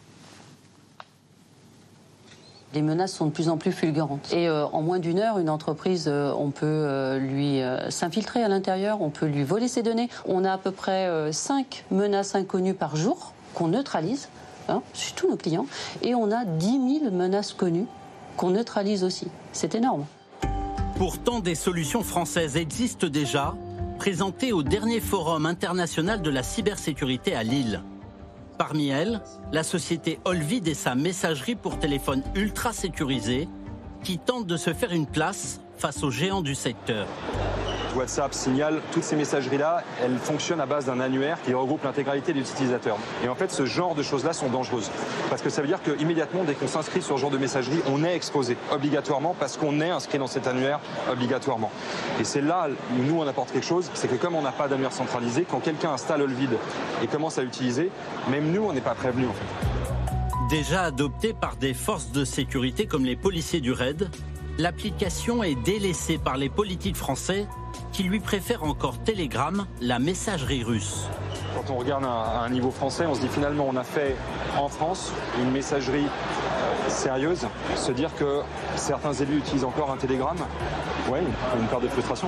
Les menaces sont de plus en plus fulgurantes. Et en moins d'une heure, une entreprise, on peut lui s'infiltrer à l'intérieur, on peut lui voler ses données. On a à peu près 5 menaces inconnues par jour qu'on neutralise. Chez tous nos clients, et on a 10 000 menaces connues qu'on neutralise aussi. C'est énorme. Pourtant, des solutions françaises existent déjà, présentées au dernier Forum international de la cybersécurité à Lille. Parmi elles, la société Olvid et sa messagerie pour téléphone ultra sécurisée, qui tente de se faire une place face aux géants du secteur. WhatsApp, Signal, toutes ces messageries-là, elles fonctionnent à base d'un annuaire qui regroupe l'intégralité des utilisateurs. Et en fait, ce genre de choses-là sont dangereuses. Parce que ça veut dire qu'immédiatement, dès qu'on s'inscrit sur ce genre de messagerie, on est exposé, obligatoirement, parce qu'on est inscrit dans cet annuaire, obligatoirement. Et c'est là où nous, on apporte quelque chose, c'est que comme on n'a pas d'annuaire centralisé, quand quelqu'un installe Olvid et commence à l'utiliser, même nous, on n'est pas prévenus, en fait. Déjà adoptée par des forces de sécurité comme les policiers du RAID, l'application est délaissée par les politiques français qui lui préfèrent encore Telegram, la messagerie russe. Quand on regarde à un niveau français, on se dit finalement on a fait en France une messagerie sérieuse. Se dire que certains élus utilisent encore un Telegram, ouais, une part de frustration.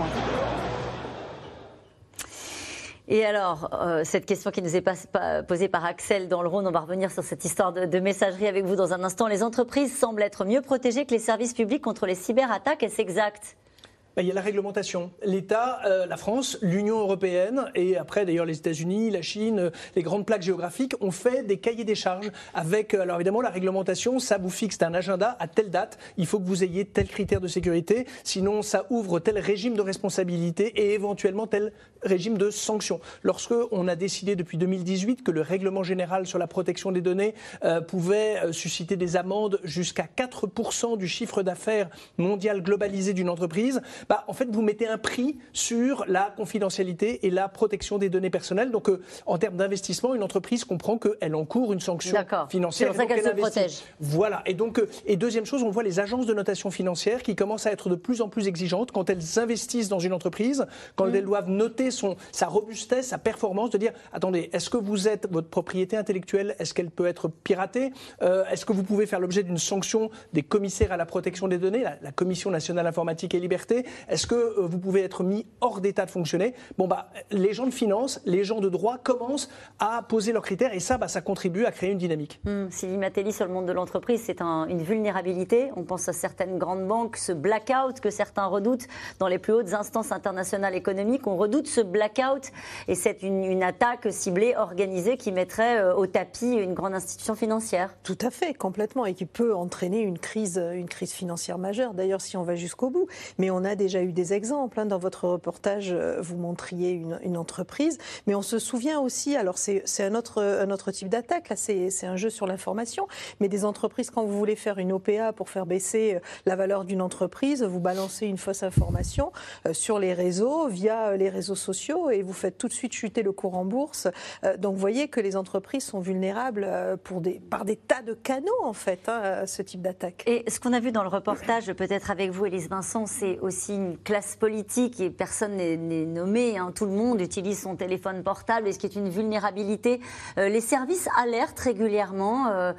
Et alors, cette question qui nous est posée par Axel dans le Rhône, on va revenir sur cette histoire de messagerie avec vous dans un instant. Les entreprises semblent être mieux protégées que les services publics contre les cyberattaques, est-ce exact ? Il y a la réglementation. L'État, la France, l'Union européenne et après d'ailleurs les États-Unis, la Chine, les grandes plaques géographiques ont fait des cahiers des charges avec, alors évidemment la réglementation, ça vous fixe un agenda à telle date, il faut que vous ayez tel critère de sécurité, sinon ça ouvre tel régime de responsabilité et éventuellement tel régime de sanctions. Lorsque on a décidé depuis 2018 que le règlement général sur la protection des données pouvait susciter des amendes jusqu'à 4% du chiffre d'affaires mondial globalisé d'une entreprise, en fait, vous mettez un prix sur la confidentialité et la protection des données personnelles. Donc, en termes d'investissement, une entreprise comprend qu'elle encourt une sanction financière. C'est pour ça qu'elle se protège. Voilà. Et donc, et deuxième chose, on voit les agences de notation financière qui commencent à être de plus en plus exigeantes quand elles investissent dans une entreprise, quand elles doivent noter sa robustesse, sa performance, de dire, attendez, est-ce que votre propriété intellectuelle, est-ce qu'elle peut être piratée ? Est-ce que vous pouvez faire l'objet d'une sanction des commissaires à la protection des données, la Commission nationale informatique et liberté ? Est-ce que vous pouvez être mis hors d'état de fonctionner ? Les gens de finance, les gens de droit commencent à poser leurs critères et ça contribue à créer une dynamique. Sylvie Matelli, sur le monde de l'entreprise, c'est une vulnérabilité. On pense à certaines grandes banques, ce blackout que certains redoutent dans les plus hautes instances internationales économiques. On redoute ce blackout et c'est une attaque ciblée, organisée qui mettrait au tapis une grande institution financière. Tout à fait, complètement, et qui peut entraîner une crise financière majeure, d'ailleurs si on va jusqu'au bout. Mais on a déjà eu des exemples. Dans votre reportage, vous montriez une entreprise, mais on se souvient aussi, alors c'est un autre type d'attaque, là c'est un jeu sur l'information, mais des entreprises, quand vous voulez faire une OPA pour faire baisser la valeur d'une entreprise, vous balancez une fausse information sur les réseaux, via les réseaux sociaux, et vous faites tout de suite chuter le cours en bourse. Donc vous voyez que les entreprises sont vulnérables par des tas de canaux, en fait, à ce type d'attaque. Et ce qu'on a vu dans le reportage, peut-être avec vous, Élise Vincent, c'est aussi une classe politique et personne n'est nommé. Tout le monde utilise son téléphone portable et ce qui est une vulnérabilité. Les services alertent régulièrement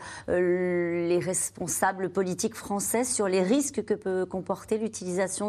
les responsables politiques français sur les risques que peut comporter l'utilisation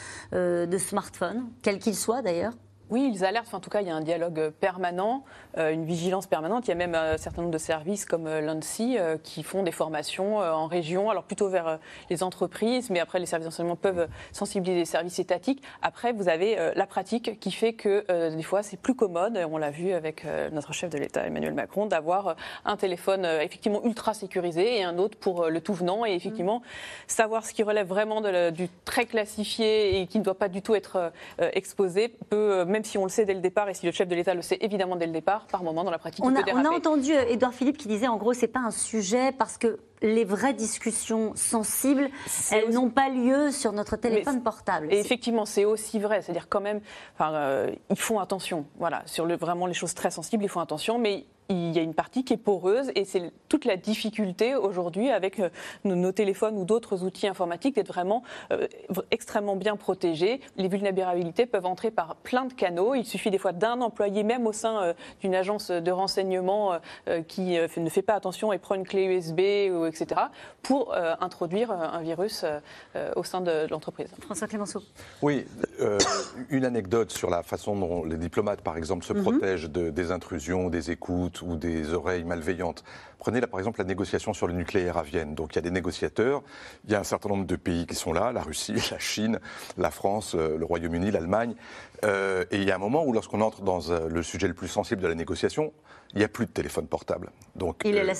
de smartphones, quels qu'ils soient d'ailleurs. Oui, ils alertent. En tout cas, il y a un dialogue permanent, une vigilance permanente. Il y a même un certain nombre de services comme l'ANSSI qui font des formations en région, alors plutôt vers les entreprises, mais après les services d'enseignement peuvent sensibiliser les services étatiques. Après, vous avez la pratique qui fait que des fois, c'est plus commode, on l'a vu avec notre chef de l'État, Emmanuel Macron, d'avoir un téléphone effectivement ultra sécurisé et un autre pour le tout venant. Et effectivement, savoir ce qui relève vraiment du très classifié et qui ne doit pas du tout être exposé peut, même si on le sait dès le départ et si le chef de l'État le sait évidemment dès le départ, par moment dans la pratique, il peut déraper. On a entendu Édouard Philippe qui disait en gros c'est pas un sujet parce que les vraies discussions sensibles, elles n'ont pas lieu sur notre téléphone portable. Et effectivement, c'est aussi vrai. C'est-à-dire quand même, ils font attention. Voilà, sur vraiment les choses très sensibles, ils font attention, mais il y a une partie qui est poreuse et c'est toute la difficulté aujourd'hui avec nos téléphones ou d'autres outils informatiques d'être vraiment extrêmement bien protégés. Les vulnérabilités peuvent entrer par plein de canaux. Il suffit des fois d'un employé, même au sein d'une agence de renseignement qui ne fait pas attention et prend une clé USB, etc., pour introduire un virus au sein de l'entreprise. François Clémenceau. Oui, une anecdote sur la façon dont les diplomates, par exemple, se protègent des intrusions, des écoutes ou des oreilles malveillantes. Prenez là, par exemple, la négociation sur le nucléaire à Vienne. Donc il y a des négociateurs, il y a un certain nombre de pays qui sont là, la Russie, la Chine, la France, le Royaume-Uni, l'Allemagne. Et il y a un moment où, lorsqu'on entre dans le sujet le plus sensible de la négociation, il n'y a plus de téléphone portable. Donc, il les laisse à l'entrée ?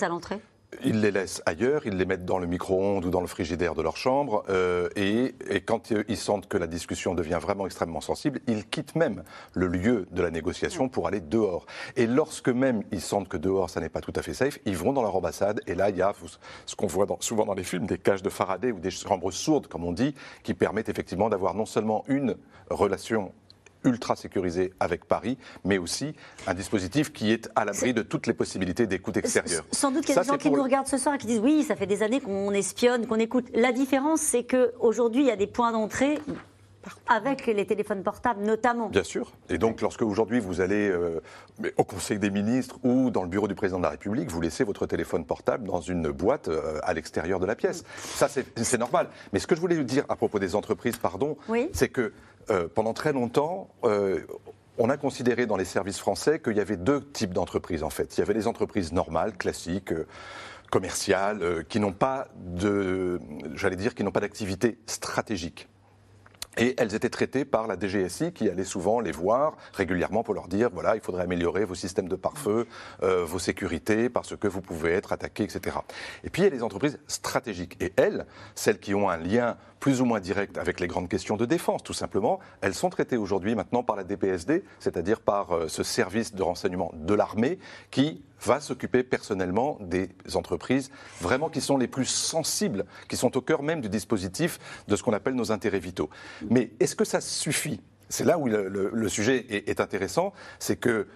ils les laissent ailleurs, ils les mettent dans le micro-ondes ou dans le frigidaire de leur chambre et quand ils sentent que la discussion devient vraiment extrêmement sensible, ils quittent même le lieu de la négociation pour aller dehors. Et lorsque même ils sentent que dehors ça n'est pas tout à fait safe, ils vont dans leur ambassade et là il y a ce qu'on voit souvent dans les films, des cages de Faraday ou des chambres sourdes comme on dit, qui permettent effectivement d'avoir non seulement une relation ultra sécurisé avec Paris, mais aussi un dispositif qui est à l'abri de toutes les possibilités d'écoute extérieure. Sans doute qu'il y a des gens qui nous regardent ce soir et qui disent oui, ça fait des années qu'on espionne, qu'on écoute. La différence, c'est qu'aujourd'hui, il y a des points d'entrée avec les téléphones portables notamment. Bien sûr. Et donc, lorsque aujourd'hui vous allez au Conseil des ministres ou dans le bureau du président de la République, vous laissez votre téléphone portable dans une boîte à l'extérieur de la pièce. Ça, c'est normal. Mais ce que je voulais dire à propos des entreprises, c'est que pendant très longtemps, on a considéré dans les services français qu'il y avait deux types d'entreprises en fait. Il y avait les entreprises normales, classiques, commerciales, qui n'ont pas d'activité stratégique. Et elles étaient traitées par la DGSI qui allait souvent les voir régulièrement pour leur dire voilà, il faudrait améliorer vos systèmes de pare-feu, vos sécurités parce que vous pouvez être attaqué, etc. Et puis il y a les entreprises stratégiques. Et elles, celles qui ont un lien plus ou moins direct avec les grandes questions de défense, tout simplement, elles sont traitées aujourd'hui maintenant par la DPSD, c'est-à-dire par ce service de renseignement de l'armée qui va s'occuper personnellement des entreprises vraiment qui sont les plus sensibles, qui sont au cœur même du dispositif de ce qu'on appelle nos intérêts vitaux. Mais est-ce que ça suffit ? C'est là où le sujet est intéressant, c'est que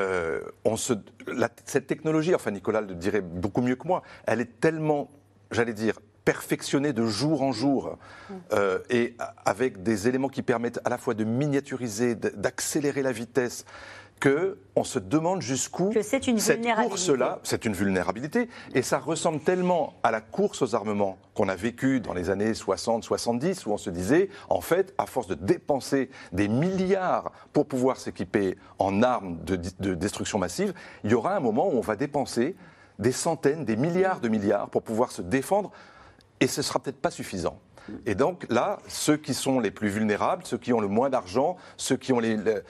cette technologie, enfin Nicolas le dirait beaucoup mieux que moi, elle est tellement, perfectionnée de jour en jour et avec des éléments qui permettent à la fois de miniaturiser, d'accélérer la vitesse, qu'on se demande jusqu'où cette course-là, c'est une vulnérabilité, et ça ressemble tellement à la course aux armements qu'on a vécue dans les années 60-70, où on se disait, en fait, à force de dépenser des milliards pour pouvoir s'équiper en armes de destruction massive, il y aura un moment où on va dépenser des centaines, des milliards de milliards pour pouvoir se défendre, et ce ne sera peut-être pas suffisant. Et donc là, ceux qui sont les plus vulnérables, ceux qui ont le moins d'argent, ceux qui ont une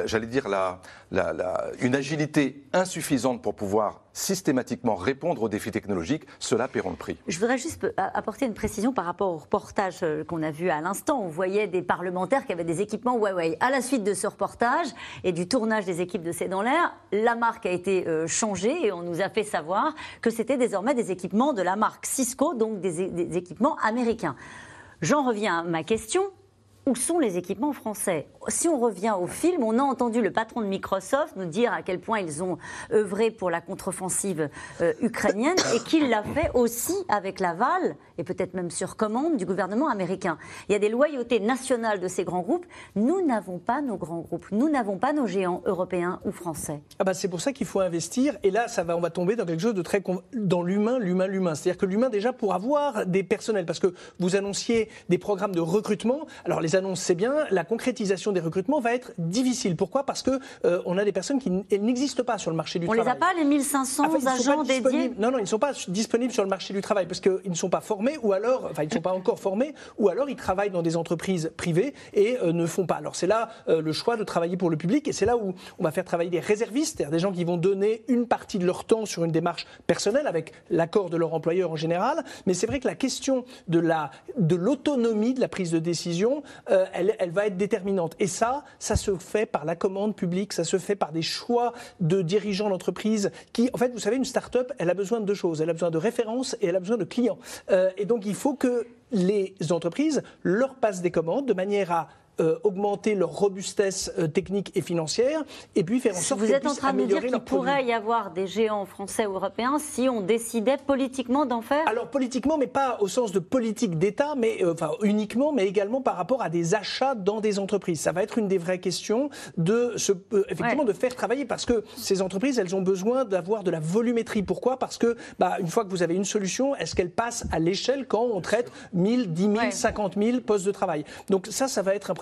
agilité insuffisante pour pouvoir systématiquement répondre aux défis technologiques, ceux-là paieront le prix. Je voudrais juste apporter une précision par rapport au reportage qu'on a vu à l'instant. On voyait des parlementaires qui avaient des équipements Huawei. À la suite de ce reportage et du tournage des équipes de C'est dans l'air, la marque a été changée et on nous a fait savoir que c'était désormais des équipements de la marque Cisco, donc des équipements américains. J'en reviens à ma question. Où sont les équipements français ? Si on revient au film, on a entendu le patron de Microsoft nous dire à quel point ils ont œuvré pour la contre-offensive ukrainienne et qu'il l'a fait aussi avec l'aval et peut-être même sur commande du gouvernement américain. Il y a des loyautés nationales de ces grands groupes. Nous n'avons pas nos grands groupes. Nous n'avons pas nos géants européens ou français. C'est pour ça qu'il faut investir. Et là, on va tomber dans quelque chose de très... dans l'humain. C'est-à-dire que l'humain, déjà, pour avoir des personnels, parce que vous annonciez des programmes de recrutement. Alors, les annonces, c'est bien. La concrétisation des recrutements va être difficile. Pourquoi ? Parce que on a des personnes qui n'existent pas sur le marché du travail. On les a pas, les 1500 agents dédiés ? Non, ils ne sont pas disponibles sur le marché du travail parce qu'ils ne sont pas formés ou alors, ils ne sont pas encore formés ou alors ils travaillent dans des entreprises privées et ne font pas. Alors c'est là le choix de travailler pour le public et c'est là où on va faire travailler des réservistes, c'est-à-dire des gens qui vont donner une partie de leur temps sur une démarche personnelle avec l'accord de leur employeur en général. Mais c'est vrai que la question de l'autonomie de la prise de décision, elle va être déterminante. Et ça se fait par la commande publique, ça se fait par des choix de dirigeants d'entreprise qui, en fait, vous savez, une start-up, elle a besoin de deux choses. Elle a besoin de références et elle a besoin de clients. Et donc, il faut que les entreprises leur passent des commandes de manière à augmenter leur robustesse technique et financière et puis faire en sorte Vous êtes en train de nous dire qu'il pourrait y avoir des géants français ou européens si on décidait politiquement d'en faire ? Alors politiquement, mais pas au sens de politique d'État, mais uniquement, mais également par rapport à des achats dans des entreprises. Ça va être une des vraies questions effectivement de faire travailler parce que ces entreprises, elles ont besoin d'avoir de la volumétrie. Pourquoi ? Parce que une fois que vous avez une solution, est-ce qu'elle passe à l'échelle quand on traite 1000, 10 000, 50 000 postes de travail ? Donc ça va être un premier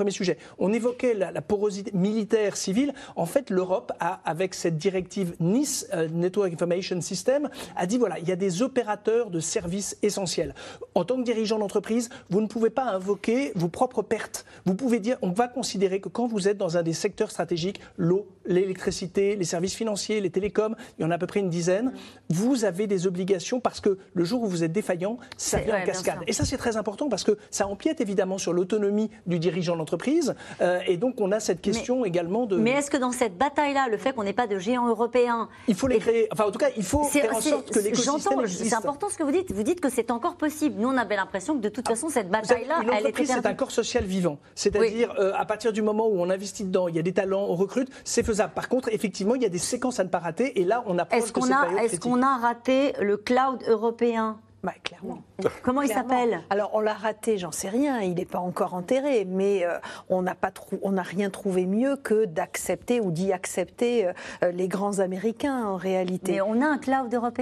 premier sujet. On évoquait la porosité militaire, civile. En fait, l'Europe a, avec cette directive NIS, Network Information System, a dit voilà, il y a des opérateurs de services essentiels. En tant que dirigeant d'entreprise, vous ne pouvez pas invoquer vos propres pertes. Vous pouvez dire, on va considérer que quand vous êtes dans un des secteurs stratégiques, l'eau, l'électricité, les services financiers, les télécoms, il y en a à peu près une dizaine, vous avez des obligations parce que le jour où vous êtes défaillant, ça vient en cascade. Et ça, c'est très important parce que ça empiète évidemment sur l'autonomie du dirigeant d'entreprise. Et donc, on a cette question également de... Mais est-ce que dans cette bataille-là, le fait qu'on n'ait pas de géants européens... Il faut les créer. Enfin, en tout cas, il faut faire en sorte que l'écosystème existe. C'est important ce que vous dites. Vous dites que c'est encore possible. Nous, on avait l'impression que de toute façon, cette bataille-là, elle était L'entreprise, c'est un corps social vivant. C'est-à-dire, à partir du moment où on investit dedans, il y a des talents, on recrute, c'est faisable. Par contre, effectivement, il y a des séquences à ne pas rater. Et là, on approche de cette période critique. Est-ce qu'on a raté le cloud européen ? Clairement. Comment il s'appelle ? Alors, on l'a raté, j'en sais rien, il n'est pas encore enterré, mais on n'a rien trouvé mieux que d'accepter ou d'y accepter les grands Américains, en réalité. Mais on a un cloud européen ?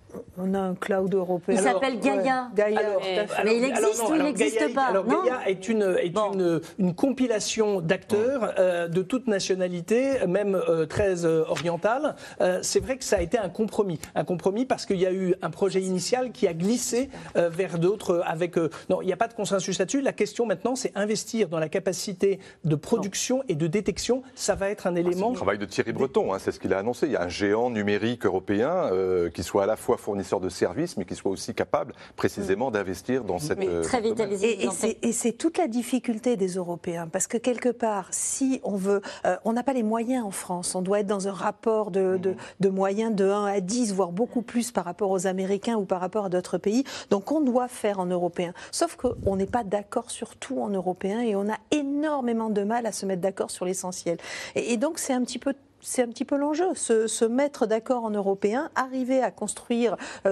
On a un cloud européen. Il s'appelle Gaia. Mais il existe ou il n'existe pas ? Alors Gaia est une compilation d'acteurs de toute nationalité, même très orientale. C'est vrai que ça a été un compromis parce qu'il y a eu un projet initial qui a glissé vers d'autres. Non, il n'y a pas de consensus là-dessus. La question maintenant, c'est investir dans la capacité de production et de détection. Ça va être un élément. C'est le travail de Thierry Breton, c'est ce qu'il a annoncé. Il y a un géant numérique européen qui soit à la fois fournisseur de services, mais qui soit aussi capable précisément d'investir dans cette... Très vitalisé. Et c'est toute la difficulté des Européens, parce que quelque part, si on veut... on n'a pas les moyens en France, on doit être dans un rapport de moyens de 1 à 10, voire beaucoup plus par rapport aux Américains ou par rapport à d'autres pays, donc on doit faire en européen. Sauf qu'on n'est pas d'accord sur tout en européen et on a énormément de mal à se mettre d'accord sur l'essentiel. Et donc c'est un petit peu l'enjeu, se mettre d'accord en européen, arriver à construire,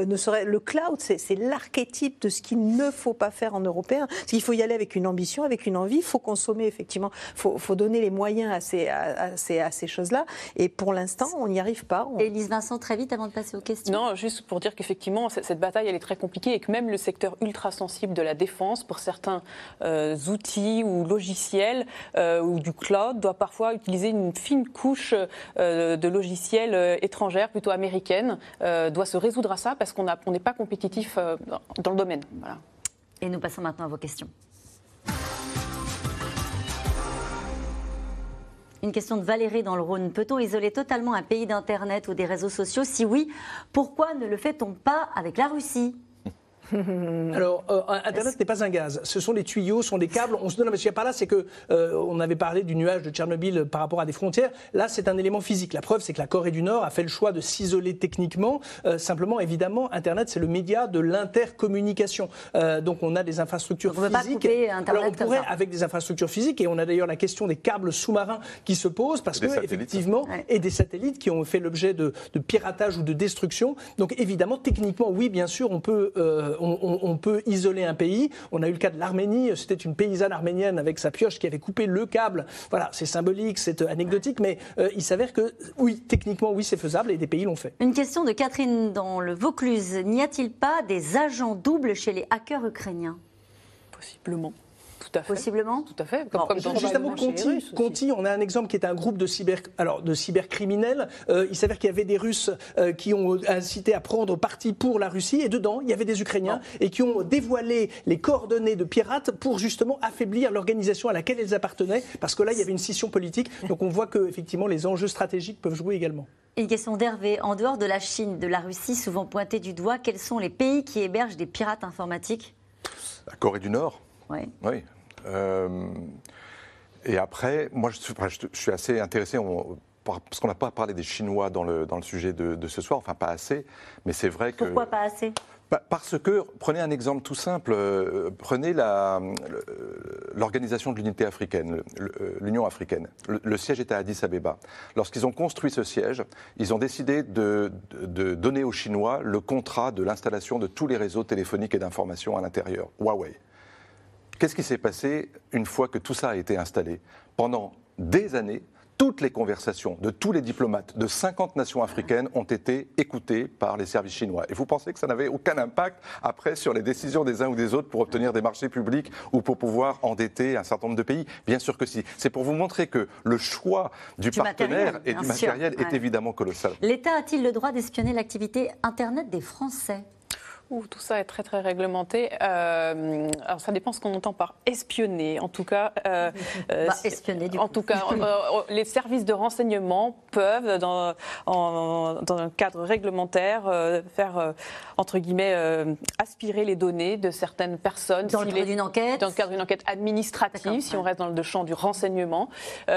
le cloud, c'est l'archétype de ce qu'il ne faut pas faire en européen. Il faut y aller avec une ambition, avec une envie, il faut consommer effectivement, il faut donner les moyens à ces choses-là. Et pour l'instant, on n'y arrive pas. Élise Vincent, très vite avant de passer aux questions. Non, juste pour dire qu'effectivement, cette bataille, elle est très compliquée et que même le secteur ultra sensible de la défense, pour certains outils ou logiciels ou du cloud, doit parfois utiliser une fine couche de logiciels étrangères, plutôt américaines, doit se résoudre à ça parce qu'on n'est pas compétitif dans le domaine. Voilà. Et nous passons maintenant à vos questions. Une question de Valérie dans le Rhône. Peut-on isoler totalement un pays d'Internet ou des réseaux sociaux ? Si oui, pourquoi ne le fait-on pas avec la Russie ? Alors, Internet n'est pas un gaz. Ce sont des tuyaux, ce sont des câbles. On se donne, mais ce qu'il y a par là, c'est que on avait parlé du nuage de Tchernobyl par rapport à des frontières. Là, c'est un élément physique. La preuve, c'est que la Corée du Nord a fait le choix de s'isoler techniquement. Simplement, évidemment, Internet, c'est le média de l'intercommunication. Donc, on a des infrastructures physiques. On ne peut pas couper Internet. Alors, on pourrait, avec des infrastructures physiques, et on a d'ailleurs la question des câbles sous-marins qui se posent, parce que, effectivement, et des satellites qui ont fait l'objet de piratage ou de destruction. Donc, évidemment, techniquement, oui, bien sûr, on peut isoler un pays. On a eu le cas de l'Arménie. C'était une paysanne arménienne avec sa pioche qui avait coupé le câble. Voilà, c'est symbolique, c'est anecdotique, mais il s'avère que, oui, techniquement, oui, c'est faisable et des pays l'ont fait. Une question de Catherine dans le Vaucluse. N'y a-t-il pas des agents doubles chez les hackers ukrainiens ? Possiblement. Tout à fait. Possiblement. Tout à fait. Comme justement, Conti, on a un exemple qui est un groupe de cybercriminels. Il s'avère qu'il y avait des Russes qui ont incité à prendre parti pour la Russie, et dedans, il y avait des Ukrainiens et qui ont dévoilé les coordonnées de pirates pour justement affaiblir l'organisation à laquelle ils appartenaient, parce que là, il y avait une scission politique. Donc on voit que effectivement, les enjeux stratégiques peuvent jouer également. Une question d'Hervé. En dehors de la Chine, de la Russie, souvent pointée du doigt, quels sont les pays qui hébergent des pirates informatiques ? La Corée du Nord. Oui. Et après, moi, je suis assez intéressé, parce qu'on n'a pas parlé des Chinois dans le sujet de ce soir, enfin pas assez, mais c'est vrai que... Pourquoi pas assez ? Parce que, prenez un exemple tout simple, prenez l'Organisation de l'Unité africaine, l'Union africaine. Le siège était à Addis Abeba. Lorsqu'ils ont construit ce siège, ils ont décidé de donner aux Chinois le contrat de l'installation de tous les réseaux téléphoniques et d'information à l'intérieur, Huawei. Qu'est-ce qui s'est passé une fois que tout ça a été installé ? Pendant des années, toutes les conversations de tous les diplomates de 50 nations africaines ont été écoutées par les services chinois. Et vous pensez que ça n'avait aucun impact après sur les décisions des uns ou des autres pour obtenir des marchés publics ou pour pouvoir endetter un certain nombre de pays? Bien sûr que si. C'est pour vous montrer que le choix du partenaire et du matériel est évidemment colossal. L'État a-t-il le droit d'espionner l'activité Internet des Français ? Tout ça est très très réglementé. Alors ça dépend ce qu'on entend par espionner. En tout cas, espionner du coup. En tout cas, les services de renseignement peuvent, dans un cadre réglementaire, faire entre guillemets aspirer les données de certaines personnes dans le cadre d'une enquête. Dans le cadre d'une enquête administrative, si on reste dans le champ du renseignement,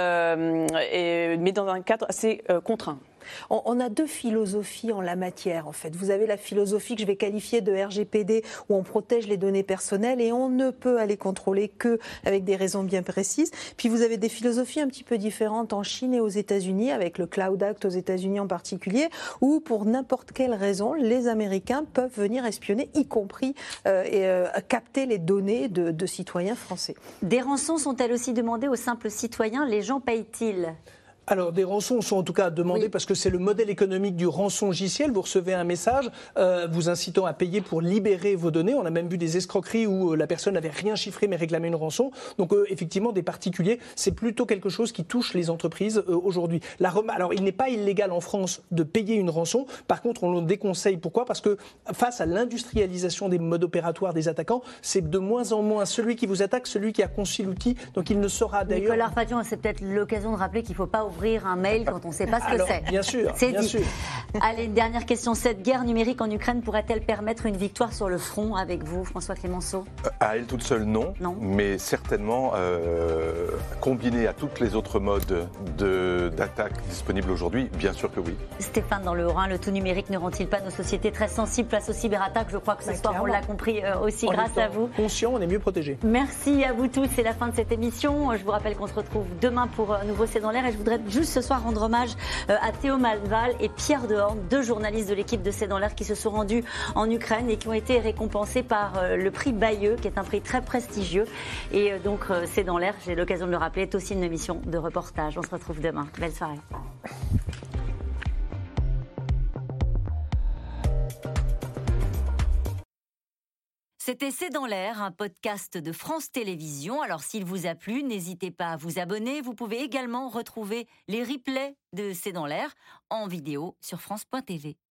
mais dans un cadre assez contraint. On a deux philosophies en la matière, en fait. Vous avez la philosophie que je vais qualifier de RGPD, où on protège les données personnelles et on ne peut aller contrôler qu'avec des raisons bien précises. Puis vous avez des philosophies un petit peu différentes en Chine et aux États-Unis, avec le Cloud Act aux États-Unis en particulier, où pour n'importe quelle raison, les Américains peuvent venir espionner, y compris capter les données de citoyens français. Des rançons sont-elles aussi demandées aux simples citoyens? Les gens payent-ils? Alors, des rançons sont en tout cas demandées parce que c'est le modèle économique du rançongiciel. Vous recevez un message vous incitant à payer pour libérer vos données. On a même vu des escroqueries où la personne n'avait rien chiffré mais réclamait une rançon. Donc, effectivement, des particuliers, c'est plutôt quelque chose qui touche les entreprises aujourd'hui. Alors, il n'est pas illégal en France de payer une rançon. Par contre, on le déconseille. Pourquoi? Parce que face à l'industrialisation des modes opératoires des attaquants, c'est de moins en moins celui qui vous attaque, celui qui a conçu l'outil. Donc, il ne saura d'ailleurs... Nicolas Arpadian, c'est peut-être l'occasion de rappeler qu'il ne faut pas ouvrir un mail quand on ne sait pas ce que c'est. Bien sûr, c'est bien dit. sûr. Allez, une dernière question. Cette guerre numérique en Ukraine pourrait-elle permettre une victoire sur le front avec vous, François Clémenceau? À elle toute seule, non. Mais certainement, combinée à toutes les autres modes d'attaque disponibles aujourd'hui, bien sûr que oui. Stéphane, dans le Haut-Rhin, le tout numérique ne rend-il pas nos sociétés très sensibles face aux cyberattaques? Je crois que ce soir, on l'a compris aussi grâce à vous. Conscient, on est mieux protégés. Merci à vous tous. C'est la fin de cette émission. Je vous rappelle qu'on se retrouve demain pour un nouveau C'est dans l'air. Et je voudrais juste ce soir rendre hommage à Théo Malval et Pierre Dehorne, deux journalistes de l'équipe de C'est dans l'air qui se sont rendus en Ukraine et qui ont été récompensés par le prix Bayeux, qui est un prix très prestigieux. Et donc, C'est dans l'air, j'ai l'occasion de le rappeler, est aussi une émission de reportage. On se retrouve demain. Belle soirée. C'était C'est dans l'air, un podcast de France Télévisions. Alors s'il vous a plu, n'hésitez pas à vous abonner. Vous pouvez également retrouver les replays de C'est dans l'air en vidéo sur France.tv.